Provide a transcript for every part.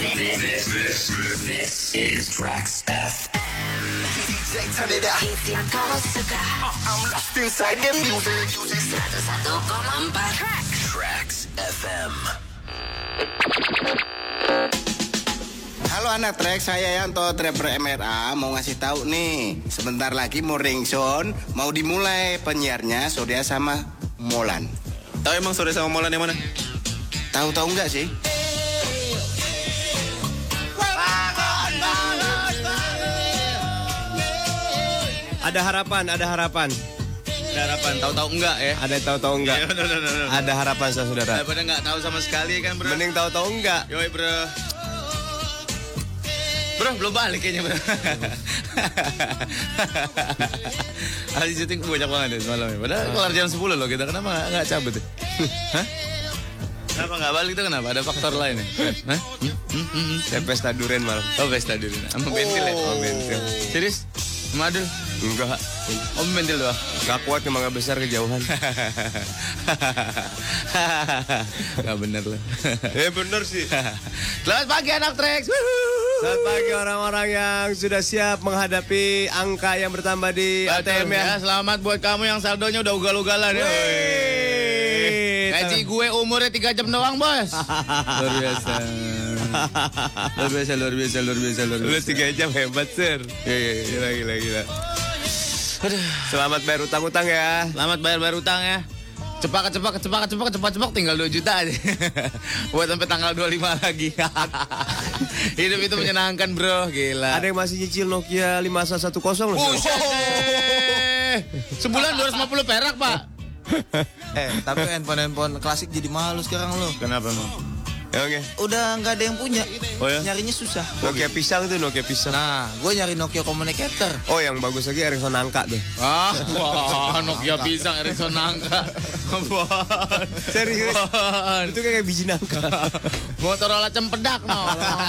This is Trax FM. DJ, turn it up. Isi yang kau suka. I'm lost inside the music. 101,4 Trax FM. Halo anak Trek, saya Yanto, Trapper MRA. Mau ngasih tahu nih, sebentar lagi mau ringtone, mau dimulai penyiarnya Surya sama Molan. Tahu emang Surya sama Molan yang mana? Tahu nggak sih? Ada harapan. Tahu-tahu enggak ya? Ada tahu enggak? Ya, no. Ada harapan saudara. Daripada enggak tahu sama sekali kan, Bro. Mending tahu enggak? Yoi, Bro. Bro, belum balik kayaknya, Bro. Hari syuting banyak banget ya semalam ya. Padahal kelar jam 10 loh kita. Kenapa enggak cabut ya? Hah? Kenapa enggak balik tuh kenapa? Ada faktor lain ya? Hah? Saya pesta durian malam. Oh, pesta dulu. Sama bentil ya? Oh, bentil. Serius? Madu? Enggak. Oh, bentil doang. Gak kuat emang gak besar kejauhan. Gak bener loh. Bener sih. Selamat pagi anak Trax. Selamat pagi orang-orang yang sudah siap menghadapi angka yang bertambah di ATM ya. Selamat buat kamu yang saldonya udah ugal-ugalan ya. Gaji gue umurnya 3 jam doang, Bos. Luar biasa. Lu 3 jam hebat, Sir. Gila. Aduh. Selamat bayar utang-utang ya. Selamat bayar utang ya. Cepat tinggal 2 juta aja. Buat sampai tanggal 25 lagi. Hidup itu menyenangkan, Bro. Gila. Ada yang masih nyicil Nokia 5110 loh. Sebulan 250 perak, Pak. Tapi handphone klasik jadi mahal sekarang lo. Kenapa, Mang? Oke. Udah nggak ada yang punya. Oh ya? Nyarinya susah. Nokia pisang tuh, Nokia pisang. Nah, gue nyari Nokia Communicator. Oh, yang bagus lagi Ericsson angka tuh. Wah, Nokia pisang Ericsson nangka. Serius? Itu kayak biji nangka. Motorola cempedak no.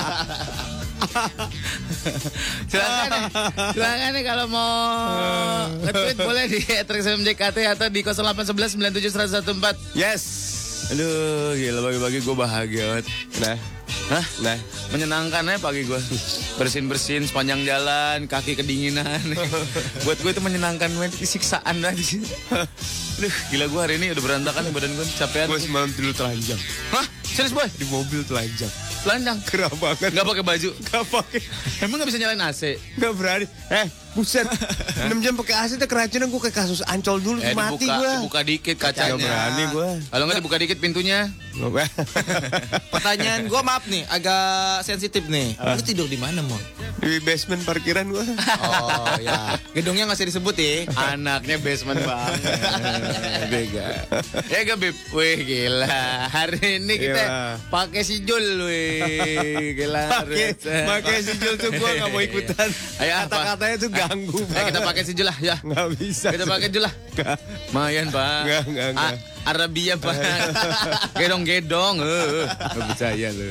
Silakan nih kalau mau nge-tweet boleh di @traxfmjkt atau di 0811 97 114. Yes. Aduh, gila bagi-bagi gue bahagia banget. Nah, menyenangkan ya pagi gue. Bersin-bersin sepanjang jalan, kaki kedinginan. Buat gue itu menyenangkan banget, siksaan lagi. Aduh, gila gue hari ini udah berantakan badan gue, capean. Gue semalam tidur telanjang. Hah? Serius, Boy? Di mobil telanjang. Telanjang? Gerah banget. Gak pakai baju? Gak pakai. Emang gak bisa nyalain AC? Gak berani. Buset. 6 jam pakai AC tuh keracunan. Gue kayak kasus Ancol dulu mati gue. Dibuka dikit kacanya. Gak berani gue. Kalau nggak dibuka dikit pintunya. Pertanyaan gue maaf nih, agak sensitif nih. Lu tidur di mana, Mon? Di basement parkiran gue. Oh ya, gedungnya nggak usah disebut ya. Anaknya basement banget. Bega. Ya gak, Bib? Wih, gila. Hari ini kita pakai si Jul, wih. Gila. Pakai si Jul tuh gue gak mau ikutan. Ayo, kata-katanya tuh ganggu banget. Kita pakai si Jul lah, ya. Gak bisa. Kita pakai Jul lah. Mayan, Pak. Enggak. Arabia, Pak. Gedong. Gak percaya lu.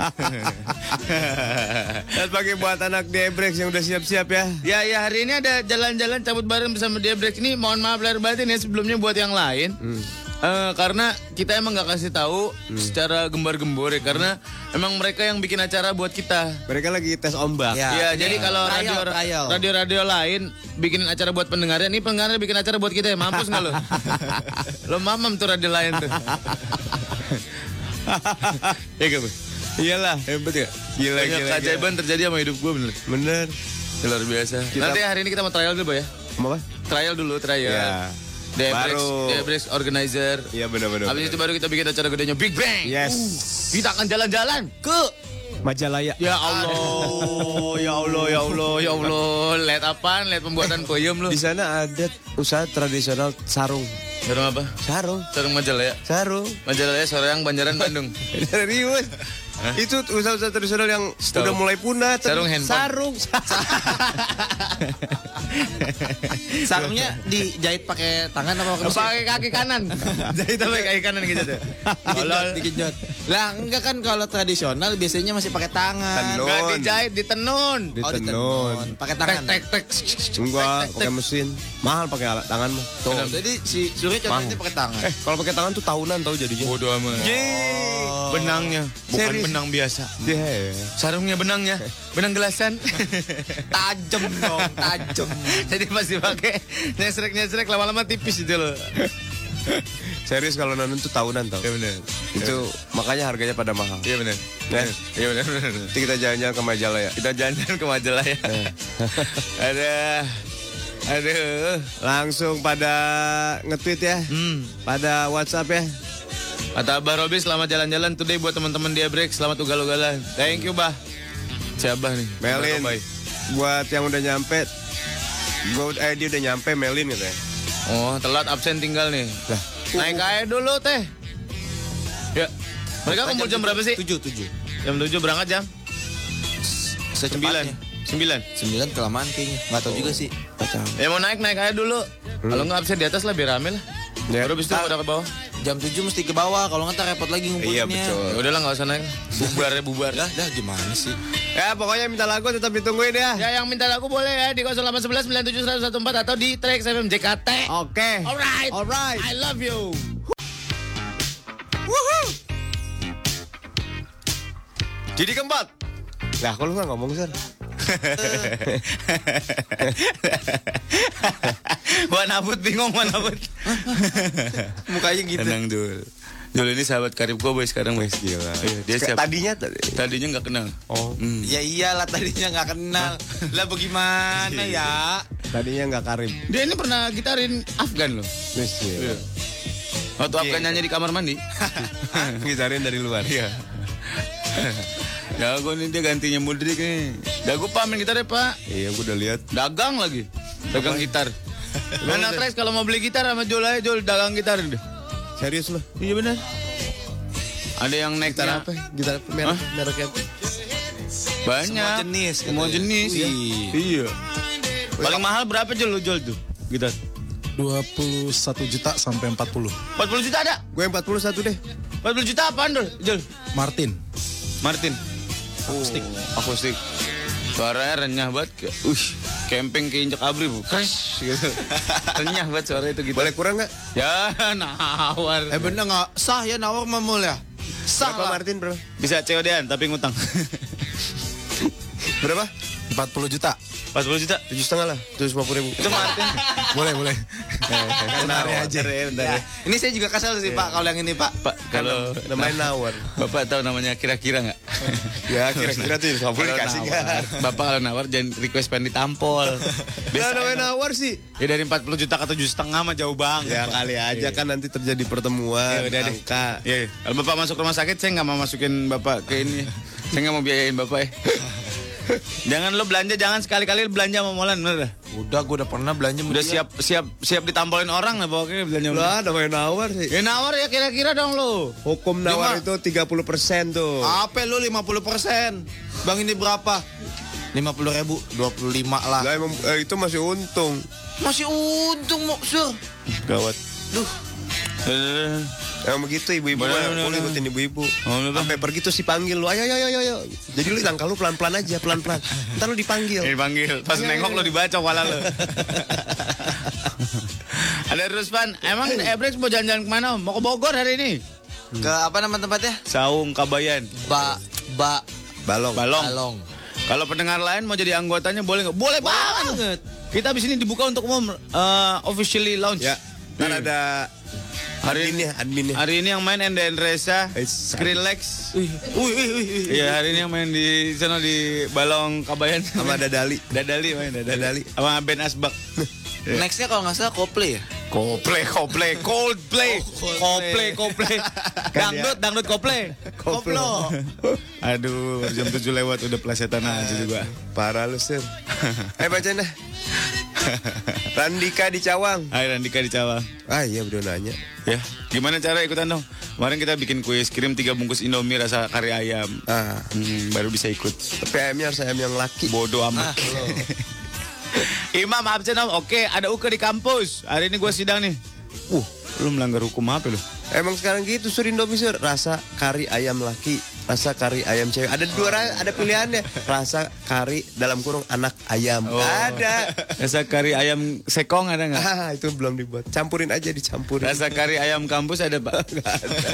Dan pakai buat anak Debrex yang udah siap-siap ya. Ya, hari ini ada jalan-jalan cabut bareng bersama Debrex ini. Mohon maaf lahir batin ya sebelumnya buat yang lain. Karena kita emang gak kasih tahu secara gembar-gembor ya. Karena emang mereka yang bikin acara buat kita. Mereka lagi tes ombak. Ya, jadi kalau radio-radio lain bikin acara buat pendengarnya, ini pendengarnya bikin acara buat kita ya. Mampus gak lo? Lo mamam tuh radio lain tuh. Ya gak, Bu? Iyalah. Hebat ya? Gila. Keajaiban terjadi sama hidup gue bener. Luar biasa. Nanti hari ini kita mau trial dulu, Boy ya. Apa? Trial dulu. Ya. Debrex organizer. Iya benar. Habis itu baru kita bikin acara gedenya Big Bang. Yes. Kita akan jalan-jalan ke Majalaya. Ya Allah. Lihat apaan? Lihat pembuatan peyem lu. Di sana ada usaha tradisional sarung. Sarung apa? Sarung Majalaya. Majalaya Soreang, Banjaran, Bandung. Serius. Itu usaha-usaha tradisional yang udah mulai punah. Sarung handphone. Sarung. Sarungnya dijahit pakai tangan apa pakai mesin? Pakai kaki kanan. Jadi pakai kaki kanan gitu tuh. Dikejot. Lah enggak kan kalau tradisional biasanya masih pakai tangan. Tenun. Enggak dijahit, ditenun. Ditenun. Pakai tangan. Tek. Enggak, pakai mesin. Mahal pakai alat tangan mah. Tuh. Jadi si Suri contohnya pakai tangan. Kalau pakai tangan tuh tahunan tahu jadinya. Bodoh amat. Benangnya bukan Serius? benang biasa. Iya. Sarungnya benangnya, benang gelasan. Tajam dong, tajam. Jadi pasti pakai nyesrek lama-lama tipis itu loh. Serius kalau nanun tuh tahunan tau. Iya benar. Itu makanya harganya pada mahal. Iya benar. Ya? Iya benar. Nanti kita jalan-jalan ke Majalaya. Kita jalan ke Majalaya. Aduh. Langsung pada nge-tweet ya. Pada WhatsApp ya. Kata Abah Robi, selamat jalan-jalan today buat teman-teman dia break. Selamat ugal-ugalan. Thank you, Bah. Siapa nih? Melin. Buat yang udah nyampe. Dia udah nyampe Melin gitu ya. Oh, telat absen tinggal nih. Lah, naik aja dulu, Teh. Ya. Mereka kumpul jam berapa sih? 7. Jam 7 berangkat jam? Secepatnya. 9. 9 kelamaan kayaknya. Enggak tahu juga sih. Ya mau naik aja dulu. Kalau nggak absen di atas lah biar rame lah. Ya. Baru bis itu pada ke bawah. Jam 7 mesti ke bawah, kalau nggak repot lagi ngumpulinnya. Iya betul. Ya udahlah nggak usah naik. Bubar. Dah gimana sih? Ya pokoknya minta lagu tetap ditungguin ya. Ya yang minta lagu boleh ya di 0811 97 114 atau di Trax FM JKT. Oke. Alright. I love you. Jadi keempat. Lah kalau nggak ngomong Sir. Wanabut bingung Wanabut. Mukanya gitu. Tenang dul. Dul ini sahabat karib gue boy sekarang boy. Gila. Iya, dia siapa? Tadinya nggak kenal. Oh. Ya iyalah tadinya nggak kenal. Lah bagaimana ya? Tadinya nggak karib. Dia ini pernah gitarin Afgan loh. Iya. Waktu Afgan nyanyi di kamar mandi. Gitarin dari luar. Iya. Jago nih dia gantinya Mudrik nih. Jago Pak main gitar ya Pak. Iya, gue udah lihat. Dagang lagi. Dagang gitar. Mana Trax kalau mau beli gitar sama Jol aja Jol dagang gitar deh. Serius loh. Iya benar. Ada yang naik Gitar apa? Gitar apa? Mereknya apa? Banyak. Semua jenis. Ya. Iya. Paling mahal berapa Jol lu Jol tuh? Gitar. 21 juta sampai 40. 40 juta ada? Gue yang 41 deh. 40 juta apaan Jol? Martin. Akustik. Suaranya renyah banget. Camping keinjak abri bu. Crash gitu. Renyah banget suara itu gitu. Boleh kurang nggak? Ya nawar. Bener nggak sah ya nawar mamul ya? Sah Berapa lah. Martin bro? Bisa COD-an tapi ngutang. Berapa? 40 juta. 40 juta. 7,5 lah. 750.000. Itu Martin. Boleh. Kenari aja. Ya. Ini saya juga kesel sih Pak kalau yang ini Pak. Pak, kalau Namanya nawar. Bapak tahu namanya kira-kira nggak? Ya kira-kira tuh 50 dikasih kan. Bapak kalau nawar jangan request pengen ditampol. Biasa namanya nawar sih. Ya dari 40 juta ke 7,5 mah jauh banget. Ya kali aja kan nanti terjadi pertemuan. Ya udah deh. Angka. Ya, kalau Bapak masuk rumah sakit saya nggak mau masukin Bapak ke ini. Saya nggak mau biayain Bapak ya. Jangan lo belanja, jangan sekali-kali belanja sama Molan, bener dah. Udah, gue udah pernah belanja. Udah siap ditampolin orang lah pokoknya belanja. Lah namanya nawar sih. Ya nawar ya kira-kira dong lo. Hukum nawar itu 30% tuh. Apa lu 50%? Bang ini berapa? 50.000, 25 lah. Lah emang itu masih untung. Masih untung mau sur. Gawat. Duh. Emang begitu ibu-ibu Boleh. lu ikutin ibu-ibu. Boleh, Bang. Sampai pergi tuh si panggil lu. Ayo. Jadi lu langkah lu pelan-pelan aja, pelan-pelan. Ntar lu dipanggil. Dipanggil, pas nengok lo dibaca kepala lo. Ada Ruspan, emang Ebrex mau jalan-jalan kemana? Mau ke Bogor hari ini? Ke apa nama tempatnya? Saung Kabayan. Balong. Kalau pendengar lain mau jadi anggotanya boleh nggak? Boleh banget. Kita abis ini dibuka untuk umum officially launch. Ya. Ntar ada adminnya. Hari ini yang main NDN Reza, Skrillex. Iya, hari ini yang main di sana di Balong Kabayan Sama Dadali. Dadali main Dadali. Sama Ben Asbak. Nextnya kalau nggak salah Coldplay ya? Coldplay. Dangdut Coldplay. Koplo. Aduh, jam 7 lewat udah plesetan aja juga. Parah lu sir. Bacain dah. Randika di Cawang. Hai Randika di Cawang. Ah iya udah nanya. Ya, gimana cara ikutan dong? Kemarin kita bikin kuis, kirim 3 bungkus Indomie rasa kari ayam. Ah. Baru bisa ikut. Tapi ayamnya harus ayam yang laki. Bodoh amat. Imam absen Om. Oke, ada Uke di kampus. Hari ini gue sidang nih. Lu melanggar hukum apa lu? Emang sekarang gitu Sur Indomie Sur. Rasa kari ayam laki, rasa kari ayam cewek. Ada ada pilihannya. Rasa kari dalam kurung anak ayam. Ada. Rasa kari ayam sekong ada nggak? Itu belum dibuat. Campurin aja, dicampurin. Rasa kari ayam kampus ada Pak? Nggak ada.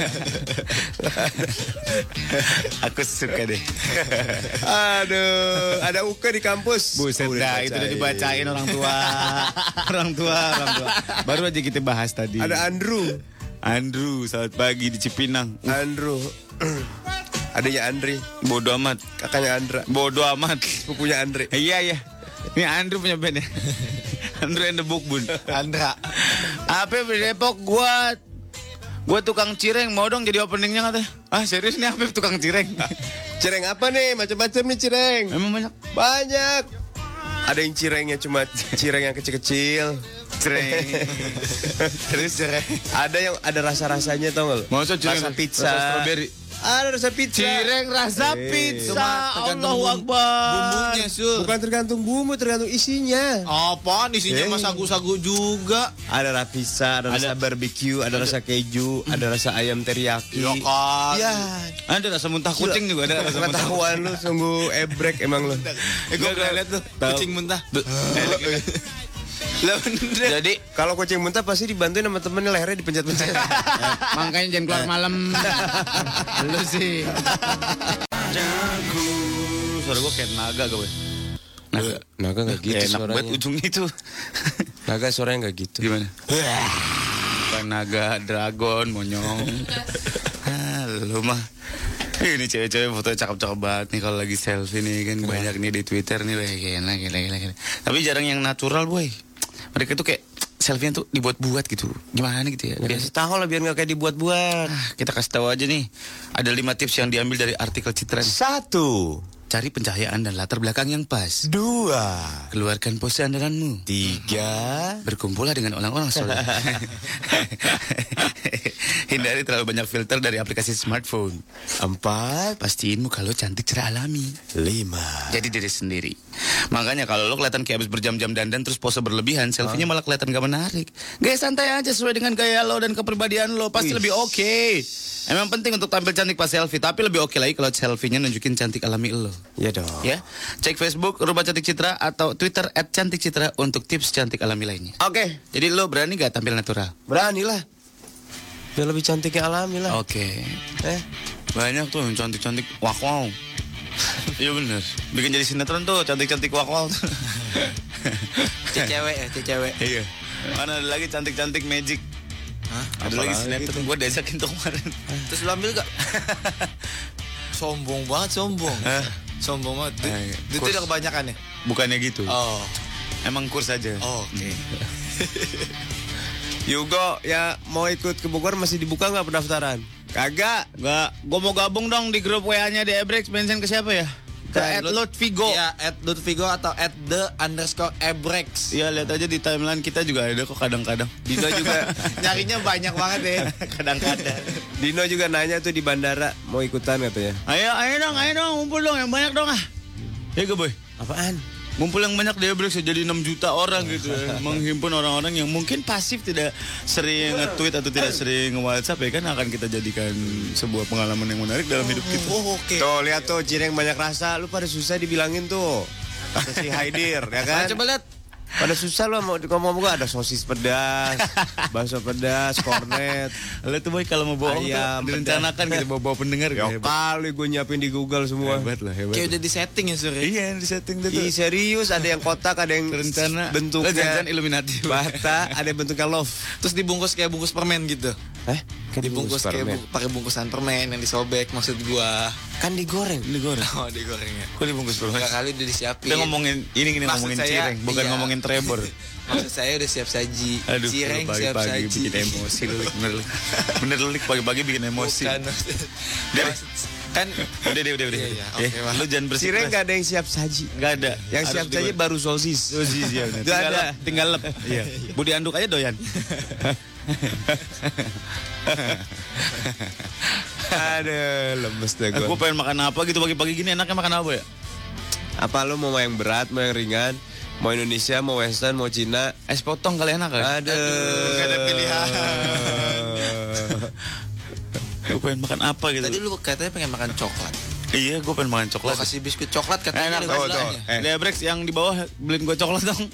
Aku suka deh. Aduh, ada Uke di kampus. Buset dah, itu udah dibacain orang tua. Baru aja kita bahas tadi. Ada Andrew, selamat pagi di Cipinang. Andrew. Adanya Andri. Bodoh amat. Kakaknya Andra. Bodoh amat. Pupunya Andri. Iya. Ini Andrew punya band ya. Andrew and the Bukbun. Andra. Apa di Depok gua tukang cireng, mau dong jadi openingnya katanya. Serius nih apa tukang cireng? Cireng apa nih? Macam-macam nih cireng. Emang banyak? Banyak. Ada yang cirengnya cuma cireng yang kecil-kecil. Cireng. Terus cireng. Ada yang ada rasa-rasanya tau gak lo? Masa cireng rasa pizza. Rasa strawberry. Ada rasa pizza. Cireng rasa pizza. Allahu Akbar. Bumbunya Sur. Bukan tergantung bumbu, tergantung isinya. Apaan isinya mah sagu-sagu juga. Ada rasa pizza, ada rasa barbecue, ada rasa keju, ada rasa ayam teriyaki. Iya kan. Iya. Ada rasa muntah kucing juga ada rasa muntah. Pengetahuan lu sungguh ebrek emang lu. Gue pernah liat tuh kucing muntah. Jadi kalau kucing muntah pasti dibantuin sama temennya, lehernya dipencet-pencet. makanya jangan keluar malam. Lu sih. Suara gue kayak naga gue. Naga nggak gitu enak suaranya. banget ujungnya itu. Naga suaranya nggak gitu. Gimana? Bukan naga, dragon, monyong. Lu mah. Ini cewek-cewek fotonya cakep-cakep banget nih kalau lagi selfie nih kan banyak nih di Twitter nih gila. Tapi jarang yang natural boy. Mereka tuh kayak selfie-nya tuh dibuat-buat gitu. Gimana gitu ya? Biasa tahu lah biar nggak kayak dibuat-buat. Kita kasih tahu aja nih. Ada 5 tips yang diambil dari artikel Citra. 1. Cari pencahayaan dan latar belakang yang pas. 2. Keluarkan pose andalanmu. 3. Berkumpullah dengan orang-orang soleh. Hindari terlalu banyak filter dari aplikasi smartphone. 4. Pastiin muka lo cantik cerah alami. 5. Jadi diri sendiri. Makanya kalau lo kelihatan kayak habis berjam-jam dandan terus pose berlebihan, selfie-nya malah kelihatan gak menarik. Gaya santai aja sesuai dengan gaya lo dan kepribadian lo, pasti lebih oke. Emang penting untuk tampil cantik pas selfie, tapi lebih oke lagi kalau selfie-nya nunjukin cantik alami lo. Ya dong. Ya, cek Facebook Rubah Cantik Citra atau Twitter @cantikcitra untuk tips cantik alami lainnya. Oke. Jadi lo berani gak tampil natural? Beranilah. Biar lebih cantiknya alami lah. Oke. Banyak tuh yang cantik-cantik wow. Iya bener. Bikin jadi sinetron tuh cantik-cantik wow. Cewek. Iya. Mana ada lagi cantik-cantik magic. Hah? Ada lagi sinetron. Gue diajakin tuh kemarin. Terus lu ambil gak? Sombong banget. Sombong banget. Itu udah kebanyakan ya? Bukannya gitu. Oh. Emang kurs aja. Oh, oke. Yugo ya mau ikut ke Bogor masih dibuka nggak pendaftaran? Kagak. Gue mau gabung dong di grup WA-nya di Ebrex. Mention ke siapa ya? Ke @Lutfigo. Iya, @Lutfigo atau @the_Ebrex. Iya, lihat aja di timeline kita juga ada kok kadang-kadang. Dino juga Nyarinya banyak banget ya. Kadang-kadang. Dino juga nanya tuh di bandara mau ikutan katanya. Ayo dong, ngumpul dong yang banyak dong ah. Ya gue boy. Apaan? Ngumpul yang banyak di Ebrex jadi 6 juta orang gitu ya. Menghimpun orang-orang yang mungkin pasif tidak sering nge-tweet atau tidak sering nge-WhatsApp ya kan akan kita jadikan sebuah pengalaman yang menarik dalam hidup kita. Oke. Tuh lihat tuh cireng banyak rasa, lu pada susah dibilangin tuh. Kata si Haidir ya kan? Coba lihat. Pada susah lo mau ngomong gua ada sosis pedas, bakso pedas, kornet. Lo tuh boy kalau mau bohong Ayam, tuh direncanakan gitu bawa pendengar Ya gitu. kali gue nyiapin di Google semua. Hebat lah. Kayak udah di setting ya Sur. Iya di setting tuh. Ih serius, ada yang kotak, ada yang Rencana bentuknya jangan Illuminati. bata, ada yang bentuknya love. Terus dibungkus kayak bungkus permen gitu. Dibungkus kayak pakai bungkusan permen yang disobek maksud gua. Kan digoreng. Oh, digorengnya. Kok dibungkus permen? Enggak kali udah disiapin. Kita ngomongin ini Maksud ngomongin saya, cireng, bukan iya. ngomongin Trevor. Maksud saya udah siap saji. Aduh, Cireng siap pagi-pagi saji. bikin emosi lu, bener lu pagi-pagi bikin emosi. Bukan. Kan udah. Iya, oke, Lu jangan bersih. Cireng gak ada yang siap saji. Enggak ada. Yang siap saji baru sosis. Sosis ya. Nggak ada. Tinggal lep. Iya. Budi anduk aja doyan. Aduh, lemes deh gue. Gue pengen makan apa gitu pagi-pagi gini, enaknya makan apa ya? Apa lu mau yang berat, mau yang ringan? Mau Indonesia, mau Western, mau Cina. Es potong kali enak kan? Aduh. Gak ada pilihan. Gue pengen makan apa gitu. Tadi lu katanya pengen makan coklat. Iya, gue pengen makan Gua coklat. kasih biskuit coklat katanya. Enak ada tuh. gulanya. Lebrex yang di bawah beliin gue coklat dong.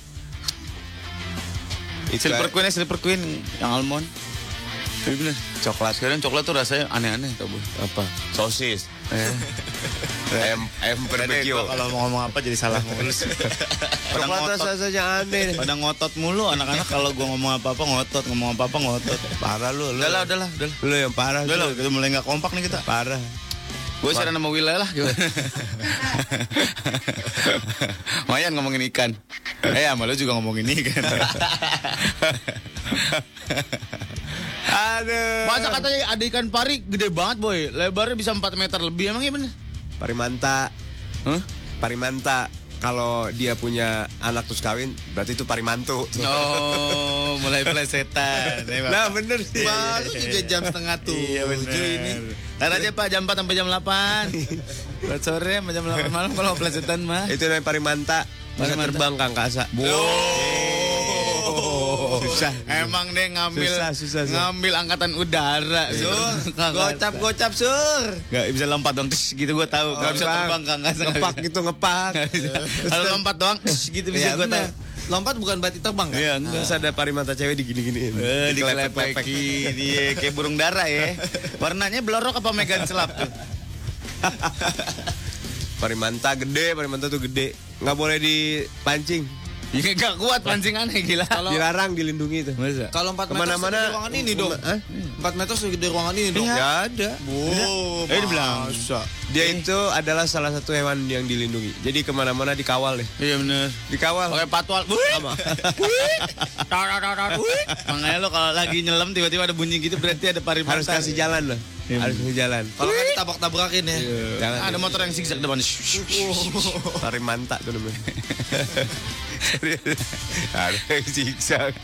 Itu Silver Queen yang almond. Iya bener. coklat. Sekarang coklat tuh rasanya aneh-aneh tau bu. Apa? Sosis. ayam barbecue. Kalau mau ngomong apa jadi salah mulu. Coklat rasanya aneh. Pada ngotot mulu anak-anak kalau gua ngomong apa-apa ngotot. Parah lu. Udahlah. Lu yang parah. Udah lah, kita mulai nggak kompak nih kita. Parah. Gue sekarang nama wilayah lah gitu. Mayan ngomongin ikan. Sama lu juga ngomongin ikan. Aduh. Masa katanya ada ikan pari gede banget boy. Lebarnya bisa 4 meter lebih. Emang iya bener? Parimanta. Huh? Parimanta. Kalau dia punya anak terus kawin, berarti itu parimantu. Oh, mulai plesetan. Nah bener sih. Baru juga jam setengah 7 ini. Ntar aja Pak jam 4 sampai jam 8. Buat sore sampai jam 8 malam kalau plesetan mah. Itu namanya parimanta. Bisa Parimanta. terbang Kang Kasa. Susah. Emang deh ngambil Susah. ngambil angkatan udara. Sur. Gocap sur. Gak bisa lompat dong tis, gitu gue tahu. Gak bisa terbang Kang Kasa. Ngepak gitu ngepak. Kalau lompat doang tis, gitu bisa Iya, gue tahu. bener. Lompat bukan berarti terbang kan? Iya, enggak. Terus ada parimanta cewek digini-giniin. Dikelepek-lepek dia kayak burung dara ya. Warnanya belorok apa megan selap tuh? Parimanta tuh gede. Nggak boleh dipancing. Ya gak kuat pancingannya gila. Dilarang, dilindungi itu. Masa? Kalau 4 meter Kemana-mana. segede ruangan ini dong. Hah? 4 meter segede ruangan ini dong. Ya ada. Dibilang. Dia itu adalah salah satu hewan yang dilindungi. Jadi kemana-mana dikawal deh. Iya bener. Dikawal. Pakai patwal. Sama. Makanya lo kalau lagi nyelam tiba-tiba ada bunyi gitu berarti ada parimanta. Harus kasih jalan loh. Harus kasih jalan. Kalau kan ditabrak-tabrakin ya. Jangan. Ada motor yang zigzag depan. Parimanta tuh namanya. Ada yang zigzag.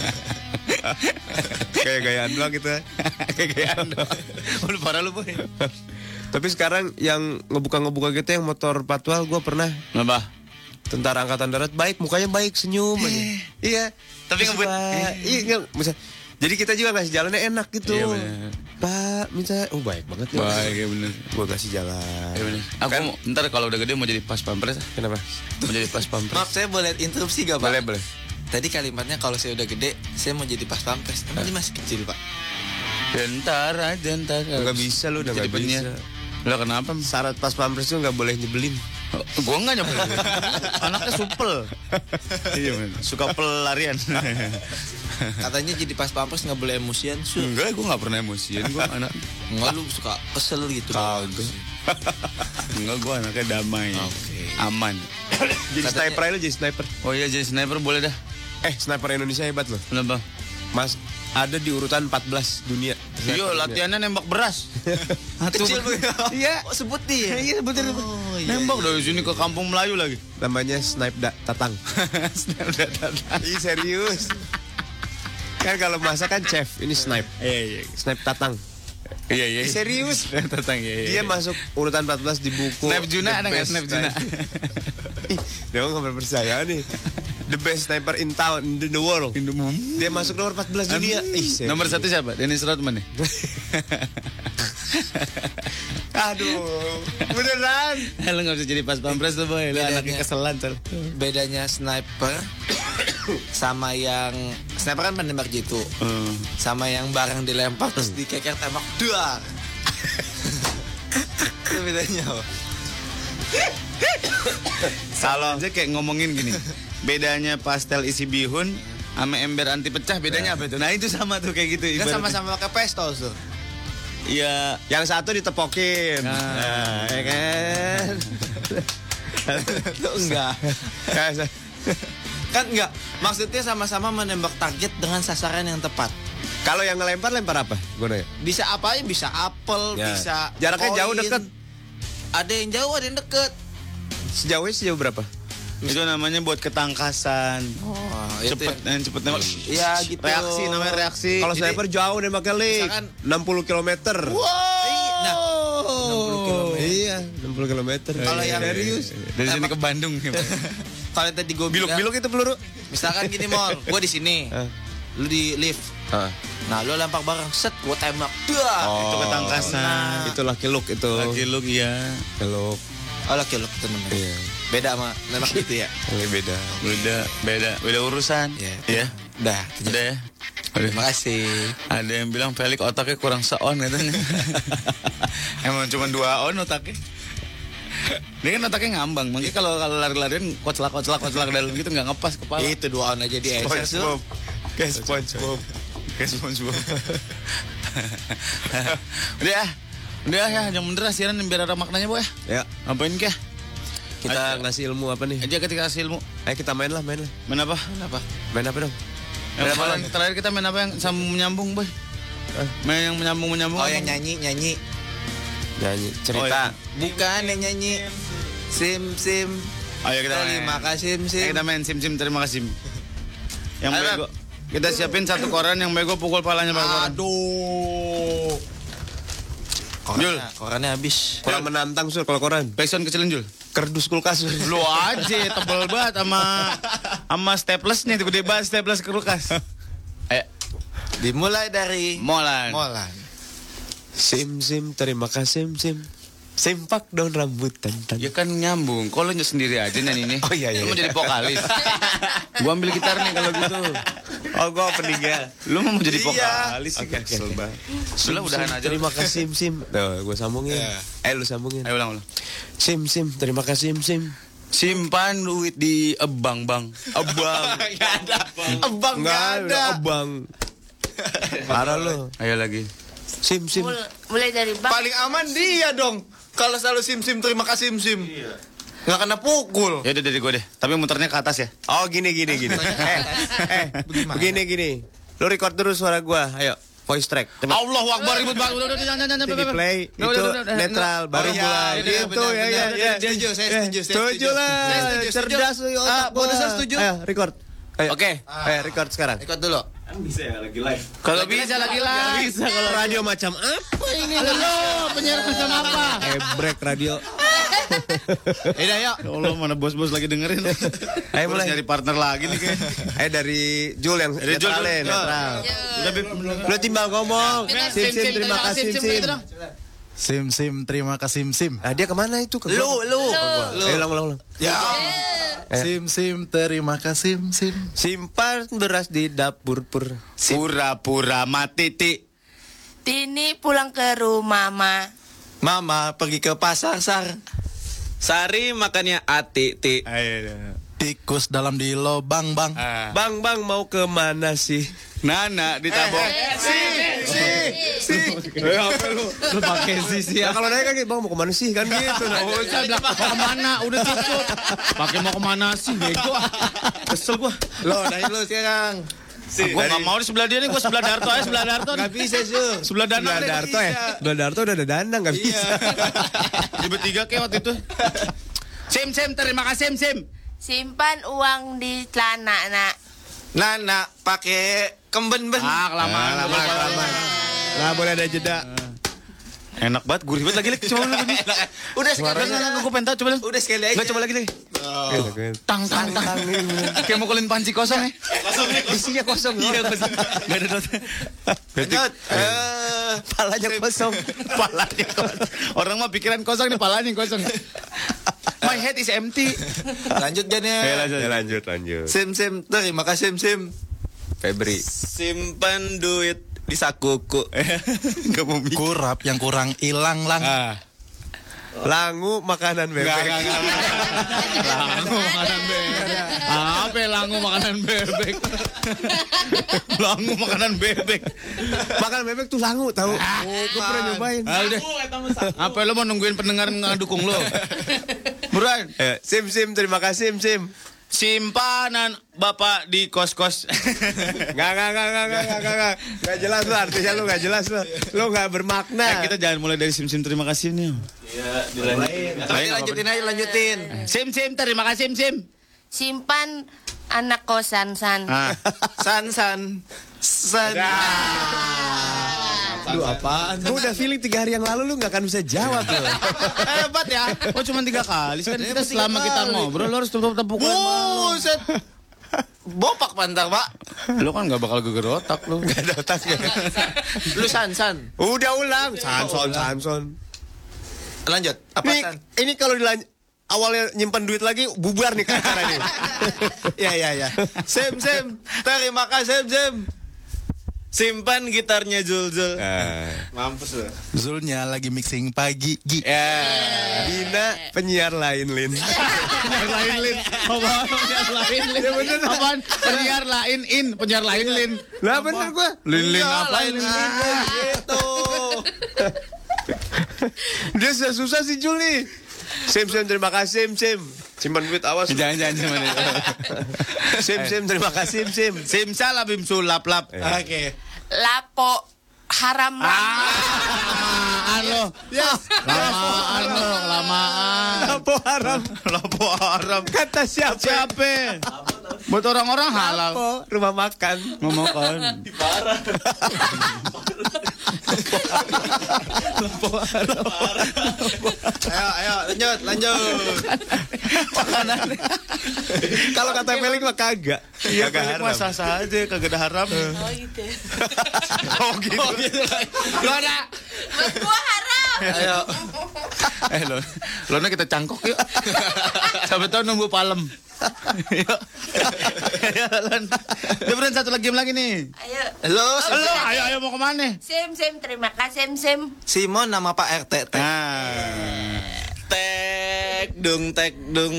Kayak gayaan doang gitu. Kayak gayaan doang. Udah parah lu boy. Tapi sekarang yang ngebuka gitu yang motor patwal gue pernah. Kenapa? Tentara Angkatan Darat baik, mukanya baik, senyum aja. Iya. Tapi Terus ngebut. Pak, iya nggak bisa. Jadi kita juga ngasih jalannya enak gitu. Iya, bener. Pak, minta, baik banget ya. Baik ya bener. Gue kasih jalan. Iya bener. Aku ntar kalau udah gede mau jadi pas pampres. Kenapa? Mau jadi pas pampres. Maaf saya boleh interupsi gak Pak? Boleh. Tadi kalimatnya kalau saya udah gede saya mau jadi pas pampres. Emang dia masih kecil Pak? Ya, ntar. Nggak bisa lu, udah jadi nggak penyiar. bisa. Lah kenapa? Syarat pas pampres tuh nggak boleh nyebelin. Gue nggak nyebel. Anaknya supel. Iya men. Suka pelarian. Katanya jadi pas pampres nggak boleh emosian. Enggak, gue nggak pernah emosian. Gue anak. Enggak lu suka kesel gitu. Kagak. Enggak, gue anaknya damai. Oke. Aman. Jadi sniper aja lu, jadi sniper. Oh iya jadi sniper boleh dah. Sniper Indonesia hebat loh. Kenapa? Mas, ada di urutan 14 dunia. Iya latihannya nembak beras. Kecil begitu. Iya. Oh sebut dia. Iya betul. Oh, iya, Nembak dari sini ke kampung Melayu lagi. Namanya Tatang. Ih serius. Kan kalau masak kan chef, ini snipe. Iya. Snipe Tatang. Iya. Serius. Tatang iya. Dia masuk urutan 14 di buku. Snap Juna The ada nggak Best Snap Juna? Dia nggak percaya nih. The best sniper in town in the world. Dia masuk nomor 14 dunia. Serius. Nomor 1 siapa? Dennis Rodman ya? Aduh, beneran. Lo gak bisa jadi pas pampres tuh boy. Lo Bedanya. anaknya keselan tuh. Bedanya sniper sama yang sniper kan menembak jitu. Sama yang barang dilempar terus dikeker tembak duar. Itu bedanya. Kalau aja kayak ngomongin gini. Bedanya pastel isi bihun sama ember anti pecah bedanya apa itu? Nah itu sama tuh kayak gitu. Kan ibaratnya. sama-sama pakai pistol tuh. Iya. Yang satu ditepokin. Nah, ya kan. Itu enggak. Kan enggak. Maksudnya sama-sama menembak target dengan sasaran yang tepat. Kalau yang ngelempar lempar apa? Gue nanya. Bisa apa ya? Bisa apel, Ya. bisa Jaraknya koin. jauh, deket. Ada yang jauh, ada yang deket. Sejauh berapa? Itu namanya buat ketangkasan. Oh, Cepet nembak. Iya gitu. Reaksi namanya reaksi. Kalau Jadi- sniper jauh nembaknya lik. Misalkan- 60 km. Nah, 60 km. Iya, 60 km. Kalau yang Dari sini ke Bandung. Kalau tadi gue Biluk-biluk itu peluru. misalkan gini Mol, gue di sini, lu di lift. Nah, lu lempar barang, set, gue tembak. Dah. Itu ketangkasan. Itu Lucky Luke itu. Lagi lu iya. Luke. Oh, laki lu itu namanya. Iya. Beda sama nembak gitu ya. Ini beda. Beda urusan. Iya. Udah. Udah ya. Terima kasih. Ada yang bilang Felix otaknya kurang se-on katanya. Emang cuma 2 on otaknya. Dia kan otaknya ngambang. Makanya kalau lari-larian koclak dalam gitu nggak ngepas kepala. Itu 2 on aja di SS tuh. Kayak SpongeBob. Udah ya, yang bener siaran biar ada maknanya boy. Ya. Ngapain kah? Kita ngasih ilmu apa nih? Aja ketika kasih ilmu. Ayo kita main lah. Main apa? Main apa dong? Yang kemarin terakhir kita main apa yang sambung menyambung boy? Main yang menyambung. Oh, yang nyanyi. Nyanyi. Cerita. Oh, iya. Bukan yang nyanyi. Sim. Ayo kita main. Terima kasih Sim. Kita main sim terima kasih. Yang Ayo, bego. Kita siapin 1 koran yang bego pukul palanya pakai koran. Aduh. Jul. Korannya habis. Kurang menantang Sur kalau koran. Backsound kecilin Jul. Kerdus kulkas. Lu aja tebel banget sama staples nih gede banget staples kulkas. Dimulai dari Molan. Sim terima kasih Sim. Simpak daun rambutan. Ya kan nyambung. Kok lu sendiri aja nyanyi nih? Oh iya. Lu mau jadi vokalis. Gua ambil gitar nih kalau gitu. Oh gua peninggal. Lu mau jadi vokalis sih. Oke. Sudah udahan aja. Terima kasih Sim. Tuh, gua sambungin. Lu sambungin. Ayo ulang. Sim terima kasih Sim. Simpan duit di bang. Abang. Abang Enggak ada. Abang. Parah lu. Ayo lagi. Sim. Mulai dari bang. Paling aman dia dong. Kalau selalu Sim terima kasih Sim. Nggak kena pukul. Ya udah dari gue deh. Tapi muternya ke atas ya. Oh gini. Begini. Lu record terus suara gua. Ayo. Voice track. Allahu Akbar ribut banget. Udah jangan. Di play itu netral baru mulai. Gitu ya. Setuju lah. Cerdas otak. Bonusan setuju. Ayo record. Oke. Ayo record sekarang. Ikut dulu. Kalau bisa lagi lah. Bisa kalau radio macam apa ini? Halo, penyiar macam apa? Break radio. Yaudah yuk. Ya Allah, mana bos-bos lagi dengerin. Ayo mulai. Nyari partner lagi nih kayak. Ayo dari Jul yang netral. Lu timbang ngomong. Sim terima kasih Sim. Sim terima kasih Sim. Ah dia kemana itu? Lu. Ayo ulang. Ya. Sim terima kasih Sim. Simpan beras di dapur pur. Pura-pura mati ti. Tini pulang ke rumah Mama pergi ke pasar Sari makannya ati ti. Tikus dalam di lobang bang. Bang mau ke mana sih? Nana ditabok. Apa lu pakai sih Ya kalau nanya kan bang mau ke mana sih kan gitu. Oh, saya bilang mau kemana? Udah cukup. Pakai mau kemana sih? Bego. Kesel gua. Lo dari lu sekarang. Gua nggak mau di sebelah dia nih. Gua sebelah Darto aja. Sebelah Darto. Nggak bisa Sur. Sebelah Danang. Sebelah Darto udah ada dandang nggak bisa. Di bertiga kayak waktu itu. Sim terima kasih Sim. Simpan uang di celana Nana pakai kemben-ben. Kelamaan. Nggak boleh ada jeda. Enak banget, gurih banget lagi. Coba lagi. Udah sekali. Gue pengen tahu, coba lagi. Udah sekali aja. Nggak, coba lagi. Tang. Kayak mau kulin panci kosong ya. Isinya kosong. Iya kosong. Gak ada dot. Lanjut. Palanya kosong. Orang mah pikiran kosong nih, palanya kosong. My head is empty. Lanjut Jan ya. Lanjut. Sim terima kasih Sim. Febri. Simpan duit di sakuku. Gak mau mikir. Kurap yang kurang hilang lang. Langu makanan bebek. Langu makanan bebek. Apa langu makanan bebek? Langu makanan bebek. Makanan bebek tuh langu tahu. Gue pernah nyobain. Apa lo mau nungguin pendengar ngedukung lo? Buruan. Sim terima kasih Sim. Simpanan Bapak di kos-kos. Gak jelas lu artinya lu gak jelas lu gak bermakna. Kita jangan mulai dari sim terima kasih nih. Iya, lanjutin. Sim terima kasih Sim. Simpan anak kosan San. Lu apaan? Gue udah feeling 3 hari yang lalu lu gak akan bisa jawab lu. Hebat ya. Oh cuma 3 kali. Kan kita selama kita ngobrol lu harus tepuk-tepuk. Buset. Bopak pantar, Pak. Lu kan gak bakal geger otak lu. Gak ada otaknya. Lu San. Udah ulang. Sanson. Lanjut. Apa Nih, San? ini kalau awalnya nyimpan duit lagi bubar nih ke acara ini. Ya. Sim. Terima kasih, Sim. Simpan gitarnya Zul. Mampus lu. Zulnya lagi mixing pagi. Dina penyiar lain, Lin. Penyiar lain Lin. Lah bener gua. Lin apa Lin? Gitu. Dia susah sih Jul nih. Sim terima kasih Sim. Simpan duit awas. Jangan cuman itu. Sim terima kasih Sim. Simsalah bim sulap. Oke. Lapo haram Lamaan lo. Lamaan. Lapo haram. Kata siapa? Buat orang-orang halal. Lapo rumah makan. Mau makan. Ayo, lanjut. Kalau kata Felix mah kagak. Iya, Kagak haram. sah-sah aja, kagak ada haram. Oh gitu. Oh gitu. Lo ada. Buat gua haram. Ayo. Lona kita cangkok yuk. Sampai tahu nunggu palem. Yuk. Lon. Dia satu lagi game lagi nih. Ayo. Halo. Ayo mau kemana? Sim, terima kasih Sim. Simon nama Pak RT. Tek dung.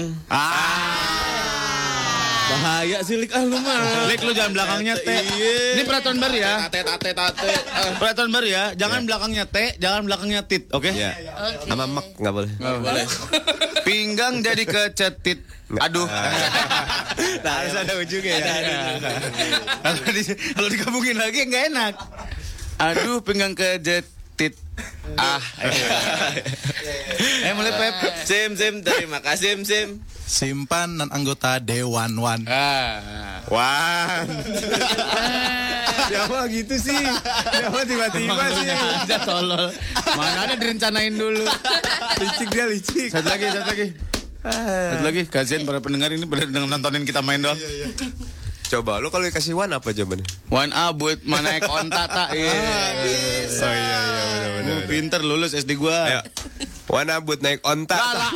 Bahaya sih Lik, lu mah. Lik, lu jangan belakangnya T. Ini peraturan baru ya. Tate. Peraturan baru ya. Jangan belakangnya T, jangan belakangnya tit, oke? Iya. Oke. Sama mek enggak boleh. Nggak boleh. Pinggang jadi kecetit. Aduh. Nah, harus ada ujungnya ya. Kalau digabungin lagi nggak enak. Aduh, pinggang kecetit. Mulai Pep. Sim, terima kasih Sim. Simpan dan anggota Dewan Wan. Wan. Siapa gitu sih? Siapa tiba-tiba sih? Aja tolol. Mana ada direncanain dulu. Licik. Satu lagi. Kasihan para pendengar ini pada nontonin kita main doang. Coba lu kalau dikasih Wan apa jawabannya? Wan A buat mana naik onta tak? Bisa. Oh iya benar. Pinter lulus SD gua. Ayo. Wan A buat naik onta.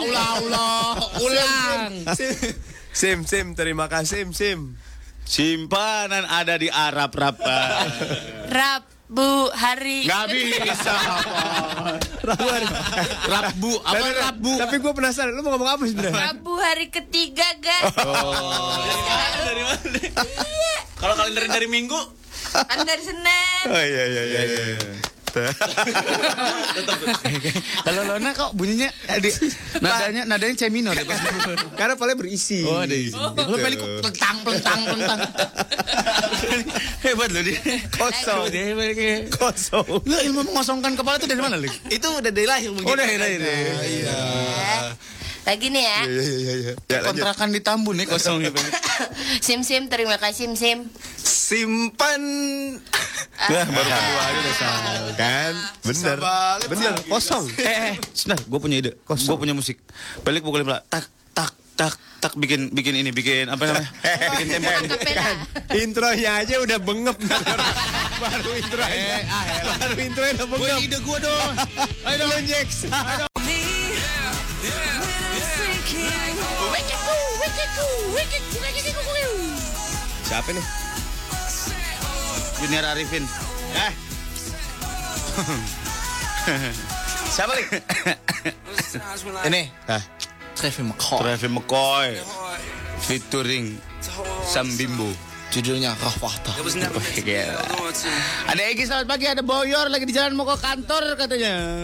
Ulang. Sim terima kasih Sim. Simpanan ada di Arab Rapa. Rabu hari. Nggak bisa. Rabu. Apa Rabu? Tapi gue penasaran, lu mau ngomong apa sebenarnya? Rabu hari ketiga, guys. Dari mana? Iya. Kalau kalender dari Minggu, Kan dari Senin. Oh iya. Kalau Lona kok bunyinya nadanya C minor ya? Karena palanya berisi. Oh ada isi. Lo pelik pelentang. Hebat loh dia. Kosong. Dia hebat kayak. Kosong. Lo ilmu mengosongkan kepala itu dari mana Lik? Itu udah dari lahir begitu. Oh dari lahir. Iya. Lagi nih ya. Iya. Ya, lanjut. Kontrakan di Tambun nih kosong nih. Sim, terima kasih Sim. Simpan. Nah, baru kedua aja udah salah kan? Bener, kosong. Sebentar, gue punya ide. Gue punya musik. Pelik pukulin pula. Tak bikin apa namanya? Bikin tempo. Akapela. Intronya aja udah bengep. Baru intronya udah bengep. Ide gue dong. Ayo dong, Jax. Siapa nih? Junior Arifin. Siapa nih? Ini. Travis McCoy. Featuring Sam Bimbo. Judulnya Rahwata. Ada Egy selamat pagi, ada Boyor lagi di jalan mau ke kantor katanya.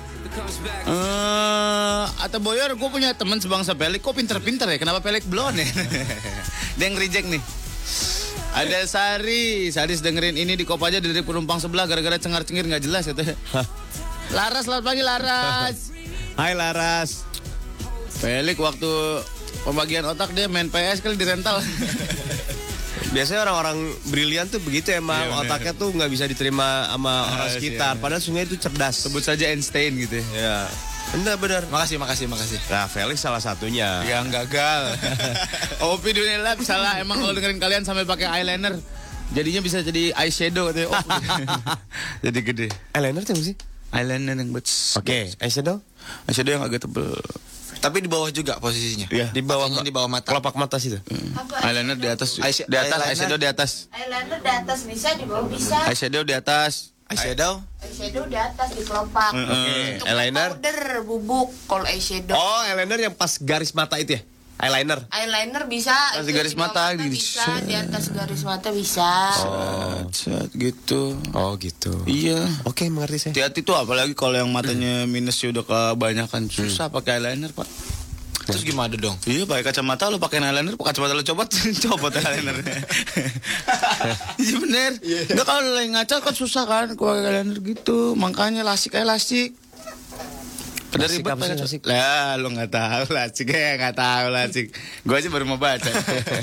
Atau Boyor, gue punya teman sebangsa Pelik. Kok pinter-pinter ya? Kenapa Pelik belum ya? Dia yang reject nih. Ada Sari dengerin ini di Kopaja dari penumpang sebelah gara-gara cengar-cengir nggak jelas katanya. Laras selamat pagi Laras. Hai Laras. Pelik waktu pembagian otak dia main PS kali di rental. Biasanya orang-orang brilian tuh begitu emang, Iya, bener. otaknya tuh nggak bisa diterima sama orang sekitar. Padahal sungguh itu cerdas. Sebut saja Einstein gitu ya. Ya, benar. Makasih. Nah, Felix salah satunya. Yang gagal. Opi Dunia Lab salah. Emang kalau dengerin kalian sampai pakai eyeliner, jadinya bisa jadi eyeshadow katanya. Oh, jadi gede. Eyeliner tuh apa sih? Eyeliner yang buat Oke, eyeshadow? eyeshadow yang agak tebel. Tapi di bawah juga posisinya. Iya. Di bawah Pakainya di bawah mata. kelopak mata situ. Eyeliner di atas, Eyeshadow- di atas, eyeliner. eyeshadow di atas, Eyeliner di atas bisa, di bawah bisa. eyeshadow di atas. Eyeshadow. Eyeshadow di atas di kelopak. Itu Eyeliner? powder bubuk kalau eyeshadow. Oh, eyeliner yang pas garis mata itu ya? Eyeliner. Eyeliner bisa. Pas itu garis di bawah mata, bisa, gitu. di atas garis mata bisa. Set gitu. Oh, gitu. Iya. Oke, mengerti saya. Hati-hati tuh apalagi kalau yang matanya minus udah kebanyakan susah pakai eyeliner, Pak. Terus gimana dong? Iya, pakai kacamata lu pakai eyeliner, pakai kacamata lu copot eyelinernya. Iya bener. Enggak kalau lu lagi ngaca kan susah kan kalau pakai eyeliner gitu. Makanya lasik aja lasik. Pada Lasik ribet apa sih, pakai lasik? Lah, lu enggak tahu lasik ya, enggak tahu lasik. Gua aja baru mau baca.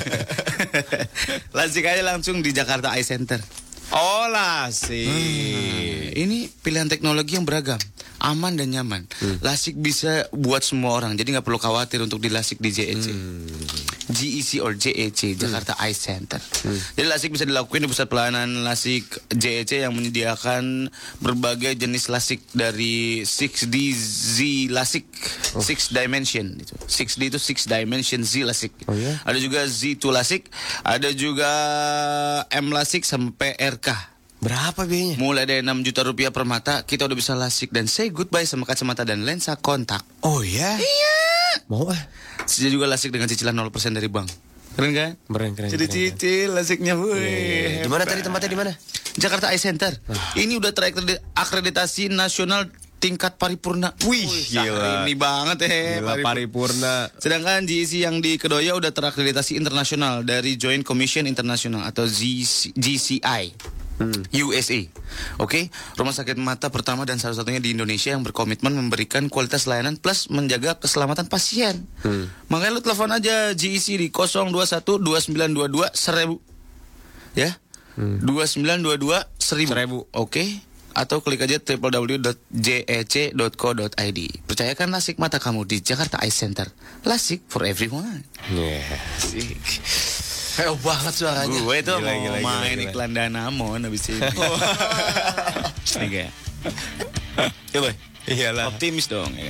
Lasik aja langsung di Jakarta Eye Center. Oh, lasik. Ini pilihan teknologi yang beragam, aman dan nyaman. Lasik bisa buat semua orang, jadi nggak perlu khawatir untuk dilasik di JEC. GEC or JEC, Jakarta Eye Center. Jadi lasik bisa dilakukan di pusat pelayanan lasik JEC yang menyediakan berbagai jenis lasik dari 6D Z lasik, 6 dimension itu. 6D itu 6 dimension Z lasik. Oh, ya? Ada juga Z2 lasik, ada juga M lasik sampai RK. Berapa biayanya? Mulai dari 6 juta rupiah per mata, kita udah bisa lasik dan say goodbye sama kacamata dan lensa kontak. Oh ya? Iya. Mau ah? Saya juga lasik dengan cicilan 0% dari bank. Keren kan? Keren. Cicil lasiknya, woi. Di mana tadi tempatnya di mana? Jakarta Eye Center. Ini udah terakreditasi nasional tingkat paripurna. Wih, gila. Ini banget Gila, paripurna. Sedangkan GEC yang di Kedoya udah terakreditasi internasional dari Joint Commission International atau GCI. USA. Oke, rumah sakit mata pertama dan satu-satunya di Indonesia yang berkomitmen memberikan kualitas layanan plus menjaga keselamatan pasien. Makanya lu telepon aja GEC di 021 2922 1000. Ya. 2922 1000. Oke. Atau klik aja www.jec.co.id. Percayakan lasik mata kamu di Jakarta Eye Center. Lasik for everyone. Asik. Heo banget suaranya. Gue itu Gila, mau gila, main gila. iklan Danamon habis ini. Nih kayak. Coba. Iyalah. Optimis dong ya.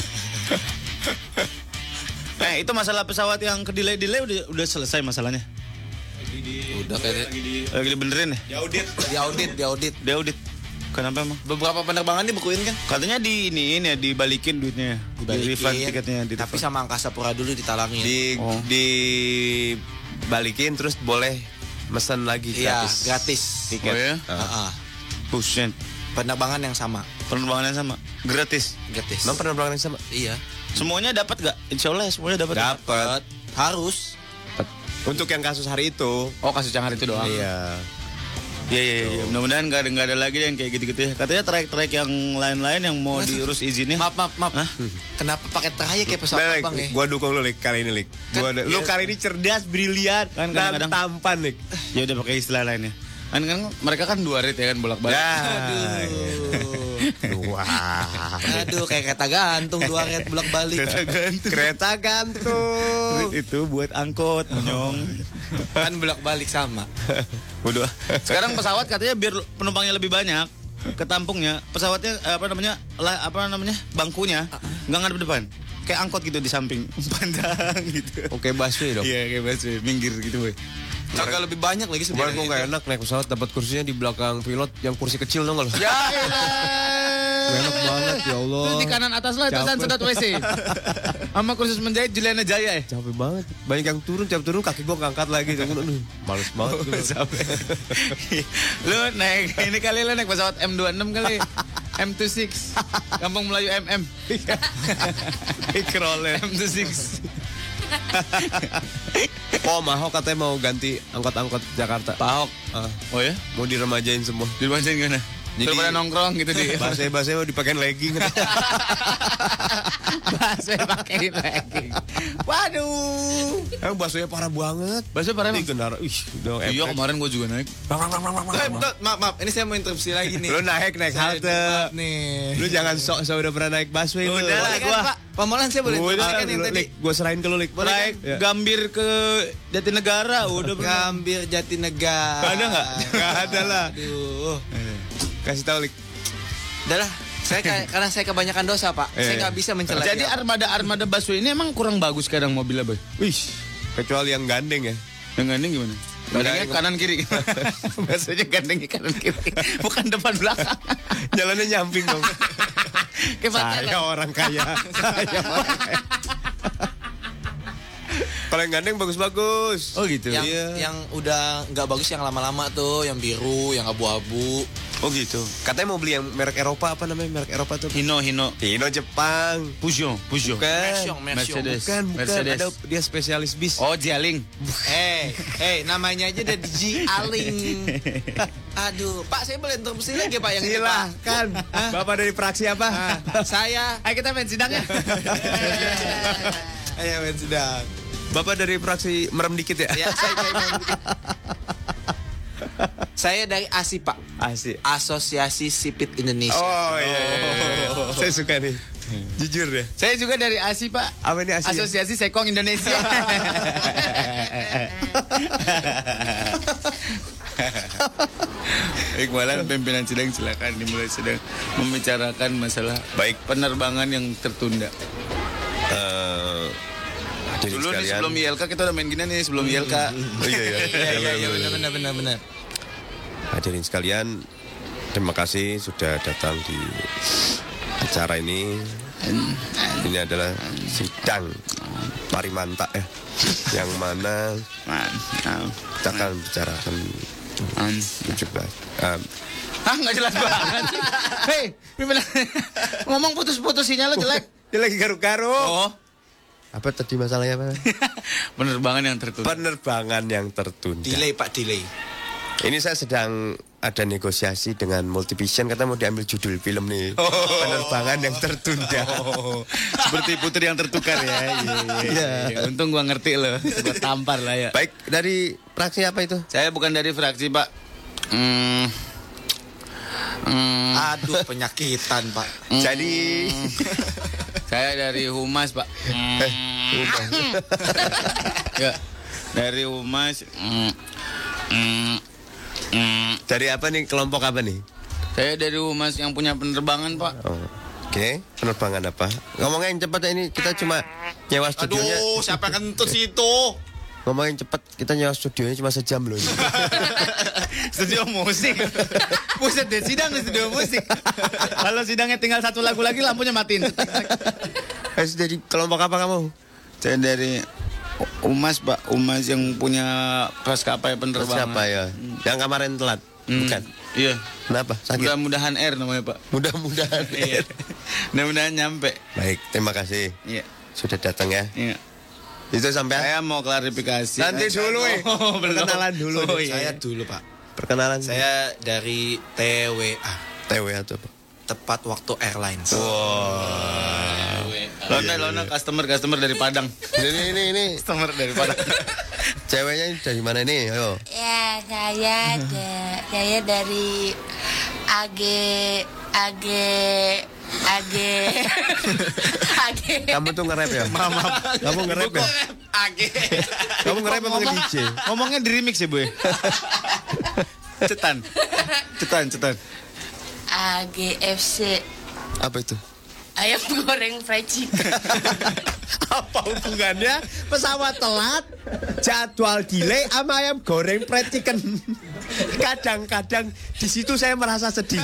Itu masalah pesawat yang ke-delay udah selesai masalahnya. Udah kayaknya. Lagi dibenerin ya? Diaudit. Kenapa emang? Beberapa penerbangan dibekuin kan? Katanya di ini ya dibalikin duitnya. Di refund tiketnya. Tapi sama Angkasa Pura dulu ditalangin. Dibalikin terus boleh mesen lagi Iya, gratis. gratis. Tiket. Oh ya? Buset. Penerbangan yang sama. Penerbangan yang sama. Gratis. Gratis. Emang penerbangan yang sama? Iya. Semuanya dapat gak? Insya Allah semuanya dapat. Dapat. Harus. Untuk yang kasus hari itu. Oh, kasus yang hari itu doang. Iya. Iya. Mudah-mudahan nggak ada lagi yang kayak gitu-gitu ya. Katanya trayek-trayek yang lain-lain yang mau diurus izinnya. Maaf. Hah? Kenapa pakai trayek kayak pesawat Lek, terbang ya? gua dukung lu Lik kali ini Lik. Lu kali ini cerdas, brilian, Kan dan kadang-kadang- tampan Lik. Ya udah pakai istilah lainnya. Kan mereka kan 2 rate ya kan bolak-balik. Wah. Aduh, kayak kereta gantung 2 red bolak-balik. Kereta gantung. Rate itu buat angkot, monyong. Kan bolak-balik sama. Waduh. Sekarang pesawat katanya biar penumpangnya lebih banyak, ketampungnya pesawatnya bangkunya nggak ngadep depan. Kayak angkot gitu di samping panjang gitu. Oke, busway dong. Iya kayak busway, minggir gitu boy. Agak lebih banyak lagi Kemarin sebenarnya. gua nggak enak naik pesawat dapat kursinya di belakang pilot yang kursi kecil dong lo. Ya elah. Enak banget ya Allah. Itu di kanan atas lah, itu Capek. sedot WC. Sama kursus menjahit Juliana Jaya ya. Capek banget. Banyak yang turun, tiap turun kaki gua ngangkat lagi. Aduh, males banget. gua. Lu naik ini kali lu naik pesawat M26 kali. M26. Kampung Melayu MM. Ikrolen. M26. Oh, Mahok katanya mau ganti angkot-angkot Jakarta. Pak Ahok. Oh ya? Mau diremajain semua. Dibacain gimana? Jadi Daripada nongkrong gitu di. bahasa mau dipakein legging. Bahasa pakai legging. Waduh. Emang baksonya parah banget. Bahasa parah emang. Kendaraan. Iya kemarin gue juga naik. Maaf, ini saya mau interupsi lagi nih. Lu naik halte. Maaf nih. Lu jangan sok-sok udah pernah naik busway. Udah lah gua. Pemolan saya boleh interupsikan yang tadi. Gue serahin ke lu, Lik. Naik Ya. Gambir ke Jatinegara udah pernah. Gambir Jatinegara. Ada nggak? Gak ada lah. Aduh. Kasih tahu, Lik. Udah lah. Karena saya kebanyakan dosa, Pak. Saya nggak bisa mencela. Jadi armada busway ini emang kurang bagus kadang mobilnya, Boy. Wih, kecuali yang gandeng ya. Yang gandeng gimana? Gandengnya kanan kiri. Biasanya gandengnya kanan kiri. Bukan depan belakang. Jalannya nyamping dong. Saya Saya orang kaya. Kalau yang gandeng bagus-bagus. Oh gitu. Yang udah nggak bagus yang lama-lama tuh, yang biru, yang abu-abu. Oh gitu. Katanya mau beli yang merek Eropa, apa namanya merek Eropa tuh? Hino Jepang. Peugeot. Mercedes. Bukan. Mercedes. Ada dia spesialis bis. Oh, Jialing. Namanya aja udah Ji Aling. Aduh, Pak, saya boleh interupsi lagi, Pak, yang ini, Pak? Silahkan. Bapak dari fraksi apa? Saya. Ayo kita main sidang ya. Ayo, main sidang. Bapak dari fraksi merem dikit ya? Ya, saya merem dikit. Saya dari ASI, Pak. Asik. Asosiasi Sipit Indonesia. Oh iya. Saya suka nih. Jujur deh. Saya juga dari ASI, Pak. Apa ini ASI? Asosiasi Sekong Indonesia. Iqbalan pimpinan sidang silakan dimulai sidang membicarakan masalah Baik. penerbangan yang tertunda. Hadirin Dulu nih sekalian. sebelum ILK kita udah main gini nih sebelum ILK. Oh iya. Benar. Hadirin sekalian, terima kasih sudah datang di acara ini. Ini adalah sidang Parimanta ya, yang mana kita akan bicarakan 17. Nggak jelas banget sih. Hei, pimpinan ngomong putus-putus sinyal lo jelek. Dia lagi garuk-garuk. Oh, Apa tadi masalahnya, Pak? penerbangan yang tertunda. Penerbangan yang tertunda. Delay, Pak, delay. Ini saya sedang ada negosiasi dengan Multivision, kata mau diambil judul film nih. Penerbangan yang tertunda. Seperti putri yang tertukar ya. Iya. Untung gua ngerti loh. Gua tampar lah ya. Baik, dari fraksi apa itu? Saya bukan dari fraksi, Pak. Aduh, penyakitan, Pak. Jadi Saya dari Humas, Pak. Ya, dari Humas. dari apa nih, kelompok apa nih? Saya dari Humas yang punya penerbangan, Pak. Oh, Oke, penerbangan apa? Ngomongnya yang cepat ya, ini kita cuma nyewa studionya. Aduh, siapa yang kentut situ? Ngomongin cepat, kita nyewa studionya cuma sejam loh. Studio musik. Buset deh, sidang di studio musik. Kalau sidangnya tinggal satu lagu lagi, lampunya matiin. Jadi kelompok apa kamu? Saya dari Humas, Pak. Humas yang punya maskapai penerbangan. Siapa ya? Yang kemarin telat? Bukan. Iya. Kenapa? Sakit? Mudah-mudahan Air namanya, Pak. Mudah-mudahan. Iya. Mudah-mudahan nyampe. Baik, terima kasih. Iya. Sudah datang ya. Iya. Itu sampai Saya mau klarifikasi. nanti dulu Oh, belum. perkenalan dulu. Oh, iya. Saya dulu, Pak. Perkenalan. Saya dari TWA, TW atau apa? Tepat Waktu Airlines. Lona customer dari Padang. Ini. Customer dari Padang. Ceweknya dari mana nih? Ayo. Ya, saya dari AG. Kamu tuh nge-rap ya? Maaf. Kamu nge-rap ya? Kamu nge-rap apa nge-DJ? Ngomongnya di remix ya, Bu. Cetan. AGFC. Apa itu? Ayam goreng fried chicken. Apa hubungannya pesawat telat, jadwal delay sama ayam goreng fried chicken? Kadang-kadang di situ saya merasa sedih.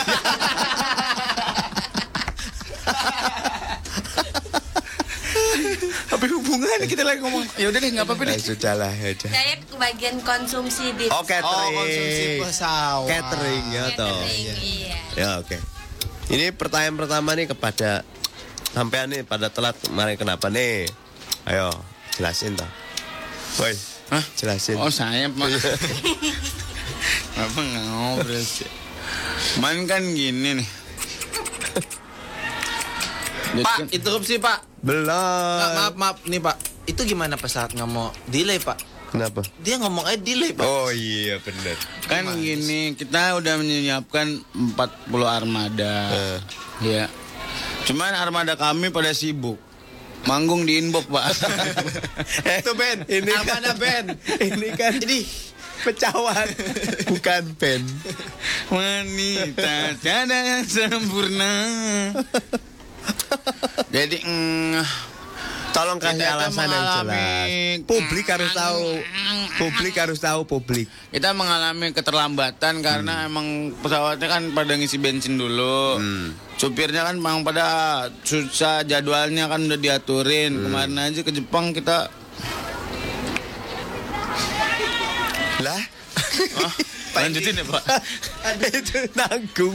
Apa hubungannya kita lagi ngomong? Ya udah deh, enggak apa-apa deh. Sudahlah, ya udah. Saya kebagian konsumsi di Catering. konsumsi pesawat. Catering ya toh. catering. Iya. Ya oke. Ini pertanyaan pertama nih kepada sampean nih pada telat kemarin kenapa nih? Ayo jelasin toh. Woi, Hah? jelasin. Oh, saya, Pak. Apa nggak ngobrol sih? Man kan gini nih. Pak, interupsi Pak. Belum. Maaf nih Pak. Itu gimana pesawat nggak mau delay Pak? Kenapa? Dia ngomong aja delay Pak. Oh iya benar. Kan gini, kita udah menyiapkan 40 armada. Ya. Cuman armada kami pada sibuk. Manggung di inbox, Pak. Itu band. Ini Armada band. Ini kan Ini pecawan, bukan band. Wanita tiada yang sempurna. Jadi Tolong kasih kita alasan yang jelas. Publik harus tahu. Publik. Kita mengalami keterlambatan karena emang pesawatnya kan pada ngisi bensin dulu. Supirnya kan memang pada susah, jadwalnya kan udah diaturin. Kemarin aja ke Jepang kita. Lah, Lanjutin ya, Pak. itu nanggung.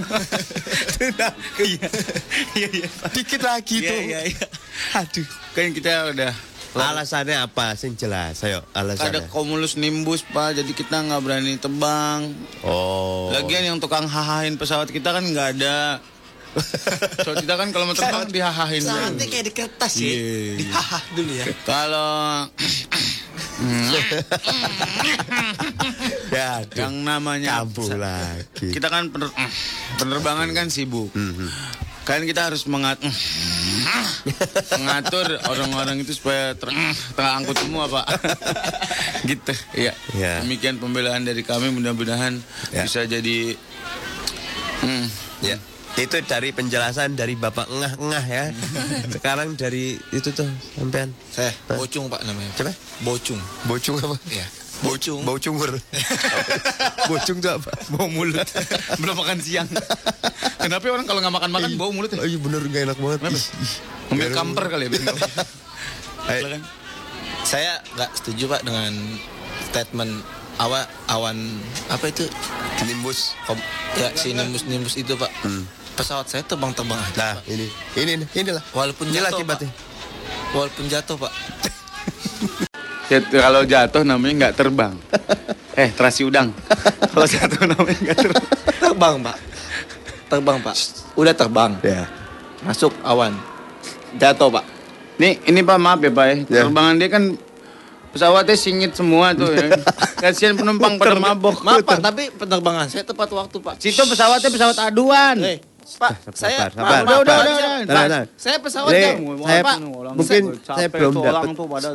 Iya. Dikit lagi tuh. Iya. Aduh. Kan kita udah Alasannya apa? Sing jelas. Ayo, ada alasannya. cumulus nimbus, Pak. Jadi kita nggak berani terbang. Oh. Lagian yang tukang hahain pesawat kita kan nggak ada. So kita kan kalau mau terbang dihahain. pesawatnya kayak di kertas ya. Iya. Dihahah dulu ya. Kalau Ya, yang namanya kambuh lagi. kita kan penerbangan kan sibuk. Kan kita harus mengatur orang-orang itu supaya terangkut semua, Pak. Gitu. Iya. Ya. Demikian pembelaan dari kami, mudah-mudahan Ya. bisa jadi Ya. Itu dari penjelasan dari Bapak Ngah-ngah ya. Sekarang dari itu tuh sampean. Saya Bocung Pak namanya. Coba. Bocung. Bocung apa? Iya. Bocung. Bau cungur. Bocung tuh apa? bau mulut. Belum makan siang. Kenapa orang kalau nggak makan bau mulut ya? Oh iya bener gak enak banget. Kenapa? Ambil kamper kali ya. Ayo. Saya nggak setuju Pak dengan statement awan apa itu Nimbus. ya si nimbus itu Pak. Pesawat saya terbang-terbang aja. Nah, inilah. Walaupun Ini jatuh, akibatnya. Pak. Walaupun jatuh Pak. Kalau jatuh namanya nggak terbang. Terasi udang. Kalau jatuh namanya nggak terbang. Terbang Pak. Udah terbang. Ya. Masuk awan. Jatuh Pak. Ini Pak, maaf ya Pak ya. Terbangan dia kan pesawatnya singit semua tuh ya. Kasihan penumpang pada mabok. Maaf Pak, tapi penerbangan saya tepat waktu Pak. Situ pesawatnya pesawat aduan. Pak, saya sabar. Udah. Tenang. Saya pesawat Ini jam. saya Pak. mungkin saya belum dapat.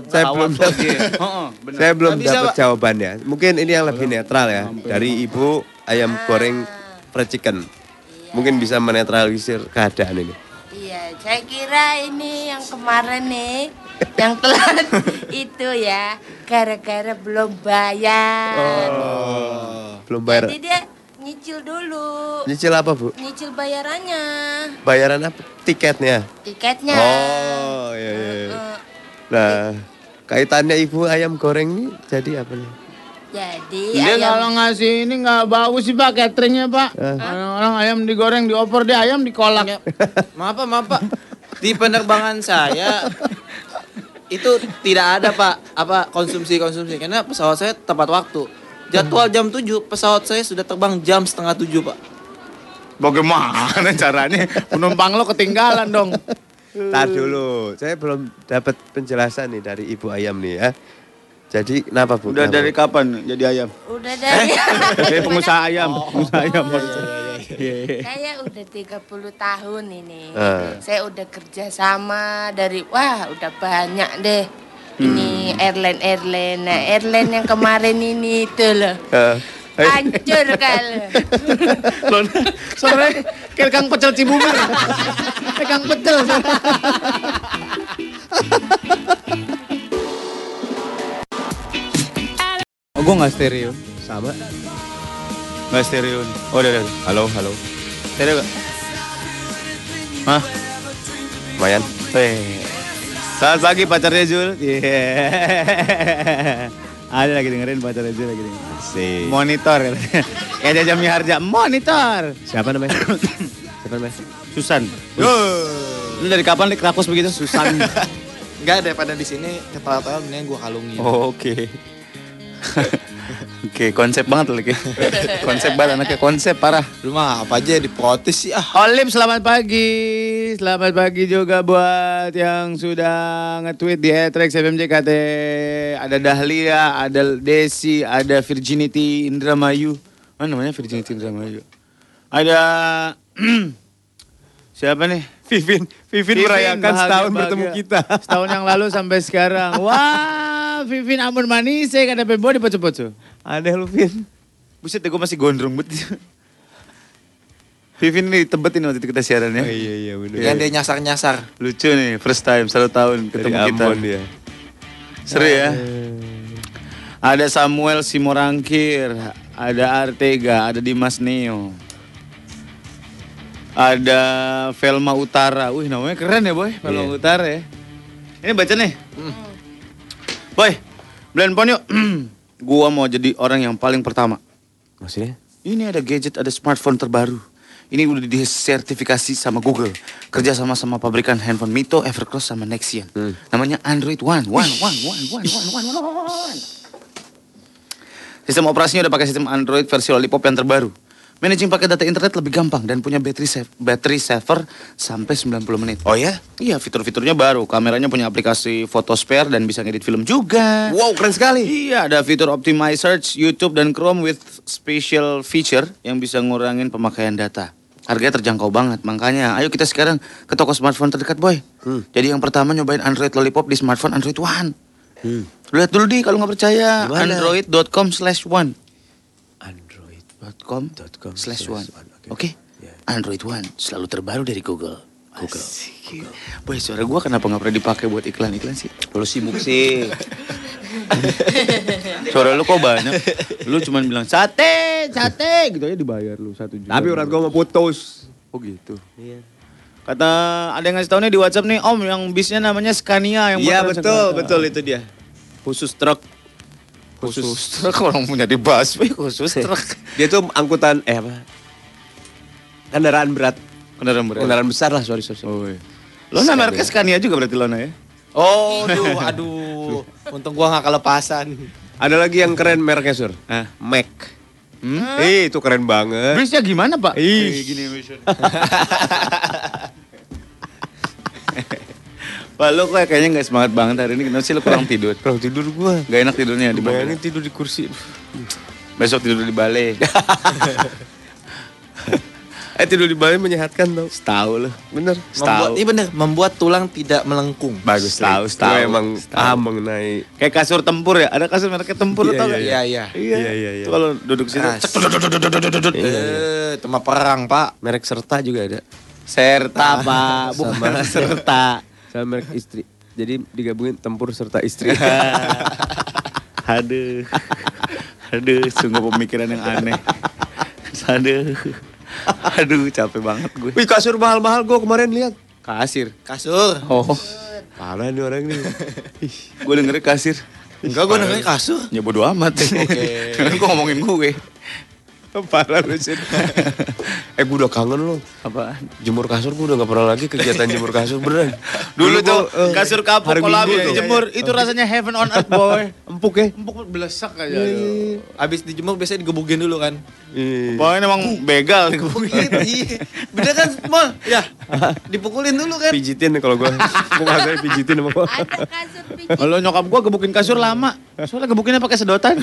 Saya belum Nggak bisa, dapat Pak. jawabannya. Mungkin ini yang lebih netral ya dari Ibu ayam goreng fried chicken. Mungkin bisa menetralisir keadaan ini. Iya, saya kira ini yang kemarin nih, yang telat itu ya, gara-gara belum bayar. Belum bayar. Jadi dia nyicil dulu, Nyicil apa, Bu? nyicil bayarannya, Bayaran apa? Tiketnya. tiketnya. Oh, iya. Nah, kaitannya Ibu ayam goreng ini jadi apa nih? Jadi Dia kalau ngasih ini nggak bagus sih Pak cateringnya Pak. Orang ayam digoreng diopor, dia ayam dikolak. Maaf Pak. Di penerbangan saya itu tidak ada Pak apa konsumsi karena pesawat saya tepat waktu. Jadwal jam 7, pesawat saya sudah terbang jam 6:30 Pak. Bagaimana caranya? Penumpang lo ketinggalan dong. Tar dulu, saya belum dapat penjelasan nih dari Ibu ayam nih ya. Jadi kenapa, Bu? Udah Kenapa? dari kapan jadi ayam? udah dari Dari pengusaha ayam, pengusaha ayam. saya udah 30 tahun ini. Ah. Saya udah kerja sama dari udah banyak deh. Ini airline. Nah, airline yang kemarin ini itu loh. Hancur kali. Sore kayak Kang Pecel Cibubur. Kang Pecel. Oh, gue nggak stereo. Sama. Nggak stereo. Oh, udah. Halo. Stereo gak? Hah? Lumayan. Selamat pagi pacarnya Jul. Ada lagi dengerin pacarnya Jul lagi dengerin. Asik. Monitor katanya. Kayak Jaja Miharja, monitor. Siapa namanya? Susan. Lu dari kapan nih kerakus begitu? Susan. Enggak, daripada di sini ketawa-tawa mendingan gua kalungin. Oh, oke. Oke, konsep banget lagi. Konsep banget anaknya, konsep parah. Lu mah apa aja diprotes sih ah. Olim, selamat pagi. Selamat pagi juga buat yang sudah nge-tweet di @rexfmjkt. Ada Dahlia, ada Desi, ada Virginity Indramayu. Mana namanya Virginity Indramayu? Ada siapa nih? Vivin merayakan setahun bertemu kita. Setahun yang lalu sampai sekarang. Wah, Vivin amun manis saya kada pembo di poco-poco. Ada lu Vin. Buset deh, gue masih gondrong bet. Vivin nih tebetin waktu itu kita siaran ya. Oh, iya benar. Yang dia nyasar-nyasar. Lucu nih, first time 1 tahun ketemu Dari kita. Ambon dia. Seru ya. Ada Samuel Simorangkir, ada Artega, ada Dimas Neo. Ada Velma Utara. Wih, namanya keren ya, Boy. Velma Utara ya. Ini baca nih. Boy, blend yuk. Gua mau jadi orang yang paling pertama. Maksudnya? Ini ada gadget, ada smartphone terbaru. Ini udah disertifikasi sama Google. Kerja sama pabrikan handphone Mito, Evercross, sama Nexian. Namanya Android One. Sistem operasinya udah pakai sistem Android versi Lollipop yang terbaru. Managing pakai data internet lebih gampang dan punya battery saver sampai 90 menit. Oh ya? Iya, fitur-fiturnya baru. Kameranya punya aplikasi photo spare dan bisa ngedit film juga. Wow, keren sekali. Iya, ada fitur optimize search, YouTube dan Chrome with special feature yang bisa ngurangin pemakaian data. Harganya terjangkau banget, makanya ayo kita sekarang ke toko smartphone terdekat, Boy. Jadi yang pertama nyobain Android Lollipop di smartphone Android One. Lihat dulu di kalau nggak percaya, android.com/one. Android.com/one. Oke? Android One selalu terbaru dari Google. Google. Boy, suara gua kenapa nggak pernah dipakai buat iklan-iklan sih? Lu sibuk sih. Suara lu kok banyak. Lu cuma bilang sate gitu aja dibayar lu 1 juta. Tapi urat gua mau putus. Oh gitu. Iya. Kata ada yang ngasih tau nih di WhatsApp nih, Om, yang bisnya namanya Scania yang Iya motor betul itu dia. Khusus truk. Khusus truk, orang punya di busway khusus truk. Dia tuh angkutan apa? Kendaraan berat. Kendaraan besar lah, sorry. Oh, iya. Lona mereknya Scania juga berarti Lona ya? Oh, aduh. Untung gua gak kelepasan. Ada lagi yang keren mereknya, Sur. Mac. Itu keren banget. Bisnya gimana, Pak? Gini. Pak, lu kayaknya gak semangat banget hari ini. Kenapa sih lu kurang tidur? Kurang tidur gua. Gak enak tidurnya di Bayangin mobil. tidur di kursi. Besok tidur di balai. Tidur di balai menyehatkan tau. Setahu lu. Bener. Membuat tulang tidak melengkung. Bagus. Setahu. Gue emang paham mengenai. Kayak kasur tempur ya. Ada kasur mereknya tempur tau gak? Iya. Iya. Itu kalau duduk situ. Itu mah perang, Pak. Merek Serta juga ada. Serta, Pak. Bukan serta. Sama merek istri. Jadi digabungin tempur serta istri. Aduh, sungguh pemikiran yang aneh. Aduh, capek banget gue. Wih, kasur mahal-mahal gue kemarin lihat. Kasir. Kasur. Oh, Parah nih orang nih. gue dengerin kasir. Enggak, gua namanya kasur. Ya bodo amat. Oke. Kan gue ngomongin gue. Parah lu sih. Gue udah kangen lu. Apaan? Jemur kasur gue udah gak pernah lagi kegiatan jemur kasur beneran. Dulu tuh gua, kasur kapuk hari kalau Minggu habis tuh. dijemur itu rasanya heaven on earth, boy. Empuk ya? Empuk belesak aja. Abis dijemur biasanya digebukin dulu kan. Pokoknya emang begal digebukin. Iya. Bener kan, Mol? Ya. Dipukulin dulu kan. Pijitin kalau gue. Gue ngasih pijitin sama gue. Ada kasur pijit. Kalau nyokap gue gebukin kasur lama. Soalnya gebukinnya pakai sedotan.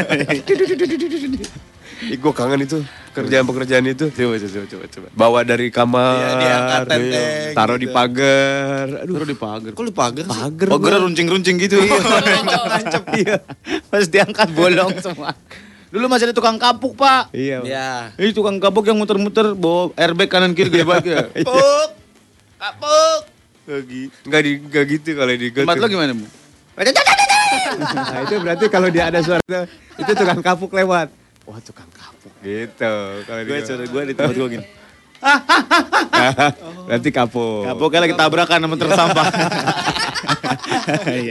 Gue kangen itu. Pekerjaan itu. Coba. Bawa dari kamar. Iya, diangkat tenteng taruh gitu. di pagar. Aduh. Taruh di pagar. Kok lu pagar sih? Pagar. Pagar runcing-runcing gitu. Nancep iya. Pas diangkat bolong semua. Dulu masih ada tukang kapuk, Pak. Iya. Ya. Ini tukang kapuk yang muter-muter bawa airbag kanan kiri gede banget ya. Kapuk. Kapuk. Enggak gitu kalau di Tempat lo gimana, Bu? Nah itu berarti kalau dia ada suara itu tukang kapuk lewat. Wah tukang kapuk gitu. Kalau Gue di tempat gue gini. berarti kapuk. Kapuknya lagi tabrakan sama truk sampah. Iya.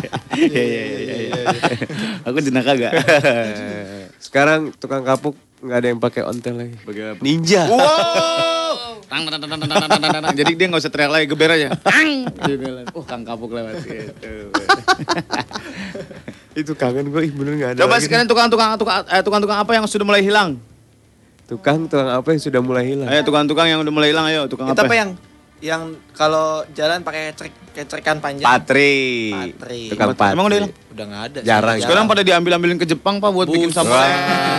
Aku jenaka gak? Sekarang tukang kapuk nggak ada yang pakai ontel lagi. Bagaimana? Ninja. Wow. Jadi dia nggak usah teriak lagi, geber aja. Kang kapuk lewat gitu. Itu kangen gue, bener nggak ada. Coba lagi sekarang tukang-tukang apa yang sudah mulai hilang? nih. Tukang apa yang sudah mulai hilang? Ayo tukang-tukang yang udah mulai hilang, ayo tukang Itu apa? apa yang kalau jalan pakai kecekan panjang? Patri. Tukang patri. Emang udah hilang? Udah nggak ada. Jarang. Sekarang pada diambil-ambilin ke Jepang Pak buat bikin sampah.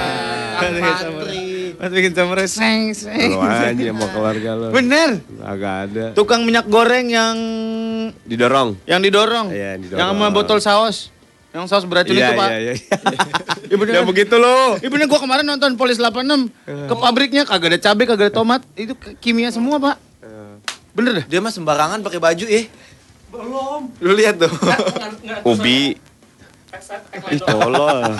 Buat bikin sampah seng. Lu aja mau keluarga lo. Bener. Agak ada. Tukang minyak goreng yang Didorong. didorong. Iya, didorong. Yang sama botol saus. Yang saus beracun itu, Pak. Iya. Iya bener. Ya begitu lo. Iya bener, gua kemarin nonton Polis 86 ke pabriknya kagak ada cabai, kagak ada tomat. Itu kimia semua, Pak. Bener dah. Dia mah sembarangan pakai baju Belum. Lu lihat tuh. Ubi. Ih, tolol.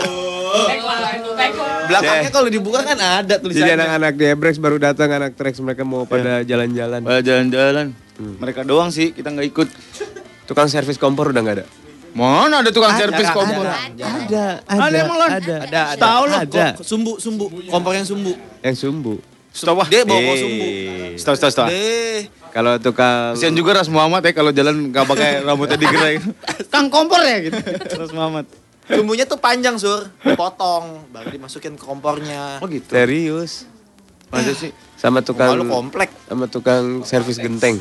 Belakangnya kalau dibuka kan ada Jadi tulisannya. anak-anak di Ebrex baru datang, anak Trax mereka mau pada jalan-jalan. Pada jalan-jalan. Mereka doang sih, kita nggak ikut. Tukang servis kompor udah nggak ada? Mana ada tukang servis kompor? Ada. Ada emang Lon? Ada. Tahu lo. Ada. Sumbu. Kompor yang sumbu. Yang sumbu. Stop. Dia bawa sumbu. Stop. Deh. Kalau tukang Kasian juga Ras Muhammad ya kalau jalan nggak pakai rambutnya digerai. Kang kompor ya gitu. Ras Muhammad. Sumbunya tuh panjang, Sur. Potong, baru dimasukin ke kompornya. Oh gitu. serius Masa sih? sama tukang Kalau komplek. sama tukang servis genteng.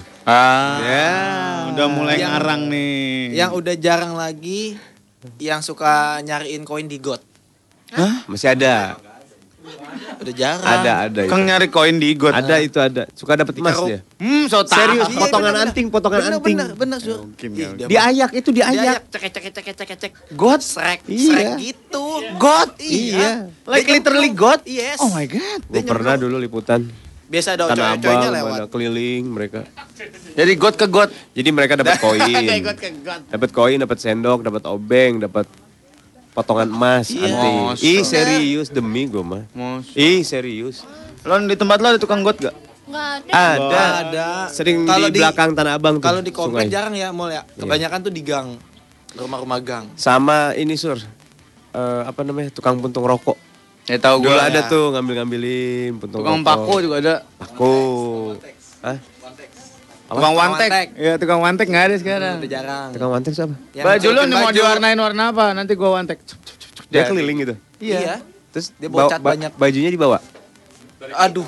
Udah mulai Yang- ngarang nih. Yang udah jarang lagi yang suka nyariin koin di got. Masih ada. Udah jarang. Ada itu. Kang nyari koin di got. Ada itu ada. Suka dapat emas Dikeruk. dia. So tahu. Serius, Iya, potongan bener, anting, potongan anting. Bener, Sur. Mungkin, Ih, ya. dia mah- Diayak itu diayak. Cek. God. Srek Iya. gitu. God. Iya. Like Dia literally nyemplung. God. Yes. Oh my god. Gue pernah dulu liputan Biasa ada Tanah cowok-cowoknya Abang, lewat. mana keliling mereka. Jadi God ke God. Jadi mereka dapat koin. God ke God. Dapat koin, dapat sendok, dapat obeng, dapat potongan emas, Iya. anting. Masa. Ih, serius demi gue mah. Mos. Ih, serius. Lon di tempat lo ada tukang God gak? Nggak ada. Ada. Ada. Sering Kalau di belakang Tanah Abang tuh. Kalau di komplek sungai. jarang ya, Mall ya. Kebanyakan tuh di gang. Rumah-rumah gang. Sama ini Sur. Apa namanya? Tukang puntung rokok. Ya tahu Dulu gue. ada tuh ngambil-ngambilin puntung Tukang rokok. pako juga ada. Pako. Hah? Tukang wantek. wantek. Iya tukang wantek nggak ada sekarang. Udah jarang. Tukang wantek siapa? Yang Baju lo celupin nih mau baju. diwarnain warna apa? Nanti gua wantek. Dia keliling gitu. Iya. Terus Dia bawa cat banyak. Bajunya dibawa. Aduh.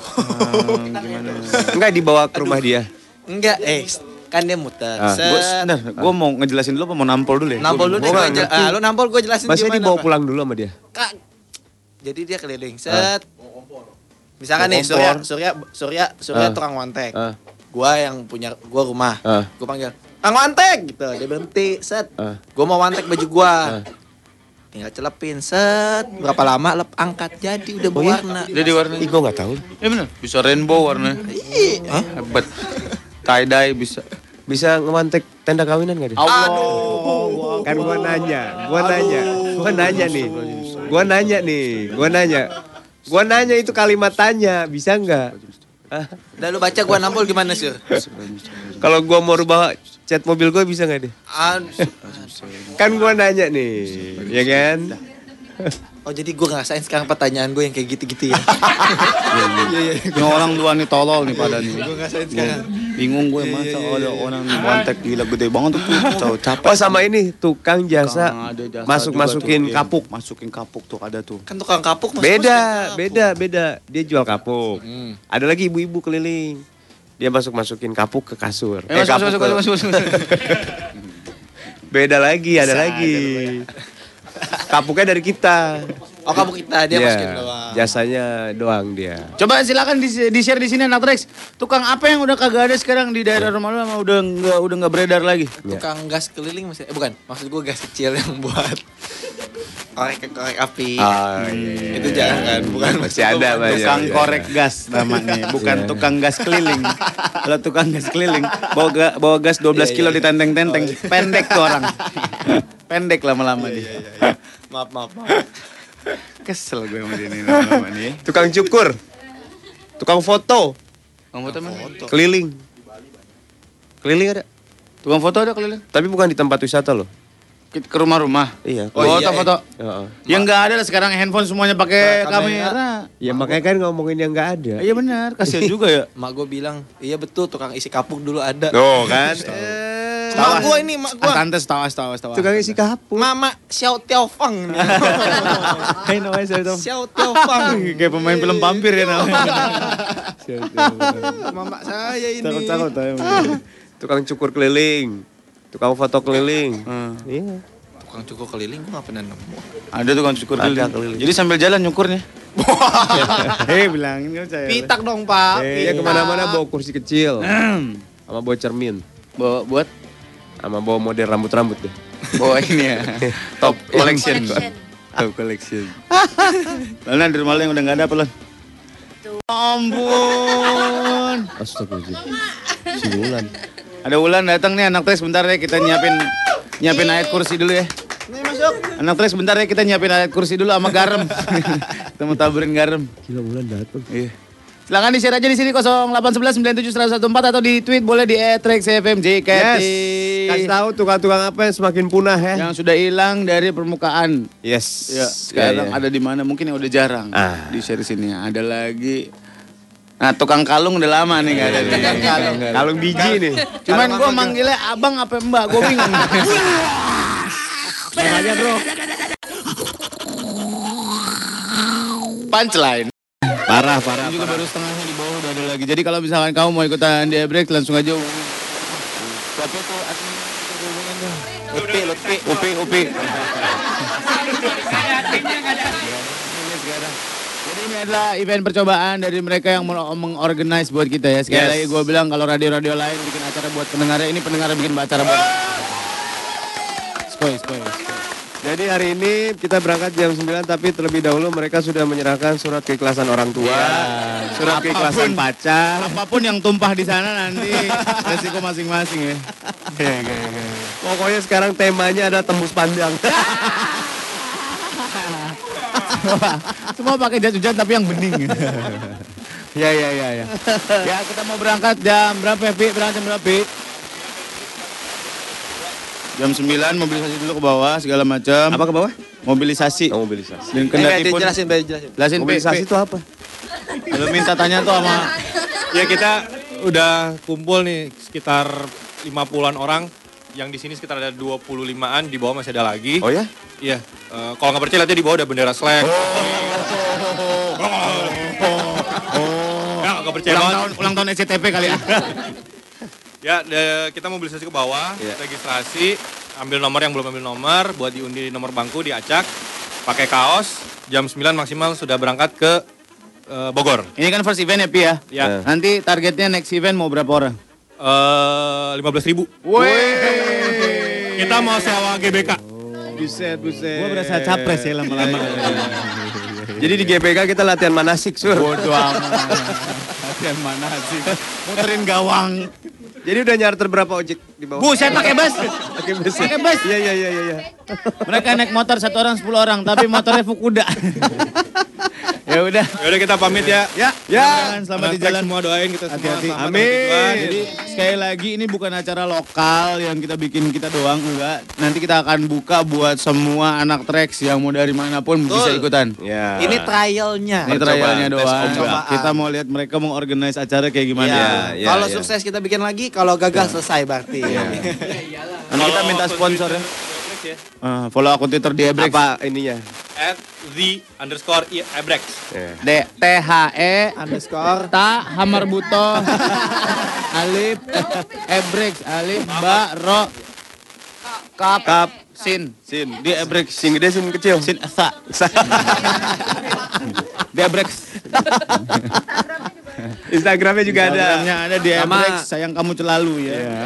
Enggak dibawa ke rumah dia. Enggak, kan dia muter. Gua, bentar, gua mau ngejelasin dulu apa mau nampol dulu ya? Nampol lu deh, Gua nggak ngerti. lu nampol gue jelasin Masa gimana. dibawa Pak. pulang dulu sama dia? Kak. Jadi dia keliling, set. Misalkan nih Surya tukang wantek. Gua yang punya rumah. Gua panggil, "Kang wantek!" gitu. Dia berhenti, set. Gua mau wantek baju gua. Tinggal celepin, set. Berapa lama angkat jadi udah berwarna. Dia diwarna. Ih, gua nggak tahu. Ya benar, bisa rainbow warnanya. Hebat. Tie dye bisa. Bisa ngemantek tenda kawinan nggak dia? Allah. Kan gua nanya nih. Gua nanya itu kalimat tanya, bisa nggak? Udah lu baca gua nampol gimana, Sur? Kalau gua mau rubah cat mobil gua bisa nggak deh? Kan gua nanya nih, ya kan? Oh jadi gua ngerasain sekarang pertanyaan gue yang kayak gitu-gitu ya. Ini orang luar nih tolol nih pada nih. Gue ngerasain sekarang. Bingung gue masa ada orang wantek gila gede banget tuh. Capek. Oh sama ini tukang jasa Ada jasa masukin juga tuh, kapuk. iya. Masukin kapuk tuh ada tuh. Kan tukang kapuk mas. Beda. Dia jual kapuk. Ada lagi ibu-ibu keliling. Dia masukin kapuk ke kasur. Masuk. Beda lagi, ada lagi. Kapuknya dari kita. Oh kapuk kita dia Iya, masukin doang. Jasanya doang dia. Coba silakan di-share di sini anak Rex. Tukang apa yang udah kagak ada sekarang di daerah rumah lu sama udah nggak beredar lagi? Tukang gas keliling masih bukan. Maksud gue gas kecil yang buat korek api. Itu jangan kan, bukan Masih ada banyak. Tukang korek gas namanya, bukan tukang gas keliling. Kalau tukang gas keliling bawa gas 12 kilo ditenteng-tenteng, pendek tuh orang. Pendek lama-lama dia. Maaf. Kesel gue sama dia nih lama-lama nih. Tukang cukur. Tukang foto. Tukang foto mana? Keliling. Keliling ada. Tukang foto ada keliling. Tapi bukan di tempat wisata loh. Ke rumah-rumah. Iya. Foto-foto. Heeh. Yang enggak ada lah sekarang handphone semuanya pakai kamera. Ya makanya kan ngomongin yang nggak ada. Iya benar, kasihan juga ya. Mak gue bilang, iya betul tukang isi kapuk dulu ada. Tuh kan. Mak gua ini, mak gua. Tante tawas. Tukang isi kapur. Mama Xiao Tiao Fang. Hai namanya saya tahu. Xiao Tiao Fang. Kayak pemain film vampir ya namanya. Mama saya ini. Cakep Tukang cukur keliling. Tukang foto keliling. Iya. Tukang cukur keliling gua enggak pernah nemu. Ada tukang cukur keliling. Jadi sambil jalan nyukurnya. Bilangin kan saya. Pitak dong, Pak. Iya kemana-mana bawa kursi kecil. Sama bawa cermin. Buat Sama bawa model rambut-rambut deh. bawa ini ya. Top collection. Top collection. Lan di rumah lo yang udah enggak ada apa, Lan? Ampun. Astagfirullahaladzim. Si Wulan. Ada Wulan datang nih anak Trax sebentar ya kita nyiapin ayat kursi dulu ya. Nih masuk. Anak Trax sebentar ya kita nyiapin ayat kursi dulu sama garam. Kita mau taburin garam. Gila Wulan datang. Iya. Silakan di share aja di sini 0811 97 114 atau di tweet boleh di @traxfmjkt. Yes. Kasih tahu tukang-tukang apa yang semakin punah ya. Yang sudah hilang dari permukaan. Yes. Ya, sekarang ada di mana? Mungkin yang udah jarang. Di share sini ada lagi. Nah, tukang kalung udah lama nih enggak ada. Tukang kalung. Kalung biji nih. Cuman gua manggilnya abang apa mbak, gua bingung. Makanya bro. Punchline. Parah. Ini juga baru setengahnya di bawah udah ada lagi. Jadi kalau misalkan kamu mau ikutan di break langsung aja. Siapa tuh Upi. Jadi ini adalah event percobaan dari mereka yang mengorganize buat kita ya. Sekali lagi gue bilang kalau radio-radio lain bikin acara buat pendengarnya, ini pendengar bikin acara buat. Skoy. Jadi hari ini kita berangkat jam 9 tapi terlebih dahulu mereka sudah menyerahkan surat keikhlasan orang tua, surat keikhlasan pacar. Apapun yang tumpah di sana nanti resiko masing-masing ya. Pokoknya sekarang temanya ada tembus pandang. Semua pakai jas hujan tapi yang bening. Ya. Ya kita mau berangkat jam berapa ya, Pi? Berangkat jam berapa, Pi? Jam 9 mobilisasi dulu ke bawah segala macam. Apa ke bawah? Mobilisasi. Mobilisasi. Dan kendati pun Jelasin. Mobilisasi itu apa? Kalau minta tanya tuh sama Ya kita udah kumpul nih sekitar 50-an orang. Yang di sini sekitar ada 25-an, di bawah masih ada lagi. Oh ya? Iya. Kalau nggak percaya lihat di bawah ada bendera Slack. Ya nggak percaya ulang tahun SCTP kali ya. Ya, kita mobilisasi ke bawah, registrasi, ambil nomor yang belum ambil nomor, buat diundi nomor bangku, diacak, pakai kaos, jam 9 maksimal sudah berangkat ke Bogor. Ini kan first event ya, Pi ya? Ya. Nanti targetnya next event mau berapa orang? 15.000. Kita mau sewa GBK. Buset. Gua berasa capres ya lama-lama. Jadi di GBK kita latihan manasik, Sur. Bodoh amat. Latihan manasik. Muterin gawang. Jadi udah nyarter berapa ojek di bawah? Buset pakai bus. Pakai bus. Iya. Mereka naik motor 1 orang 10 orang, tapi motornya Fukuda. Ya udah. Yaudah kita pamit ya. Ya. Selamat di jalan. Semua doain kita semua. Hati-hati. Selamat Amin. bertujuan. Jadi sekali lagi ini bukan acara lokal yang kita bikin kita doang, enggak. Nanti kita akan buka buat semua anak Trax yang mau dari manapun bisa ikutan. Ya. Ini trialnya. Ini trialnya doang. Percobaan. Kita mau lihat mereka mau organize acara kayak gimana. Ya. Kalau sukses kita bikin lagi, kalau gagal selesai berarti. Nanti kita minta sponsor ya. Follow akun Twitter di Ebrex. Apa ininya? @the_Ebrex. THE underscore ta hamar buto alif Ebrex alif ba ro kap sin di Ebrex Sin gede, sin kecil. sin esa di Ebrex. Instagramnya juga ada. Instagramnya ada di Ebrex. Sayang kamu selalu ya.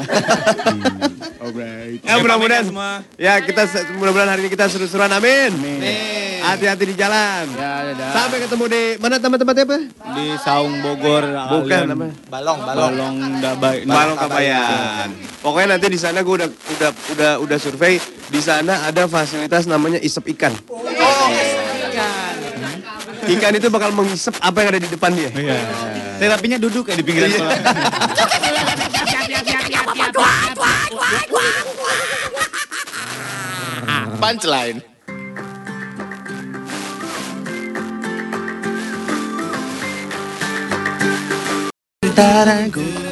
Ya mudah-mudahan semua. Ya kita mudah-mudahan hari ini kita seru-seruan, amin. Hati-hati di jalan. Ya, Sampai ketemu di mana tempat-tempatnya apa? di Saung Bogor. Bukan namanya. Balong Dabai. Balong Kabayan. Pokoknya nanti di sana gue udah survei. Di sana ada fasilitas namanya isep ikan. Ikan itu bakal mengisep apa yang ada di depan dia. Terapinya duduk kayak di pinggiran kolam. Punchline.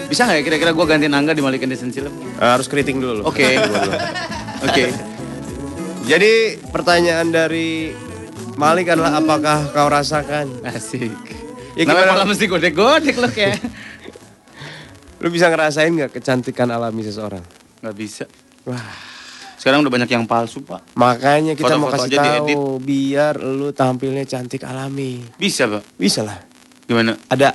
Bisa nggak ya kira-kira gue gantiin Angga di Malik and the Sunshine? Harus keriting dulu. Oke. Oke. Jadi pertanyaan dari Malik adalah apakah kau rasakan? Asik. Ya, Kenapa gimana? malah mesti godek-godek lo kayak? Lu bisa ngerasain gak kecantikan alami seseorang? Nggak bisa. Wah, Sekarang udah banyak yang palsu, Pak. makanya kita mau Foto-foto kasih aja diedit. tahu biar lu tampilnya cantik alami. Bisa, Pak. Bisa lah. Gimana? Ada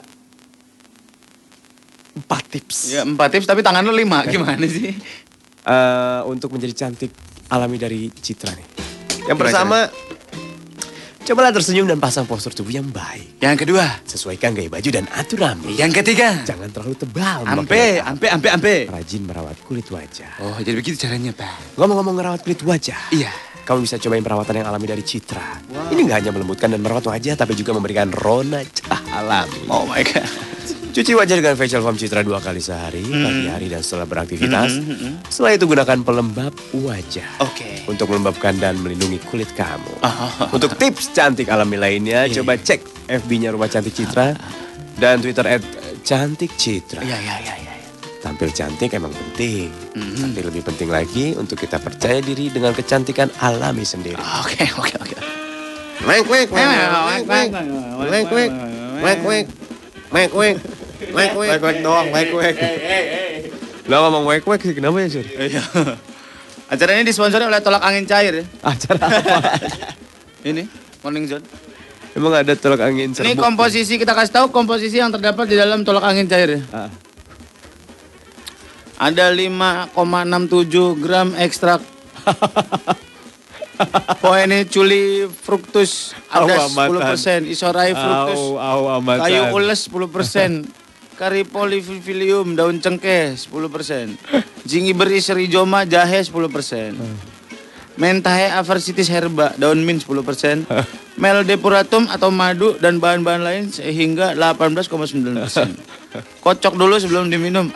4 tips Ya 4 tips tapi tangan lo 5. Gimana sih? untuk menjadi cantik alami dari Citra nih. Yang Gimana pertama, cobalah tersenyum dan pasang postur tubuh yang baik. Yang kedua, Sesuaikan gaya baju dan atur rambut. yang ketiga, Jangan terlalu tebal. ampe. Rajin merawat kulit wajah. Oh, jadi begitu caranya, Pak. Ngomong-ngomong merawat kulit wajah. Iya. Kamu bisa cobain perawatan yang alami dari Citra. Ini nggak hanya melembutkan dan merawat wajah, tapi juga memberikan rona cerah alami. Oh my God. Cuci wajah dengan facial foam Citra 2 kali sehari, pagi hari dan setelah beraktivitas. Setelah itu gunakan pelembab wajah. Oke. Untuk melembabkan dan melindungi kulit kamu. Oh. Untuk tips cantik alami lainnya, coba cek FB-nya Rumah Cantik Citra dan Twitter @cantikcitra. Iya. Tampil cantik emang penting, tapi lebih penting lagi untuk kita percaya diri dengan kecantikan alami sendiri. Oke. Wek wek wek doang, wek wek. Lo ngomong wek wek sih kenapa ya, Sur? Iya. Acara ini disponsori oleh tolak angin cair ya. Acara apa? Ini Morning Zone. Emang ada tolak angin serbuk? Ini komposisi kita kasih tahu komposisi yang terdapat di dalam tolak angin cair ya. Ada 5,67 gram ekstrak poeneculi fructus, ada 10%, isorai fructus, kayu ules 10%, Caripolifilium daun cengkeh 10%, Zingiberis rizoma jahe 10%, Menthae aversitis herba daun mint 10%, Mel depuratum atau madu dan bahan-bahan lain sehingga 18,9%. Kocok dulu sebelum diminum.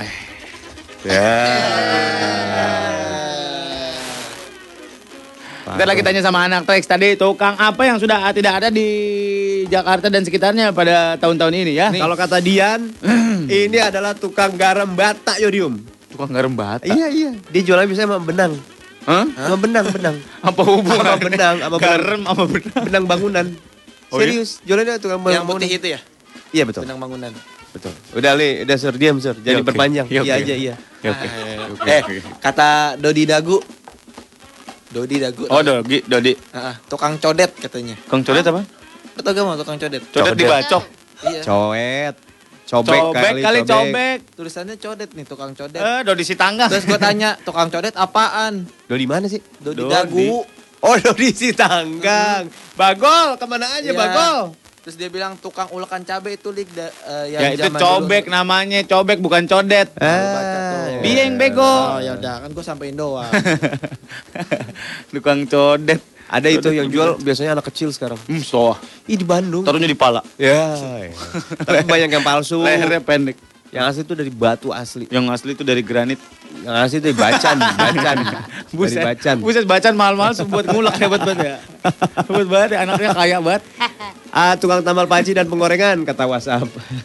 Kita lagi tanya sama anak Trax tadi, tukang apa yang sudah tidak ada di Jakarta dan sekitarnya pada tahun-tahun ini ya? Kalau kata Dian, ini adalah tukang garam bata yodium. Tukang garam bata? Iya. Dia jualnya biasanya sama benang. Hah? Sama benang. Apa hubungan? Sama benang, garam sama benang. Benang bangunan. Oh, iya? Serius, jualannya tukang benang Yang bangunan. putih itu ya? Iya betul. Benang bangunan. Betul. Udah Li, udah Sur, diam Sur. Jangan oke. diperpanjang. Ya, Iya oke. aja, iya. Ya, oke. Kata Dodi Dagu. Dodi Dagu. Oh, Dodi. Tukang codet katanya. Tukang codet apa? Lu tau gak mau tukang codet? Codet dibacok. Iya. Cobek Cobek kali cobek. Tulisannya codet nih, tukang codet. Dodi Sitanggang. Terus gue tanya, tukang codet apaan? Dodi mana sih? Dodi Dagu. Oh, Dodi Sitanggang. Bagol, kemana aja Iya. Bagol? Terus dia bilang tukang ulekan cabai itu lik Ya yang itu zaman cobek dulu. namanya, cobek bukan codet. Bieng bego. Oh ya udah kan gue sampein doang. Tukang codet. Ada itu yang jual biasanya anak kecil sekarang. So. Ih di Bandung. Taruhnya di pala. Ya. Tapi banyak yang palsu. Lehernya pendek. Yang asli itu dari batu asli. Yang asli itu dari granit. Yang asli itu dari bacan. Dari bacan. Buset bacan mahal-mahal buat ngulek hebat banget ya. Hebat banget ya, anaknya kaya banget. Tukang tambal panci dan penggorengan kata WhatsApp.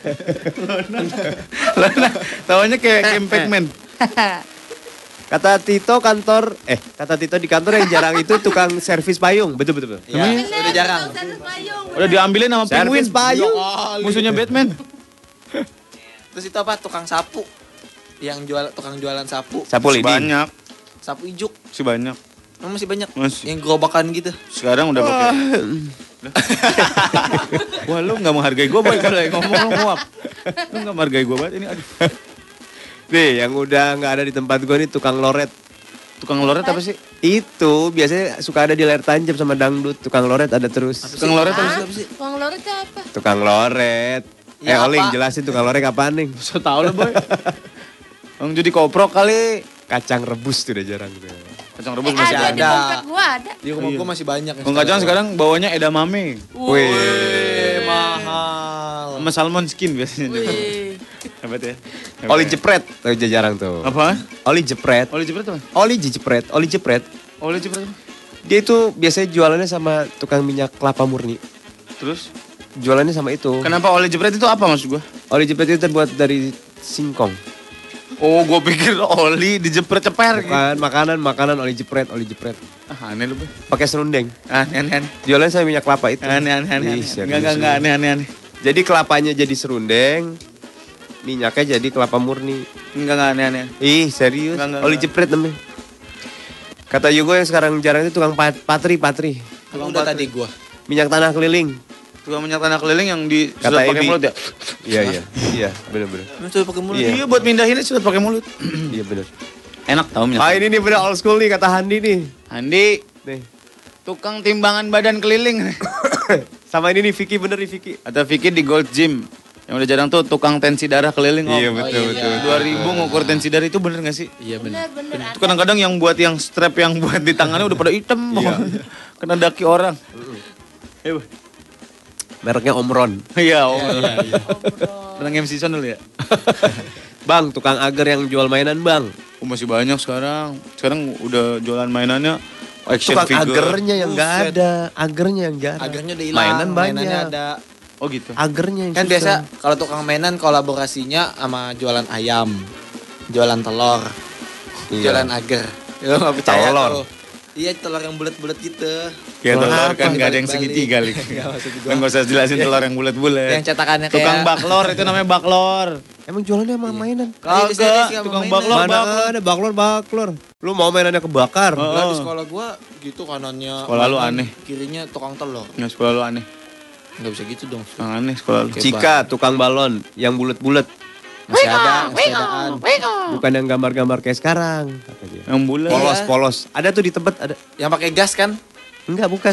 Tawanya kayak Pac-Man. Kata Tito di kantor yang jarang itu tukang servis payung. Betul. Ya, udah jarang. Udah diambilin sama penguin. Servis payung. Musuhnya Batman. Terus itu apa? Tukang sapu. Yang tukang jualan sapu. Sapu lidi. Banyak. Sapu ijuk. Si banyak. Masih banyak. Masih. Yang gerobakan gitu. Sekarang udah pakai. Wah, lu enggak menghargai gua banget kalau ngomong lu nguap. Lu enggak menghargai gua banget ini. Aduh. Nih, yang udah nggak ada di tempat gue nih tukang loret. Tukang loret apa sih? Itu biasanya suka ada di layar tancap sama dangdut. Tukang loret ada terus. Tukang loret apa sih? Tukang loret itu apa? Tukang loret. Ya, Oling apa? jelasin tukang loret apaan nih? Bisa tahu lah, Boy. Bang Judi koprok kali. Kacang rebus tuh udah jarang tuh. Kacang rebus masih Ada di ada. dompet gua ada. Di rumah gue masih banyak. Bang Kacang sekarang bawanya edamame. Wih, mahal. Sama salmon skin biasanya. Wih. Hebat ya. Oli jepret tuh jarang tuh. Apa? Oli jepret. Oli jepret apa? Oli jepret. Oli jepret. Dia itu biasanya jualannya sama tukang minyak kelapa murni. Terus? Jualannya sama itu. Kenapa oli jepret itu apa maksud gua? Oli jepret itu terbuat dari singkong. Oh, gue pikir oli dijepret-ceper gitu. Bukan, makanan oli jepret. Ah, aneh lu, Bang. Pakai serundeng. Aneh. Jualan saya minyak kelapa itu. Aneh. Ih, serius. Enggak, aneh. Jadi kelapanya jadi serundeng, minyaknya jadi kelapa murni. Enggak aneh. Ih, serius. Enggak. Oli jepret namanya. Kata Yugo yang sekarang jarang itu tukang patri. Kalau udah tadi gua. Minyak tanah keliling. Tukang minyak tanah keliling yang di Kata sudah pakai Ebi. mulut ya? Iya, benar. Sudah pakai mulut. Iya. Iya, buat mindahinnya sudah pakai mulut. Iya benar. Enak tau minyak. Ah, ini nih bener old school nih kata Handi nih. Andi, Nih. tukang timbangan badan keliling. Sama ini nih Vicky bener nih Vicky. Ada Vicky di Gold Gym. Yang udah jarang tuh tukang tensi darah keliling. Om. Iya, betul. 2000 ngukur tensi darah itu bener gak sih? Iya benar. Bener. Itu kadang-kadang yang buat yang strap yang buat di tangannya udah pada hitam. Kena daki orang. Mereknya Omron. Iya, Om. Pernah MC Son dulu ya? Bang, tukang agar yang jual mainan, Bang. Oh, masih banyak sekarang. Sekarang udah jualan mainannya action Tukang figure. agernya yang enggak ada. Agernya yang enggak ada. Agernya udah hilang. Mainan Mainannya banyak. ada. Oh gitu. Agernya yang Kan susah. biasa kalau tukang mainan kolaborasinya sama jualan ayam, jualan telur, Iya. jualan agar. Ya nggak percaya Telur. tuh. Iya telur yang bulat-bulat gitu. Ya telur Apa? kan gak ada yang Balik-balik. segitiga lik. Nggak, maksud gua. Kan gak usah jelasin telur yang bulat-bulat. Yang cetakannya kayak Tukang baklor itu namanya baklor. Emang jualannya sama mainan? Kagak, tukang baklor. Mana ada baklor. Lu mau mainannya kebakar? Lah di sekolah gua gitu kanannya. Sekolah lu mainan, aneh. Kirinya tukang telur. Ya sekolah lu aneh. Nggak bisa gitu dong. Yang aneh sekolah lu. Cika, tukang balon yang bulat-bulat. Masih ada, sepedaan. Bukan yang gambar-gambar kayak sekarang. Kata dia. Yang bulat. Polos. Ada tuh di tempat ada. Yang pakai gas kan? Enggak, bukan.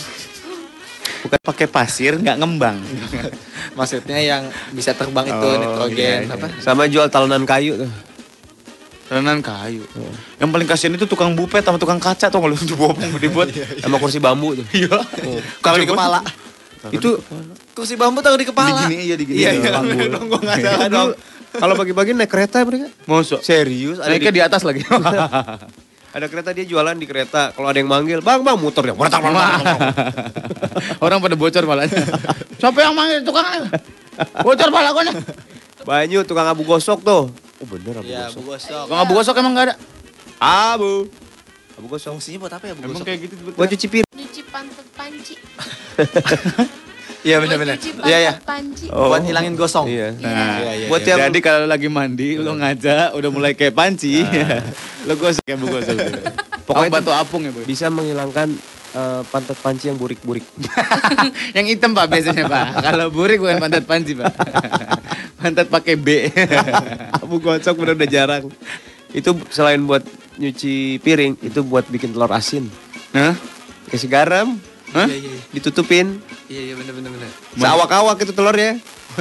Bukan pakai pasir, nggak ngembang. Maksudnya yang bisa terbang itu Oh, nitrogen iya. apa? Sama jual talenan kayu tuh. Terenan kayu. Yang paling kasihan itu tukang bupet sama tukang kaca tuh kalau dibopong dibuat. Sama kursi bambu tuh. Iya. Taruh di kepala. Itu Kursi bambu taruh di kepala. Digini iya digini. Iya, Bambu. Gua enggak salah dong. Kalau bagi-bagi naik kereta mereka. Mosok. Serius, ada Naiknya di atas lagi. ada kereta dia jualan di kereta. Kalau ada yang manggil, "Bang, motor ya." Orang pada bocor palanya. Siapa yang manggil tukang? Bocor pala gua nih. Banyu tukang abu gosok tuh. Oh bener abu Iya, gosok. Bu Gosok. Tukang abu gosok emang nggak ada. Abu gosok. Fungsinya buat apa ya Bu Emang Gosok? kayak gitu Buat cuci piring. Cuci pantat panci. Iya Buat benar-benar. cuci Iya ya. pantat panci. Buat hilangin gosong. Iya. Nah, Iya. Buat yang jadi kalau lagi mandi lo ngajak udah mulai kayak panci. Lo gosok kayak bu gosok. Pokoknya batu apung ya, Bu. bisa menghilangkan pantat panci yang burik-burik. Yang hitam Pak biasanya Pak. Kalau burik bukan pantat panci Pak. Pantat pakai B. Abu gosok bener udah jarang. Itu selain buat nyuci piring, itu buat bikin telur asin. Hah? Kasih garam, Hah? Iya. ditutupin. Iya benar-benar. Seawak-awak itu telurnya.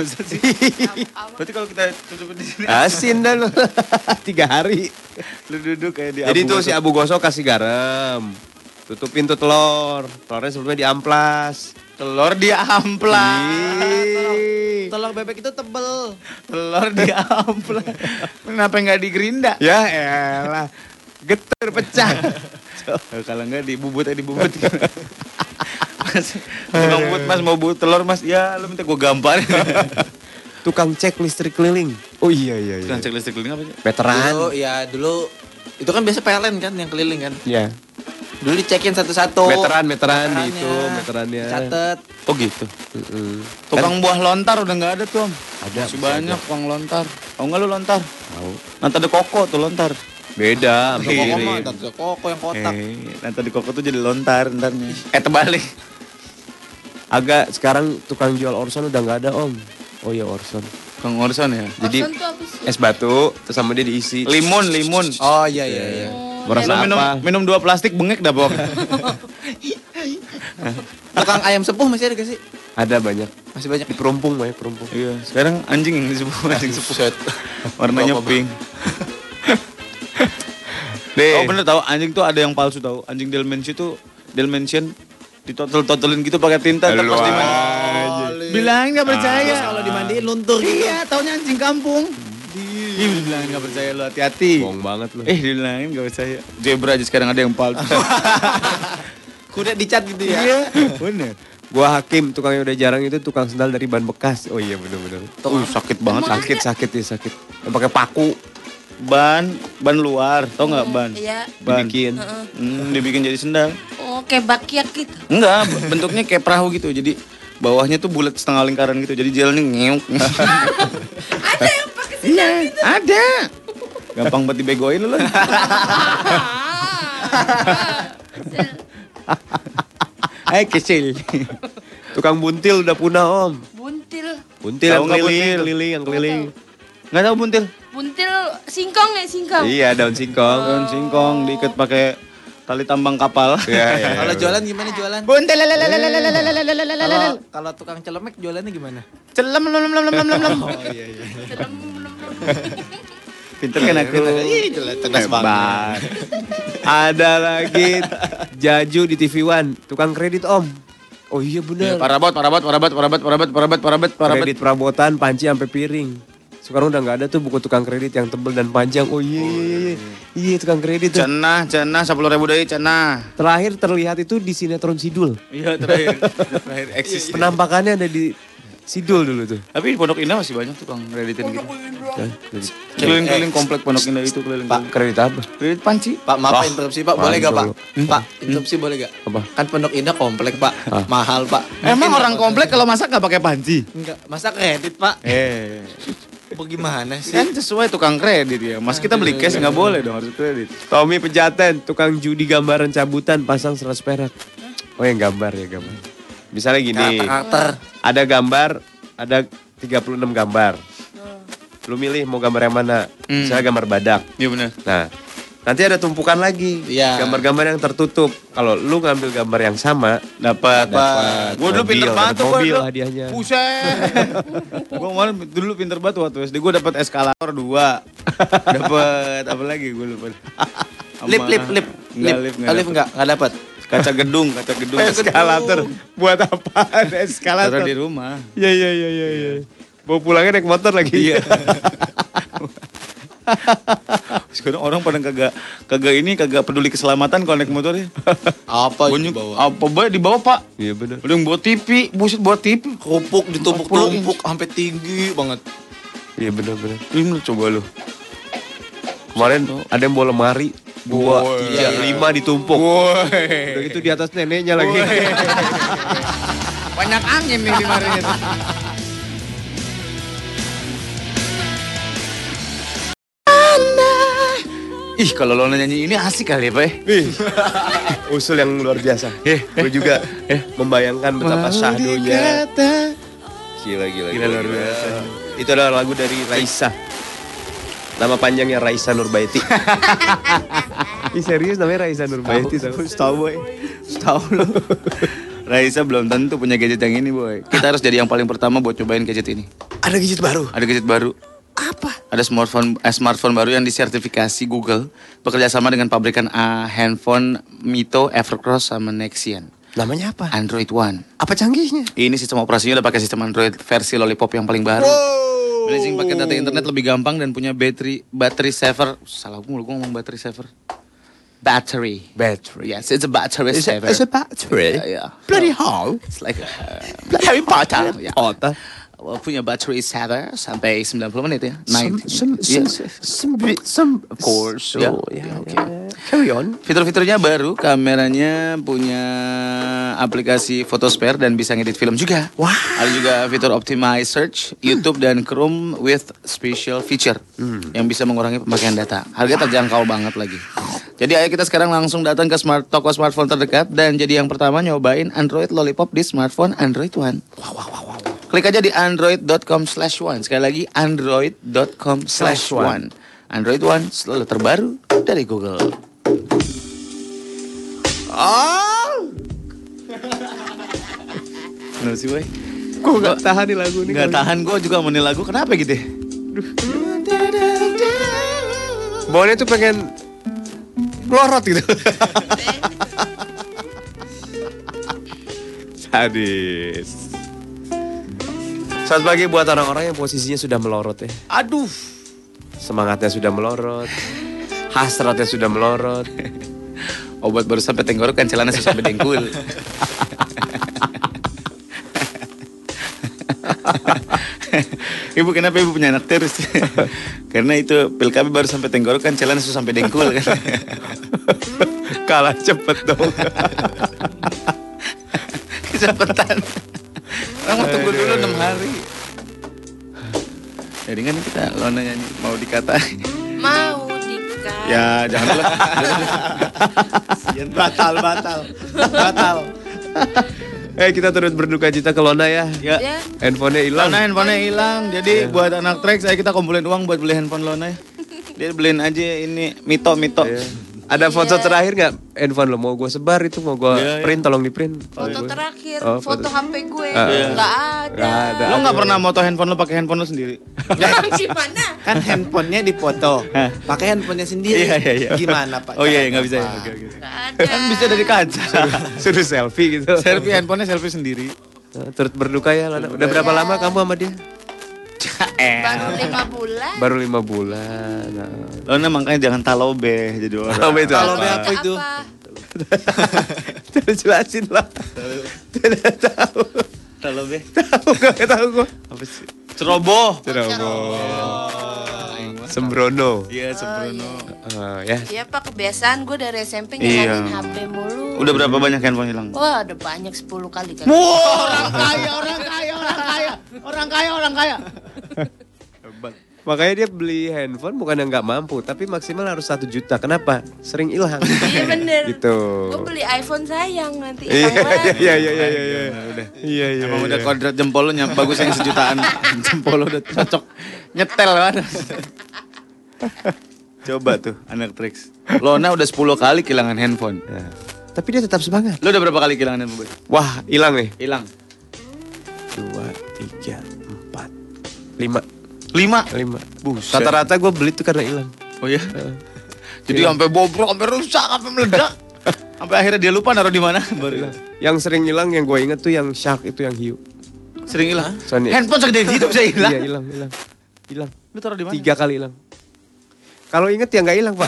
Berarti kalau kita tutupin di sini Asin dah lu. 3 hari. lu duduk kayak di Jadi abu tuh gosok. si Abu gosok kasih garam. Tutupin tuh telur. Telurnya sebelumnya diamplas. telur di amplas. Telur bebek itu tebel. Telur di amplas. Kenapa nggak di gerinda? Ya elah. Getar pecah. Kalau nggak dibubut dibubut. Mas, tukang bubut Mas mau bubut telur Mas. Ya lu minta gua gamparin. Tukang cek listrik keliling. Oh iya. Tukang cek listrik keliling apa sih? Veteran. Dulu itu kan biasa PLN kan yang keliling kan. Iya. Dulu dicekin satu-satu. Veteran di Veterannya. itu, veterannya. Catet. Oh gitu. Mm-mm. Tukang buah lontar udah nggak ada tuh Om. Ada, Masih masih banyak ada. tukang lontar. Tahu nggak lu lontar? Tahu. Nanti ada koko tuh lontar. Beda, Koko mah mirip. ada koko yang kotak. Nanti di koko tuh jadi lontar ntarnya. Terbalik. Agak sekarang tukang jual Orson udah nggak ada Om. Oh iya Orson. Tukang Orson ya. Jadi Orson tuh apa sih? es batu, terus sama dia diisi. Limun. Oh iya. Merasa Lu apa? minum 2 plastik bengek dah pokoknya. Tukang ayam sepuh masih ada gak sih? Ada banyak. Masih banyak. Di perumpung banyak perumpung. Iya, sekarang anjing yang disebut anjing sepuh. Warnanya pink. Oh bener tahu anjing tuh ada yang palsu tahu. Anjing Dalmatian tuh Dalmatian ditotel-totelin gitu pakai tinta terus dimandi. Bilangin nggak percaya. Terus kalau dimandiin luntur gitu. Iya, taunya anjing kampung. Ih, bilangin nggak percaya lu hati-hati. Bohong banget lu. Dibilangin nggak percaya. Zebra aja sekarang ada yang palsu. Kuda dicat gitu ya. Iya, bener. Gua Hakim, tukang yang udah jarang itu tukang sendal dari ban bekas. Oh iya bener-bener. Sakit banget. Sakit ya sakit. Yang pakai paku. ban luar, tau nggak ban? Iya. Dibikin, dibikin jadi sendal. Oh, kayak bakyak gitu. Enggak, bentuknya kayak perahu gitu. Jadi bawahnya tuh bulat setengah lingkaran gitu. Jadi jalannya ngeuk. Ada yang pakai sendal gitu. Ada. Gampang banget dibegoin lu. Kecil. Tukang buntil udah punah, Om. Buntil. Buntil yang keliling. Nggak tahu buntil? Buntil singkong ya, singkong. Iya, daun singkong. Daun singkong diikat pakai tali tambang kapal. Iya. Kalau jualan gimana jualan? Buntil. Kalau tukang celemek jualannya gimana? Celem. Oh iya. Pinter kan aku. Cerdas banget. Ada lagi Jaju di TV One, tukang kredit, Om. Oh iya benar. Parabot. Kredit perabotan, panci sampai piring. Sekarang udah nggak ada tuh buku tukang kredit yang tebel dan panjang. Oh iya. Iya tukang kredit tuh. Cenah 10.000 deui cenah. Terakhir terlihat itu di sinetron Sidul. Iya terakhir eksis. Penampakannya ada di Sidul dulu tuh. Tapi di Pondok Indah masih banyak tukang kreditin gitu. Keliling-keliling komplek Pondok Indah itu keliling. Pak, kredit apa? Kredit panci. Pak, maaf interupsi Pak, boleh gak Pak? Pak, interupsi boleh gak? Apa? Kan Pondok Indah komplek Pak, mahal Pak. Emang orang komplek kalau masak nggak pakai panci? Enggak, masa kredit Pak? Bagaimana sih? Kan sesuai tukang kredit ya. Mas kita beli cash nggak boleh dong, harus kredit. Tommy Pejaten, tukang judi gambaran cabutan, pasang 100 perak. Oh yang gambar. Misalnya gini, Karakter. ada gambar, ada 36 gambar. Lu milih mau gambar yang mana? Misalnya gambar badak. Iya benar. Nah, nanti ada tumpukan lagi. Iya. Gambar-gambar yang tertutup. Kalau lu ngambil gambar yang sama, Dapat. Gua dulu pinter banget tuh mobil gua. hadiahnya. Buset. Gua kemarin dulu pinter banget waktu SD. Gua dapat eskalator 2. Dapat apa lagi gua lupa. Lip. Lip Enggak dapat. kaca gedung. Eskalator. Buat apaan eskalator? Taruh di rumah. Iya. Bawa pulangnya naik motor lagi. Iya. Sekarang orang pada kagak peduli keselamatan kalau naik motor ya. Apa Banyak, apa baik dibawa Pak? Iya benar. Udah yang bawa TV, buset bawa TV. Kerupuk ditumpuk-tumpuk sampai tinggi banget. Iya benar. Ini coba lu. Kemarin ada yang bawa lemari 2, 3, 5 ditumpuk. Udah gitu di atas neneknya lagi. Banyak angin nih di marinya. Ih, kalau lo nyanyi ini asik kali ya, Pak. Usul yang luar biasa. Gue juga membayangkan betapa syahdunya. Gila luar biasa. Itu adalah lagu dari Raisa. Nama panjangnya Raisa Nurbaiti. Ih serius namanya Raisa Nurbaiti. Tahu lo. Raisa belum tentu punya gadget yang ini, boy. Kita harus jadi yang paling pertama buat cobain gadget ini. Ada gadget baru. Apa? Ada smartphone baru yang disertifikasi Google bekerja sama dengan pabrikan handphone Mito, Evercross sama Nexian. Namanya apa? Android One. Apa canggihnya? Ini sistem operasinya udah pakai sistem Android versi Lollipop yang paling baru. Blazing pakai data internet lebih gampang dan punya battery saver. Salah gue ngomong battery saver. Battery. Yes, it's a battery saver. It's a battery? Yeah. Bloody hell. It's like Harry Potter. Yeah. Potter. Punya battery saver sampai 90 menit ya. Of course. Yeah. Okay. Carry on. Fitur-fiturnya baru, kameranya punya aplikasi photo spare dan bisa ngedit film juga. Wah. Ada juga fitur optimize search, YouTube dan Chrome with special feature yang bisa mengurangi pemakaian data. Harga terjangkau banget lagi. Jadi ayo kita sekarang langsung datang ke toko smartphone terdekat dan jadi yang pertama nyobain Android Lollipop di smartphone Android One. Wow. Klik aja di android.com/one. Sekali lagi android.com/one. Android One selalu terbaru dari Google. Kenapa sih, boy? Gue gak tahan nih lagu ini. Gak tahan, gue juga mau nih lagu. Kenapa gitu ya? Bawahnya tuh pengen melorot gitu. Sadis. Selamat pagi buat orang-orang yang posisinya sudah melorot ya. Aduh. Semangatnya sudah melorot. Hasratnya sudah melorot. Obat baru sampai tenggorokan, celana sampai dengkul. Ibu kenapa ibu punya anak terus? Karena itu pil KB baru sampai tenggorokan, celana sudah sampai dengkul kan. Kalah cepet dong. Kecepatan. Orang mau tunggu dulu 6 hari. Jadi kan kita Lona nyanyi mau dikatain. Mau dikatain. Ya jangan dulu. Batal. Kita turut berduka cita ke Lona ya. Ya. Handphonenya hilang. Lona handphonenya hilang. Jadi buat anak Trax saya kita kumpulin uang buat beli handphone Lona ya. Dia beliin aja ini Mito. Ada foto terakhir nggak handphone lo? Mau gue sebar itu, mau gue print, tolong di print. Foto terakhir, foto HP gue nggak ada. Lo nggak pernah moto handphone lo pakai handphone lo sendiri? Gimana? Kan handphonenya dipoto, pakai handphonenya sendiri. Iya. Gimana Pak? Oh iya nggak bisa ya. Oke. Kan bisa dari kaca. Suruh selfie gitu. Handphonenya selfie sendiri. Turut berduka ya Lona. Udah berapa lama kamu sama dia? Baru 5 bulan. Baru 5 bulan. Lona makanya jangan talobe jadi orang. Talobe apa itu? Terus jelasin lah. Tidak tahu. Talobe. Tahu gue. Apa sih? Ceroboh. Sembrono. Iya, Sembrono. Ya. Iya Pak, kebiasaan gue dari SMP ngilangin HP mulu. Udah berapa banyak handphone hilang? Wah, ada banyak 10 kali kan. Orang kaya. Makanya dia beli handphone bukan yang nggak mampu, tapi maksimal harus 1 juta. Kenapa? Sering hilang. Iya bener. Gitu. Gue beli iPhone sayang nanti hilang lagi. Iya. Emang udah kodrat jempol lo bagus yang sejutaan. Jempol lo udah cocok. Nyetel banget. Coba tuh anak Trax. Lona udah 10 kali kehilangan handphone. Ya. Tapi dia tetap semangat. Lo udah berapa kali kehilangan handphone? Wah, hilang nih. Hilang. 2, 3, 4, 5. 5. Buset. Rata-rata gue beli tuh karena hilang. Oh iya? Jadi sampai bobrok, sampai rusak, sampai meledak. Sampai akhirnya dia lupa naruh di mana. Baru hilang. Yang sering hilang yang gue inget tuh yang Shark itu yang hiu. Sering hilang? Sony. Handphone segede gitu bisa hilang? Iya, hilang. Lu taruh di mana? 3 kali hilang. Kalau inget ya nggak hilang, Pak.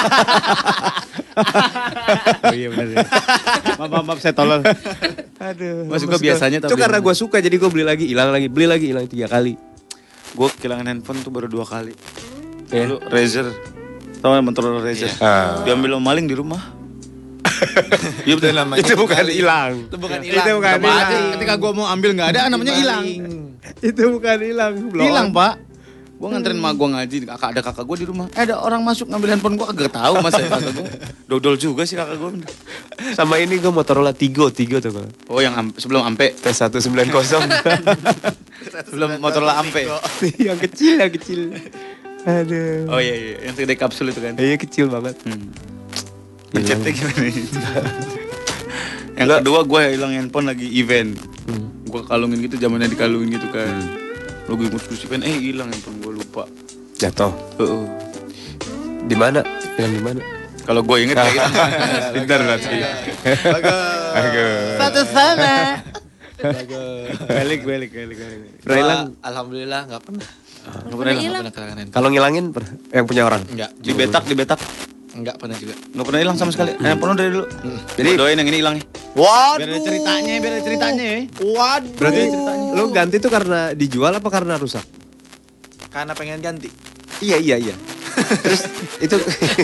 Oh iya benar ya. Maaf saya tolol. Aduh. Gue suka biasanya tapi. Itu karena gue suka jadi gue beli lagi, hilang lagi, beli lagi, hilang 3 kali. Gue kehilangan handphone tuh baru 2 kali. Dulu Razer. Tahu Motorola Razer. Diambil sama maling di rumah. Iya betul namanya. Itu bukan hilang. Itu bukan hilang. Ketika gue mau ambil nggak ada, namanya hilang. Itu bukan hilang. Hilang Pak. Gue nganterin emak gue ngaji, ada kakak gue di rumah. Ada orang masuk ngambil handphone gue, agak tahu mas ya kakak gue. Dodol juga sih kakak gue. Sama ini gue Motorola Tigo tuh kan. Oh yang sebelum Ampe. T190. Sebelum Motorola Ampe. yang kecil. Aduh. Oh iya, yang segede kapsul itu kan. Iya kecil banget. Ngecetnya gimana itu? Yang kedua gue hilang handphone lagi event. Gue kalungin gitu, zamannya dikalungin gitu kan. Lagi ngurus event, hilang handphone gue lupa. Jatuh. Di mana? Hilang di mana? Kalau gue inget kayak hilang. Pintar berarti. Bagus. Satu sama. Balik. Pernah hilang? Alhamdulillah nggak pernah. Nggak pernah hilang. Kalau ngilangin yang punya orang? Enggak. Di betak. Enggak pernah juga. Nggak pernah hilang sama sekali. Handphone dari dulu. Jadi doain yang ini hilang ya. Waduh. Biar ada ceritanya ya. Waduh. Berarti lu ganti tuh karena dijual apa karena rusak? Karena pengen ganti. Iya. Terus itu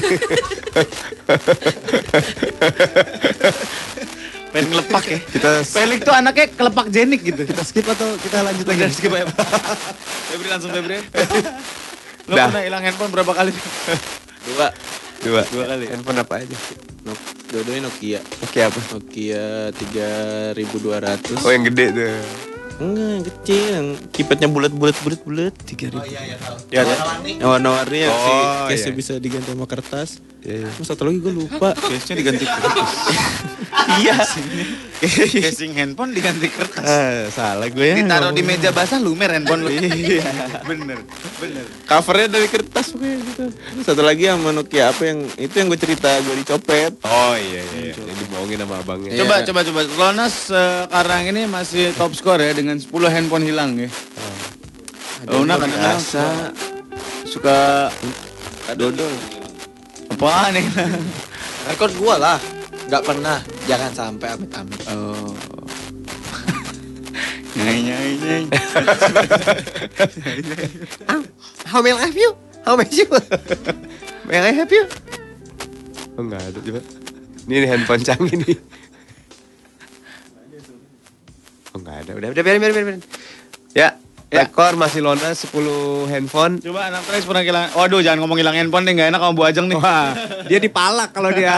pengen ngelepak ya. Pelik tuh anaknya kelepak jenik gitu. kita skip atau kita lanjut lagi? Skip aja. Febri. Lo pernah hilang handphone berapa kali? 2 kali. Handphone apa aja? Dua-duanya Nokia. Nokia apa? Nokia 3200. Oh yang gede tuh. Enggak, yang kecil, yang keypadnya bulat 3.000. Oh iya tahu. Ya, Yang warna-warni yang case-nya iya. bisa diganti sama kertas. Iya. Terus satu lagi gue lupa. case-nya diganti kertas. Iya. Casing handphone diganti kertas. Salah gue ya. Ditaruh di meja basah lumer handphone lu. Iya. Bener. Covernya dari kertas pokoknya gitu. Terus satu lagi sama Nokia apa yang itu yang gue cerita gue dicopet. Oh iya. Jadi dibohongin sama abangnya. Coba. Lonas sekarang ini masih top score ya dengan 10 handphone hilang ya. Lona kadang-kadang suka dodol. Apaan nih? Rekor gue lah. Gak pernah. Jangan sampai amit-amit. Oh. Nyai. How may I help you? How may you? May I help you? Oh enggak ada coba. Ini handphone canggih nih. Oh enggak ada. Udah biarin. Ya. Rekor masih Lona 10 handphone. Coba anak Trax pernah hilang. Waduh, jangan ngomong hilang handphone deh, enggak enak sama Bu Ajeng nih. Wah, dia dipalak kalau dia.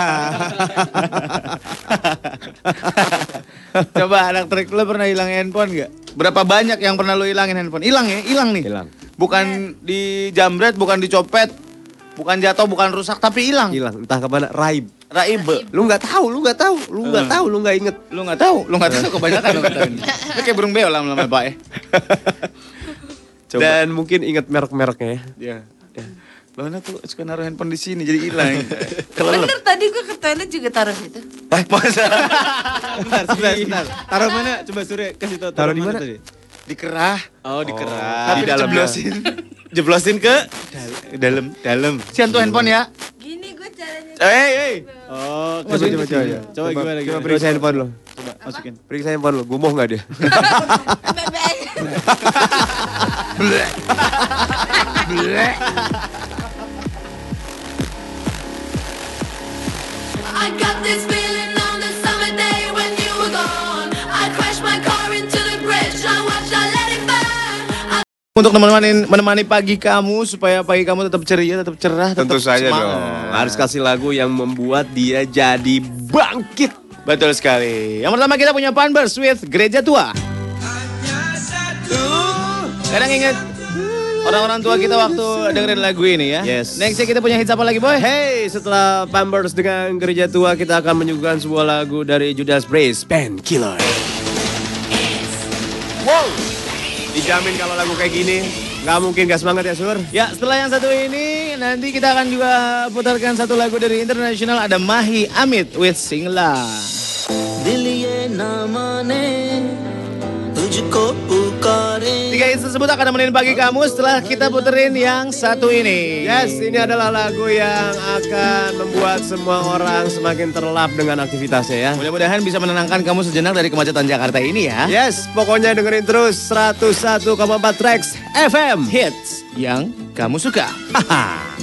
Coba anak Trax, lu pernah hilang handphone enggak? Berapa banyak yang pernah lu hilangin handphone? Hilang ya? Hilang nih. Hilang. Bukan dijamret, bukan dicopet, bukan jatuh, bukan rusak, tapi hilang. Hilang, entah kemana. Raib. Lu nggak tahu, Lu nggak inget. Lu nggak tahu kebanyakan lu nggak tahu. Lu kayak burung beo lama-lama Pak ya. Coba. Dan mungkin inget merek-mereknya ya. Lona tuh suka naruh handphone di sini jadi hilang. Bener tadi gue ke toilet juga taruh situ. Masa? Sebentar. Taruh mana? Coba Surya kasih tahu. Taruh di mana tadi? Di kerah. Oh, di kerah. Tapi di dalam Jeblosin ke dalam. Sian tuh handphone ya. Gini gue caranya. Hey. Oh, Coba gimana? Coba periksa handphone lo. Coba masukin. Periksa handphone lo. Gumoh nggak dia? I got this feeling on the summer day when you were gone. I crashed my car into the bridge. I watched, I let it burn. Untuk menemani pagi kamu supaya pagi kamu tetap ceria, tetap cerah, tetap Tentu saja semangat. dong. Harus kasih lagu yang membuat dia jadi bangkit. Betul sekali. Yang pertama kita punya Panbers with Gereja Tua. Kadang ingat orang-orang tua kita waktu dengerin lagu ini ya. Yes. Nextnya kita punya hits apa lagi boy? Hey, setelah Pampers dengan Gereja Tua, kita akan menyuguhkan sebuah lagu dari Judas Priest, Painkiller. Wow, dijamin kalau lagu kayak gini nggak mungkin gak semangat ya Sur. Ya, setelah yang satu ini nanti kita akan juga putarkan satu lagu dari internasional, ada Mahi Amit with Singla. Tiga hits tersebut akan nemenin pagi kamu setelah kita puterin yang satu ini. Yes, ini adalah lagu yang akan membuat semua orang semakin terlap dengan aktivitasnya ya. Mudah-mudahan bisa menenangkan kamu sejenak dari kemacetan Jakarta ini ya. Yes, pokoknya dengerin terus 101,4 Trax FM. Hits yang kamu suka. Haha.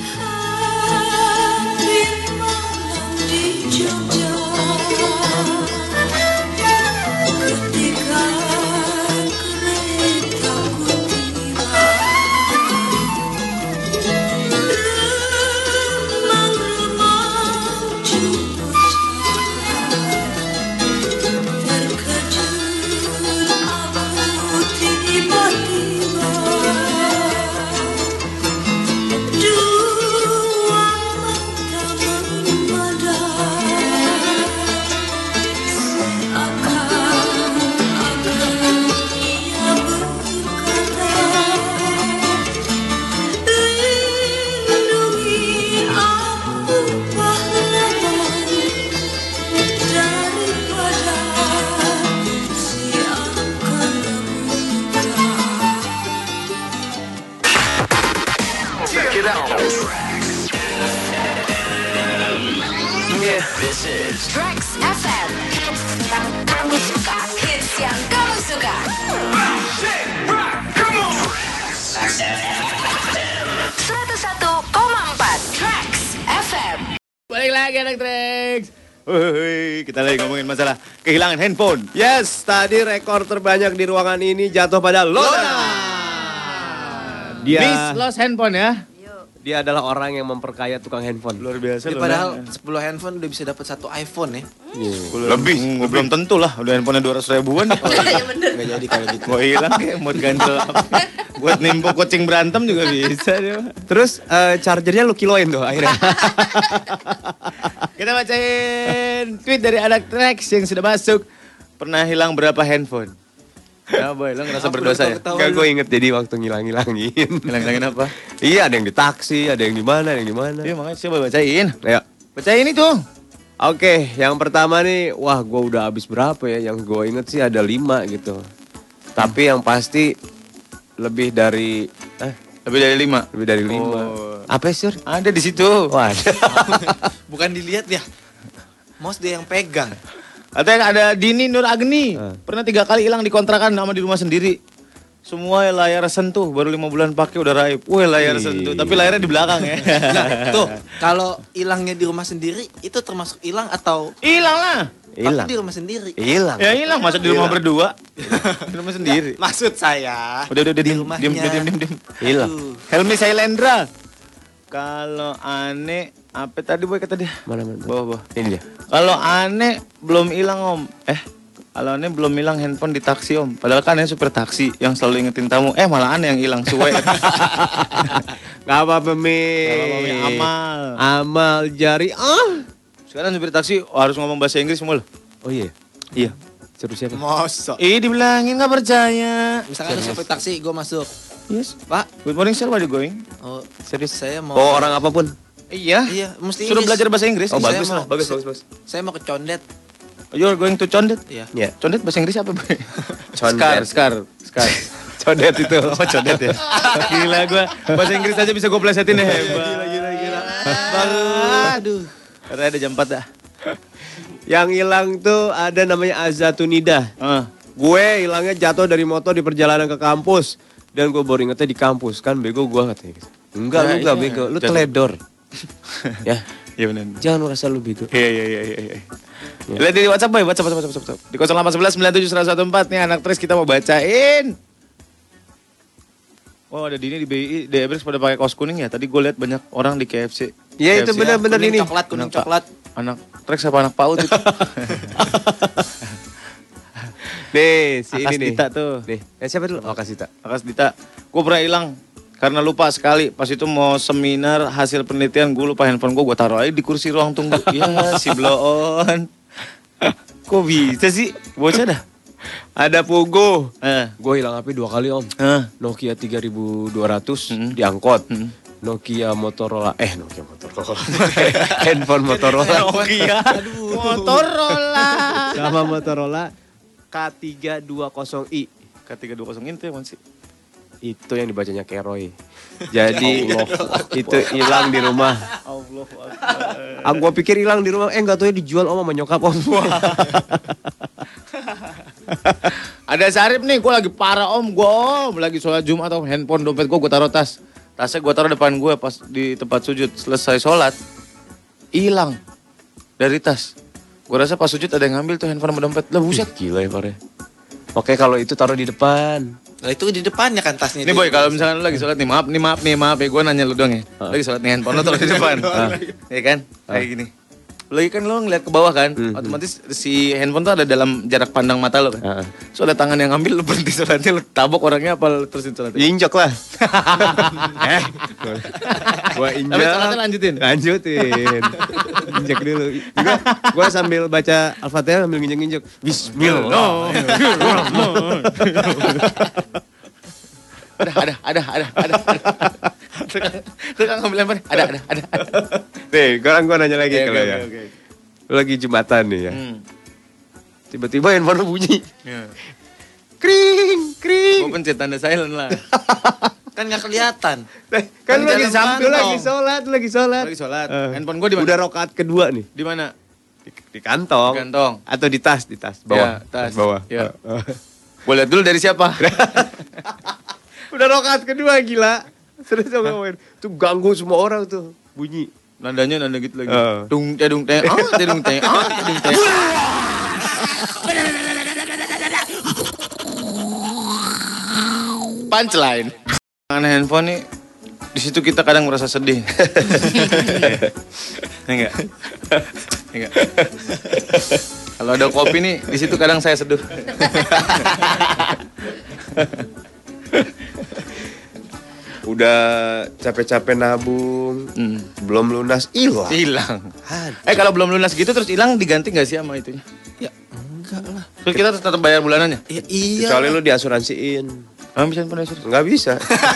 This is Trax FM. Hits yang kamu suka. Hits yang kamu suka. Trax FM. 101,4 Trax FM. Balik lagi anak Trax. Kita lagi ngomongin masalah kehilangan handphone. Yes, tadi rekor terbanyak di ruangan ini jatuh pada Lona. Miss lost handphone ya. Dia adalah orang yang memperkaya tukang handphone. Luar biasa. Padahal 10 handphone udah bisa dapat satu iPhone ya. Lebih. Belum tentu lah. Udah handphonenya 200 ribuan. Iya bener. Gak jadi kalau gitu. Mau hilang kayak mau ganjel. Buat nimpuk kucing berantem juga bisa dia. Terus chargernya lu kiloin tuh akhirnya. Kita bacain tweet dari anak Trax yang sudah masuk. Pernah hilang berapa handphone? Ya boy, lo ngerasa berdosa ya? Enggak, gue inget jadi waktu ngilangin. Ngilangin apa? Iya, ada yang di taksi, ada yang di mana, ada yang di mana. Iya makanya coba bacain. Ya. Bacain itu. Oke, yang pertama nih, wah gue udah habis berapa ya? Yang gue inget sih ada 5 gitu. Tapi yang pasti lebih dari 5. Lebih dari 5. Oh. Apa sih? Ada di situ. Wah. Bukan dilihat ya. Mouse dia yang pegang. Katanya ada Dini Nur Agni. Pernah 3 kali hilang di kontrakan sama di rumah sendiri. Semua layar sentuh, baru 5 bulan pakai udah raib. Wih, layar sentuh, tapi layarnya di belakang ya. Nah, tuh, kalau hilangnya di rumah sendiri itu termasuk hilang atau hilang lah. Tapi di rumah sendiri. Hilang. Ya hilang, masa di rumah berdua. Di rumah sendiri. Maksud saya. Udah di diem. Hilang. Helmi Sailendra. Kalau aneh, apa tadi boy kata dia? Mana? Bawah. Ini dia. Kalau aneh belum hilang om. Kalau aneh belum hilang handphone di taksi om. Padahal kan aneh supir taksi yang selalu ingetin tamu. Malah aneh yang hilang suwe. Gak apa-apa Mi. Amal jari. Sekarang supir taksi harus ngomong bahasa Inggris semua loh. Oh iya. Iya. Seru siapa? Mosok. Dibilangin nggak percaya. Misalkan ada supir taksi, gue masuk. Yes. Pak. Good morning sir, where are you going? Oh, serius saya mau. Oh orang apapun. Iya. Iya, mesti Suruh Inggris. belajar bahasa Inggris. Oh bagus lah. Bagus. Saya mau ke Condet. You're going to Condet? Iya. Iya. Condet bahasa Inggris apa, Boy? Condet. Skar. Condet itu. Oh, condet ya. Gila gua. Bahasa Inggris aja bisa gua plesetin ya. Gila. Aduh. Karena ada jam 4 dah. Yang hilang tuh ada namanya Azatunida. Gue hilangnya jatuh dari motor di perjalanan ke kampus. Dan gue baru ingetnya di kampus. Kan bego gue katanya gitu. Enggak, lu enggak bego. Lu teledor. Ya. Iya benar. Jangan merasa lu bego. Iya. Lihat di WhatsApp, Boy. WhatsApp. Di 0811 97 114 nih anak Tris kita mau bacain. Oh ada Dini di BI, di Everest pada pakai kaos kuning ya. Tadi gue lihat banyak orang di KFC. Iya itu benar-benar ini. Kuning coklat. Anak Trax apa anak PAUD itu? Nih, si Akas ini nih. Dita tuh. Nih, siapa dulu? Oh, Akas Dita. Akas Dita. Gue pernah hilang karena lupa sekali. Pas itu mau seminar hasil penelitian, gue lupa handphone gue taruh aja di kursi ruang tunggu. Ya si bloon. Kok bisa sih? Bocah dah. Ada Pogo. Gue hilang HP 2 kali om. Nokia 3200 diangkot. Nokia Motorola. Handphone Motorola. Nokia. Motorola. Sama Motorola K320i. K320 itu ya sih? Itu yang dibacanya Keroy. Jadi itu hilang di rumah. Gua pikir hilang di rumah. Enggak tahu dijual om sama nyokap om. Ada Sarip nih, gue lagi parah om. Gue lagi sholat Jumat atau handphone dompet gue taruh tas. Tasnya gue taruh depan gue pas di tempat sujud. Selesai sholat, hilang dari tas. Gue rasa pas sujud ada yang ngambil tuh handphone sama dompet. Lah buset. Gila ya pare. Oke kalau itu taruh di depan. Nah itu di depannya kan tasnya. Nih boy, kalau misalkan lu lagi sholat nih, maaf ya, gue nanya lu doang ya. Lagi sholat nih handphone lu taruh di depan. Iya kan? Kayak gini. Lagi kan lo ngeliat ke bawah kan, otomatis si handphone tuh ada dalam jarak pandang mata lo kan. So ada tangan yang ngambil, lo berhenti sholatnya, lo tabok orangnya apa lo terusin sholatnya? Injak lah. Gua injak. Tapi sholatnya lanjutin? Lanjutin. Injak dulu. Juga gua sambil baca Al-Fatihah sambil nginjek-nginjek. Bismillah. Ada. Tukang ngambil handphone, ada. Nih, sekarang gua nanya lagi kalau ya. Lu lagi Jumatan nih ya. Tiba-tiba handphone lu bunyi. Kring. Gua pencet tanda silent lah. Kan nggak kelihatan. Kan lu lagi sambil lagi sholat. Handphone gua di mana? Udah rakaat kedua nih. Di mana? Di kantong. Di kantong. Atau di tas bawah. Ya, tas bawah. Ya. Gua lihat dulu dari siapa. Udah rakaat kedua gila. Terus ngomongin, tuh ganggu semua orang tuh bunyi. Nandanya nanda gitu lagi. Dung teh. Punchline. Dengan handphone nih, di situ kita kadang merasa sedih. Enggak. Kalau ada kopi nih, di situ kadang saya seduh. Udah capek-capek nabung, belum lunas, hilang. Kalau belum lunas gitu terus hilang diganti nggak sih sama itunya? Ya enggak lah. Terus kita tetap bayar bulanannya? Ya, iya. Kecuali lu diasuransiin. Bisa pun asuransi? Nggak bisa.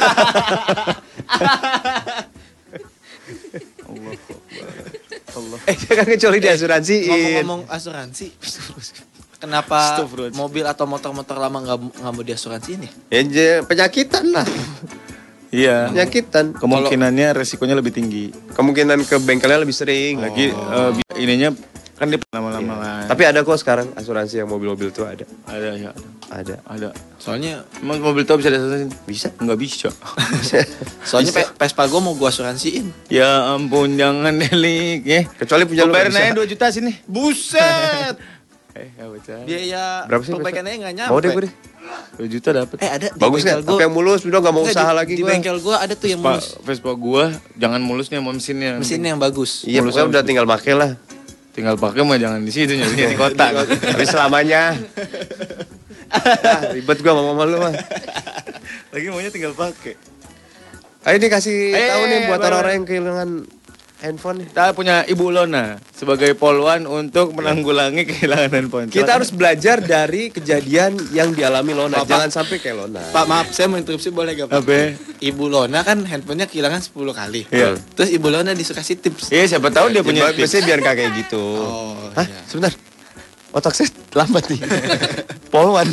Allah. Kan kecuali diasuransiin. Ngomong asuransi. Kenapa mobil atau motor-motor lama nggak mau diasuransiin ya? Ya penyakitan lah. Iya. Penyakitan. Kemungkinannya resikonya lebih tinggi. Kemungkinan ke bengkelnya lebih sering. Lagi ininya kan dia lama-lama. Sama lah. Tapi ada kok sekarang asuransi yang mobil-mobil tuh ada. Ada ya. Ada. Soalnya emang mobil tua bisa diasuransiin? Bisa? Enggak bisa. Soalnya Vespa gue mau gue asuransiin. Ya ampun, jangan Delik ya. Kecuali punya lu bayarin nggak aja 2 juta sini. Buset. Ya bocah. Biaya berapa sih, perbaikannya nggak nyampe. Mau deh gue deh. 2 juta dapat. Ada di Bagus bengkel nggak? Tapi yang mulus, udah nggak mau Nggak, usaha lagi di gue. bengkel gue ada tuh yang mulus. Vespa gua jangan mulusnya sama mesinnya. Mesinnya yang bagus. Iya, pokoknya udah tinggal make lah. Tinggal pakai mah jangan di situ nyari di kota. Tapi selamanya. Ribet gua sama mama lu mah. Lagi maunya tinggal pakai. Ayo nih kasih tahu nih buat boleh. orang-orang yang kehilangan handphone. Kita punya Ibu Lona sebagai polwan untuk menanggulangi kehilangan handphone. Kita harus belajar dari kejadian yang dialami Lona. Pak, Jangan sampai kayak Lona. Pak maaf, saya mau interupsi boleh gak Pak? Apa? Ibu Lona kan handphonenya kehilangan 10 kali. Iya. Terus Ibu Lona dikasih tips. Iya, siapa tahu dia punya tips. Biasanya biar kayak gitu. Oh, Hah? iya. Sebentar. Otak saya lambat nih. Polwan.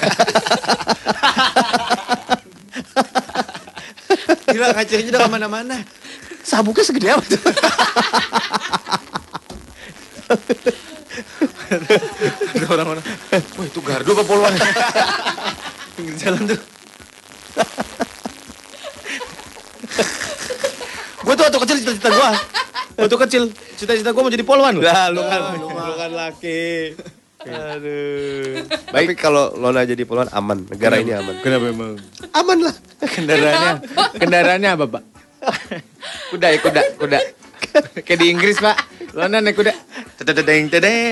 Gila kacanya udah kemana-mana. Sabuknya segede apa tuh? Ada orang-orang. Wah, itu gardu apa polwan? Pinggir jalan tuh. Gue tuh waktu kecil cita-cita gue. Waktu kecil cita-cita gue mau jadi polwan loh. Lah, lu kan laki. Aduh. Tapi kalau Lona jadi polwan aman, negara ini aman. Kenapa emang? Aman lah. Kendaraannya apa, Pak? Kuda. Kayak di Inggris, Pak. Lona naik kuda. Tedeng.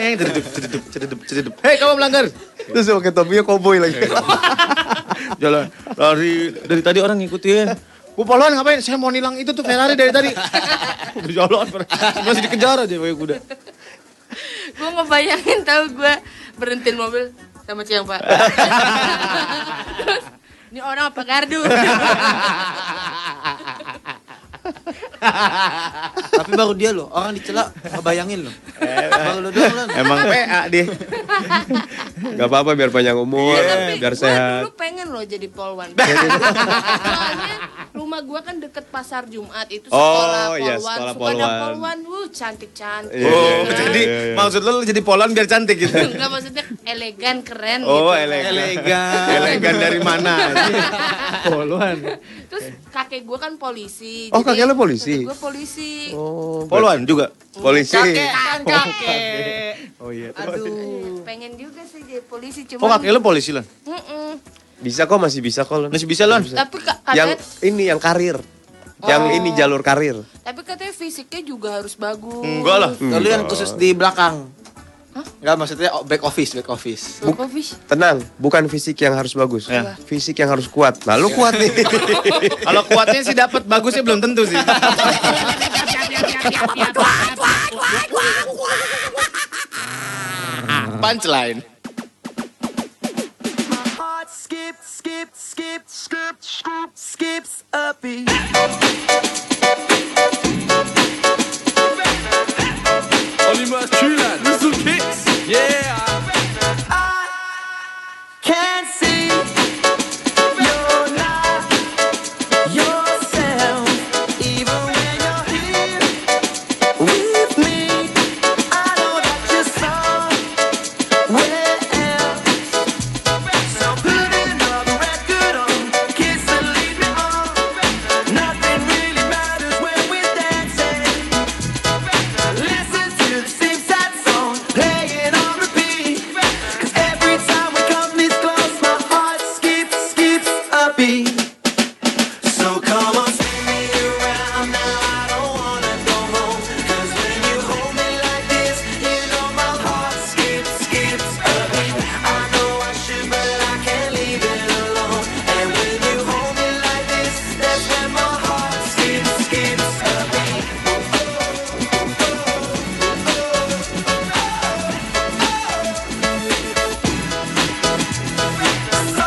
Hei, kamu melanggar. Terus pakai topinya koboi lagi. Jalan lari dari tadi orang ngikutin. Bu polwan ngapain? Saya mau nilang itu tuh Ferrari dari tadi. Udah jalan masih dikejar aja pakai kuda. Gue ngebayangin tahu gue berhentiin mobil sama Ciang Pak. Terus, ini orang apa gardu? Tapi baru dia loh, orang dicela ngebayangin loh. Baru lo doang loh. Emang PA dia. Gak apa-apa biar panjang umur, Tapi biar gue sehat. dulu pengen loh jadi polwan. Soalnya rumah gue kan deket pasar Jumat itu sekolah Oh, polwan. iya, sekolah Suka ada polwan. polwan, cantik-cantik. Iya, Oh, iya, jadi iya. maksud lo jadi polwan biar cantik gitu. Enggak maksudnya elegan, keren Oh, gitu. elegan. Elegan dari mana? Polwan. Terus kakek gue kan polisi. Oh, kakek lo polisi? Gue polisi. Oh, Polwan juga. polisi. Kakek. Oh iya. Aduh, pengen juga sih jadi polisi Oh, cuma. kakek lo polisi lah. Bisa kok, masih bisa kok. Lon. Masih bisa Lon. Tapi Yang katanya, ini yang karir. Yang ini jalur karir. tapi katanya fisiknya juga harus bagus. Enggak lah. Lalu yang khusus di belakang. Enggak maksudnya back office. Bagus. Tenang, bukan fisik yang harus bagus. Ya. Fisik yang harus kuat. Nah, lu kuat nih. Kalau kuatnya sih dapat, bagusnya belum tentu sih. Punchline. Oliver Tülan, Little Kicks, yeah. Can't see you're not yourself, even when you're here with me. I know that you're somewhere else. So put another record on, kiss and lead me on. Nothing really matters when we're dancing. Listen to the same sad song playing on repeat. 'Cause every time we come this close, my heart skips a beat. So come on, spin me around now. I don't wanna go home. 'Cause when you hold me like this, you know my heart skips a beat. I know I should, but I can't leave it alone. And when you hold me like this, that's when my heart skips a beat. So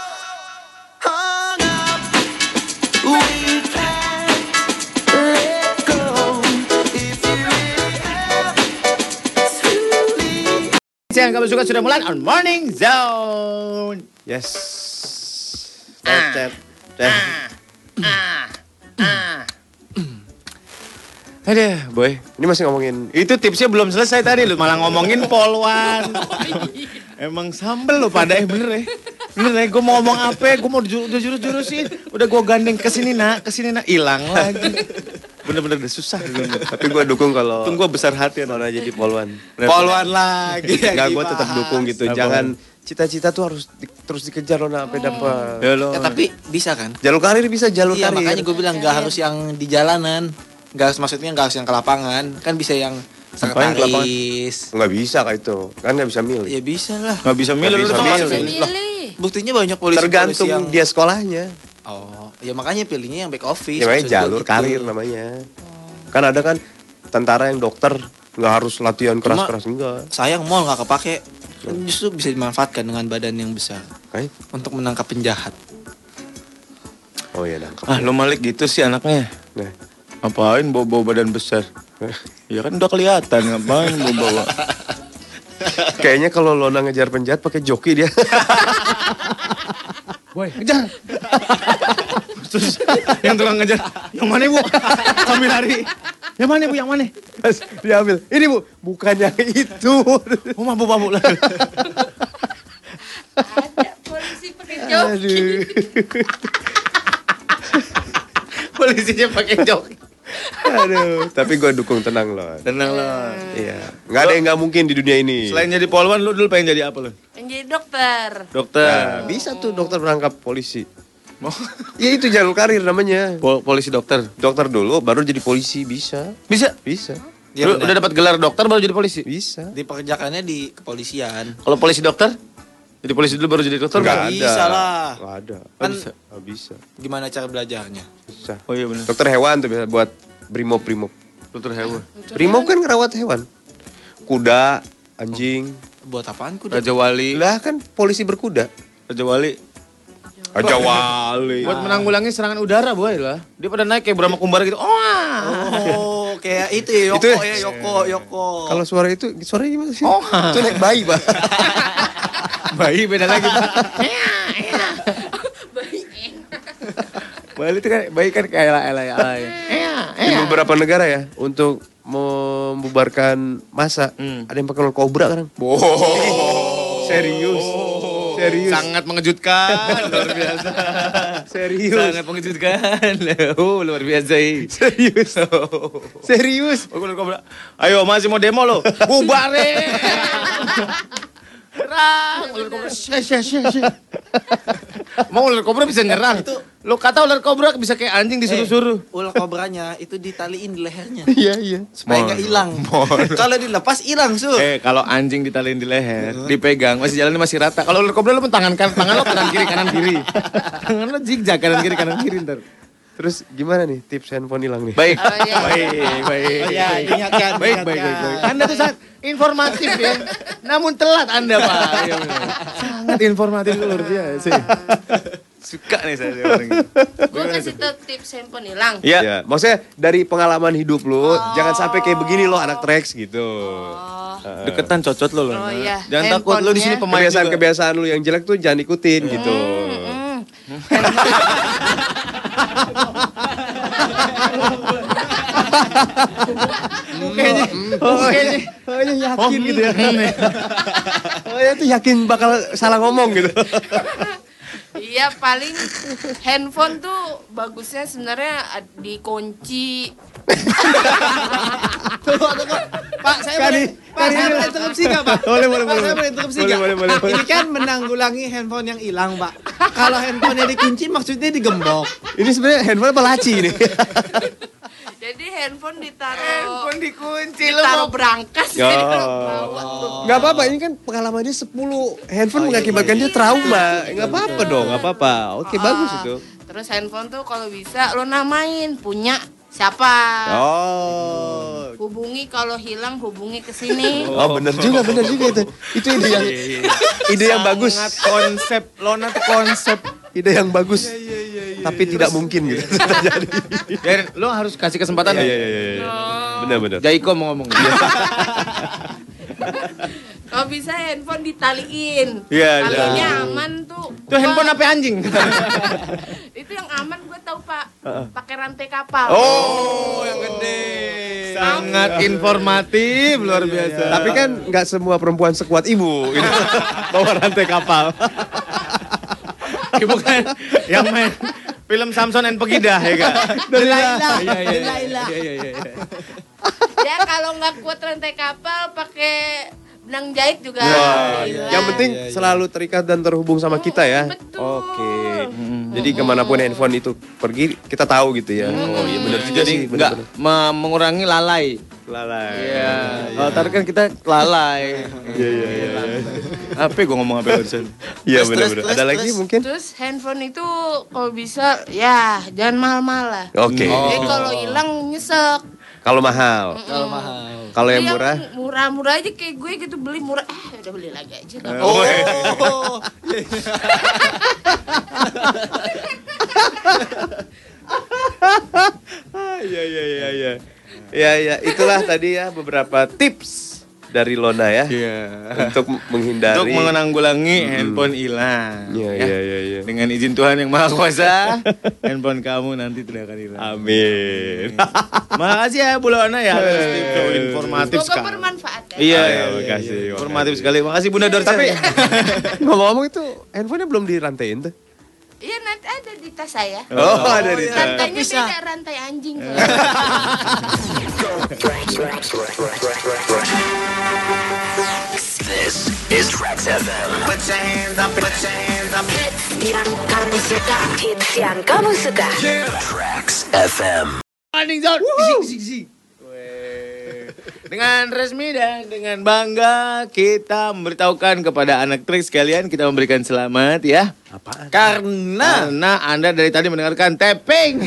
hung up, we can't let go. If you really have to leave. Yang kamu suka sudah mulai on Morning Zone. Yes. Cep. Aduh, boy. Ini masih ngomongin Itu tipsnya belum selesai tadi lu malah ngomongin polwan. Emang sambel lo pada bener ya. Bener ya, gue mau ngomong apa, gue mau jurus-jurusin. Udah gue gandeng kesini nak, hilang lagi. Bener-bener udah susah. tapi gue dukung kalau Tunggu gue besar hati kalau jadi polwan. Polwan lagi. Enggak, gue tetap dukung gitu. Apa? Jangan cita-cita tuh harus terus dikejar lo sampai dapat. Ya lo. Ya tapi bisa kan? Jalur karir bisa jalur Iya karir. makanya gue bilang nggak harus yang di jalanan, nggak harus maksudnya nggak harus yang ke lapangan, kan bisa yang Ngapain ke lapangan? sekretaris. Nggak bisa kayak itu. Kan nggak bisa milih. Ya bisa lah. Nggak bisa milih, Nggak lu bisa tuh milih. masuk. Milih. Buktinya banyak polisi Tergantung yang dia sekolahnya. Oh, ya makanya pilihnya yang back office. Namanya maksud gua jalur gitu. karir namanya. Kan ada kan tentara yang dokter nggak harus latihan keras-keras enggak. Sayang mall nggak kepake. Kan justru bisa dimanfaatkan dengan badan yang besar untuk menangkap penjahat. Oh iya nangkep. Ah lo Malik gitu sih anaknya. Nah, Ngapain bawa badan besar? Ya kan udah kelihatan ngapain bawa. kayaknya kalau Lona ngejar penjahat pakai joki dia. Boy, ngejar. Terus yang tukang ngejar, yang mana bu? Sambil lari. Yang mana bu? Yang mana? Pas diambil. Ini bu, bukan yang itu. Oh mabuk lah. Ada polisi pakai joki. Polisinya pakai joki. Aduh, tapi gue dukung tenang loh. Tenang lah. Iya, nggak ada yang nggak mungkin di dunia ini. Selain jadi polwan, lu dulu pengen jadi apa lu? Yang jadi dokter. Dokter. Nah, bisa tuh dokter berangkap polisi. Ya itu jalur karir namanya. Polisi dokter. Dokter dulu, baru jadi polisi bisa. Bisa? Bisa. Ya, Lu udah dapat gelar dokter baru jadi polisi? Bisa. Dipekerjakannya di kepolisian. Kalau polisi dokter? Jadi polisi dulu baru jadi dokter? Nggak nggak? ada. Bisa lah. Nggak ada. Kan Nggak bisa. gimana cara belajarnya? Bisa. Oh iya benar. Dokter hewan tuh bisa buat brimob. Dokter hewan. Brimob kan ngerawat hewan. Kuda, anjing. Buat apaan kuda? Raja Wali. Lah kan polisi berkuda. Raja Wali. Raja Wali. Buat menanggulangi serangan udara boy lah. Dia pada naik kayak Brahma Kumbara gitu. Oh, kayak itu ya, Yoko Itu- ya, Yoko. Kalau suara itu, suaranya gimana sih? Oh. Itu naik bayi, Pak. Bayi beda lagi. Bayi itu kan bayi kan kayak elai. Di beberapa negara ya, untuk membubarkan massa, ada yang pakai ular kobra kan? Serius. Serius. Sangat mengejutkan, luar biasa. Serius. Sangat mengejutkan. Luar biasa. Serius. Serius. Ayo masih mau demo lo. Bubarin. Serang ular kobra. Mau ular kobra bisa nyerang. Lo kata ular kobra bisa kayak anjing disuruh-suruh. Ular kobranya itu ditaliin di lehernya. Iya. Supaya nggak hilang. Kalau dilepas hilang, Su. Kalau anjing ditaliin di leher, dipegang, masih jalannya masih rata. Kalau ular kobra lo pun tangan lo kanan kiri. Tangan lo zigzag kanan kiri ntar. Terus gimana nih tips handphone hilang nih? Baik. Oh, iya. Baik. Oh ya, ingatkan. Baik. Anda tuh sangat informatif ya. Namun telat Anda, Pak. Iya, benar. Sangat informatif luar biasa. Suka nih saya orang ini. Gue kasih tau tips handphone hilang. Iya. Ya, maksudnya dari pengalaman hidup lu, jangan sampai kayak begini lo anak Trax gitu. Deketan cocot lo. Oh, iya. Jangan takut lo di sini pemain juga. Kebiasaan lu yang jelek tuh jangan ikutin gitu. Kayaknya yakin gitu ya. Kayaknya tuh yakin bakal salah ngomong gitu. Iya paling handphone tuh bagusnya sebenarnya dikunci. Pak, saya boleh interupsi nggak, Pak? Boleh. Saya boleh interupsi nggak? Boleh. Ini kan menanggulangi handphone yang hilang, Pak. Kalau handphonenya dikunci maksudnya digembok. Ini sebenarnya handphone apa laci ini? Jadi handphone ditaruh dikunci ditaruh berangkas Oh. jadi bawa tuh. Gak apa-apa, ini kan pengalamannya 10 handphone mengakibatkan dia trauma. Gak apa-apa dong, gak apa-apa. Oke, bagus itu. Terus handphone tuh kalau bisa lo namain punya siapa. Oh. Hubungi kalau hilang hubungi ke sini. Oh, bener juga itu. Itu ide yang bagus. Sangat konsep. Lona tuh konsep. Ide yang bagus. Tapi tidak mungkin gitu terjadi. Biarin, lo harus kasih kesempatan. Iya. Benar. Jaiko mau ngomong. Kalau bisa handphone ditaliin. Iya, Talinya aman tuh. Itu handphone apa anjing? Itu yang aman gue tahu Pak. Pakai rantai kapal. Oh, yang gede. Sangat informatif, luar biasa. Tapi kan nggak semua perempuan sekuat ibu ini bawa rantai kapal. Ibu kan yang main film Samson and Pegidah ya kan? Delilah. Iya. Ya kalau nggak kuat rantai kapal pakai benang jahit juga. Gila. Yang penting selalu terikat dan terhubung sama kita ya. Betul. Oke. Jadi kemanapun handphone itu pergi kita tahu gitu ya. Oh iya benar juga Jadi sih. nggak mengurangi lalai. Lalai. Iya. Kalau tadi kan kita lalai. Iya. Apa gue ngomong apa barusan? Iya benar-benar. Ada lagi mungkin? Terus handphone itu kalau bisa ya jangan mahal-mahal lah. Oke. Jadi kalau hilang nyesek. Kalau mahal. Kalau yang murah? Murah-murah aja kayak gue gitu beli murah. Udah beli lagi aja. Iya. Ya, itulah tadi ya beberapa tips dari Lona ya. Iya. Untuk menghindari. Untuk menanggulangi handphone hilang. Iya. Dengan izin Tuhan yang Maha Kuasa, handphone kamu nanti tidak akan hilang. Amin. Makasih ya Bu Lona ya. Informatif Semoga sekali. bermanfaat ya. Iya, makasih. informatif sekali. Makasih Bunda Dorce. Tapi ngomong-ngomong itu handphonenya belum dirantain tuh. Iya nanti ada di tas saya. Oh, ada di tas. Rantainya beda rantai anjing. This is Trax FM. Put your hands up, put your hands up. Yang kamu suka, hits yang kamu suka. Trax FM. Morning Zone. Dengan resmi dan dengan bangga kita memberitahukan kepada anak Trax sekalian, kita memberikan selamat ya. Apaan? Karena Anda dari tadi mendengarkan tapping.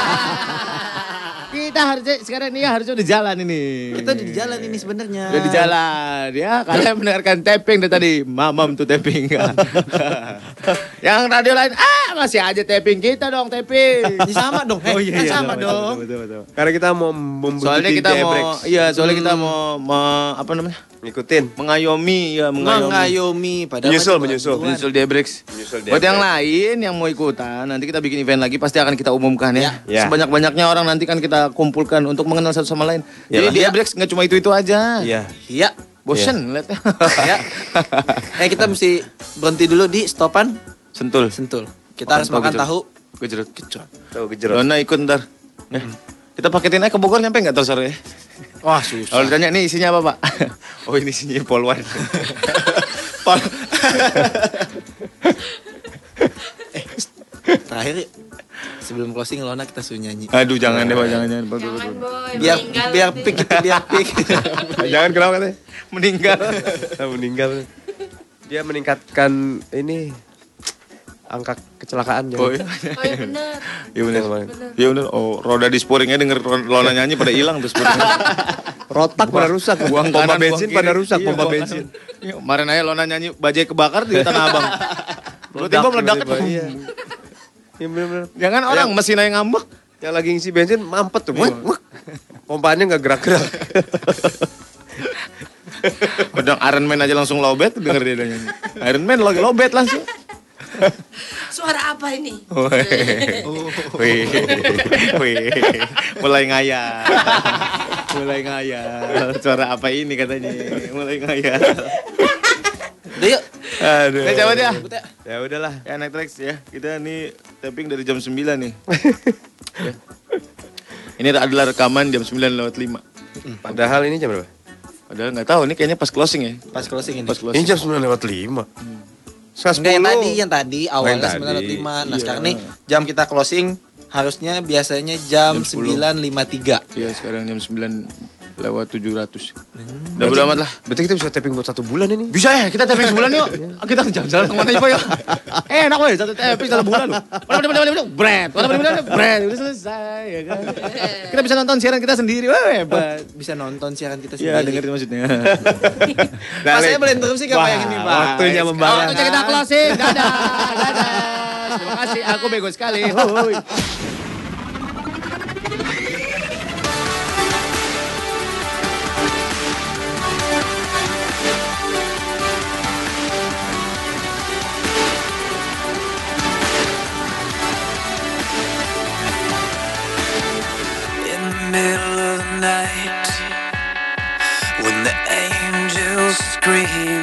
Kita harusnya sekarang ini harusnya udah jalan ini. Kita udah di jalan ini sebenarnya. Udah di jalan ya. Kalian mendengarkan tapping dari tadi. Mamam tuh tapping. Yang radio lain masih aja tapping, kita dong tapping. Sama dong. Oh iya, Sama dong. Betul. Karena kita mau membuktikan Soalnya kita mau apa namanya? ngikutin, Mengayomi ya, Mengayomi padahal menyusul Debrix. Buat yang lain yang mau ikutan, nanti kita bikin event lagi pasti akan kita umumkan ya. Ya. Sebanyak-banyaknya orang nanti kan kita kumpulkan untuk mengenal satu sama lain. Jadi Debrix nggak cuma itu aja. Iya. Iya. Bosen lihat. Ya. Kita mesti berhenti dulu di stopan Sentul. Kita harus makan tahu Gejrot. Tahu gejrot. Dona ikut ntar. Ya. Kita paketin aja ke Bogor nyampe nggak sore ya? Wah, susah. Kalau ditanya nih isinya apa Pak? Oh ini isinya polwan. Terakhir sebelum closing Lona kita suruh nyanyi. Aduh jangan deh Pak, jangan. Jangan boy, Biar meninggal pick itu biar pick. Jangan kenapa katanya? Meninggal. Meninggal. Dia meningkatkan ini angka kecelakaan. Oh iya. Oh iya bener. Iya benar. Iya benar. Oh, roda di sporingnya denger Lona nyanyi pada hilang tuh sporingnya. Rotak pada rusak. Buang Pompa kanan, bensin buang pada kiri. rusak, Iya, pompa buang bensin. kanan. Iya, kemarin aja Lona nyanyi bajai kebakar di Tanah Abang. Tiba-tiba meledak. Iya. Iya benar-benar. Jangan orang mesin aja ngambek. Yang lagi ngisi bensin mampet tuh. Pompanya nggak gerak-gerak. Udah Iron Man aja langsung lowbat denger dia nyanyi. Iron Man lagi lowbat langsung. Suara apa ini? Wih. Mulai ngayal. Suara apa ini katanya? Mulai ngayal. Udah yuk. Aduh. Kita coba dia. Ya udahlah. Ya naik Trax ya. Kita nih tapping dari jam 9 nih. Ya. Ini adalah rekaman jam 9:05. Padahal ini jam berapa? Padahal nggak tahu nih kayaknya pas closing ya. Pas closing ini. Pas Ini closing. jam 9:05. Enggak yang tadi awalnya tadi. 9.05. Nah, Iya. sekarang nih jam kita closing harusnya biasanya jam 9.53. Iya sekarang jam 9:700. Udah bodo amat lah. Berarti kita bisa tapping buat 1 bulan ini. Bisa ya kita tapping sebulan yuk. Kita jalan-jalan kemana aja Pak yuk. Enak weh satu tapping 1 bulan loh. Bread. Bread. Udah selesai ya kan. Kita bisa nonton siaran kita sendiri. Wah hebat. Bisa nonton siaran kita Iya sendiri. dengerin maksudnya. Pak saya boleh interupsi gak Pak yang ini Pak? Waktunya membahas. Waktunya kita closing. Dadah. Terima kasih. Aku bego sekali. Hoi. In the middle of the night, dream.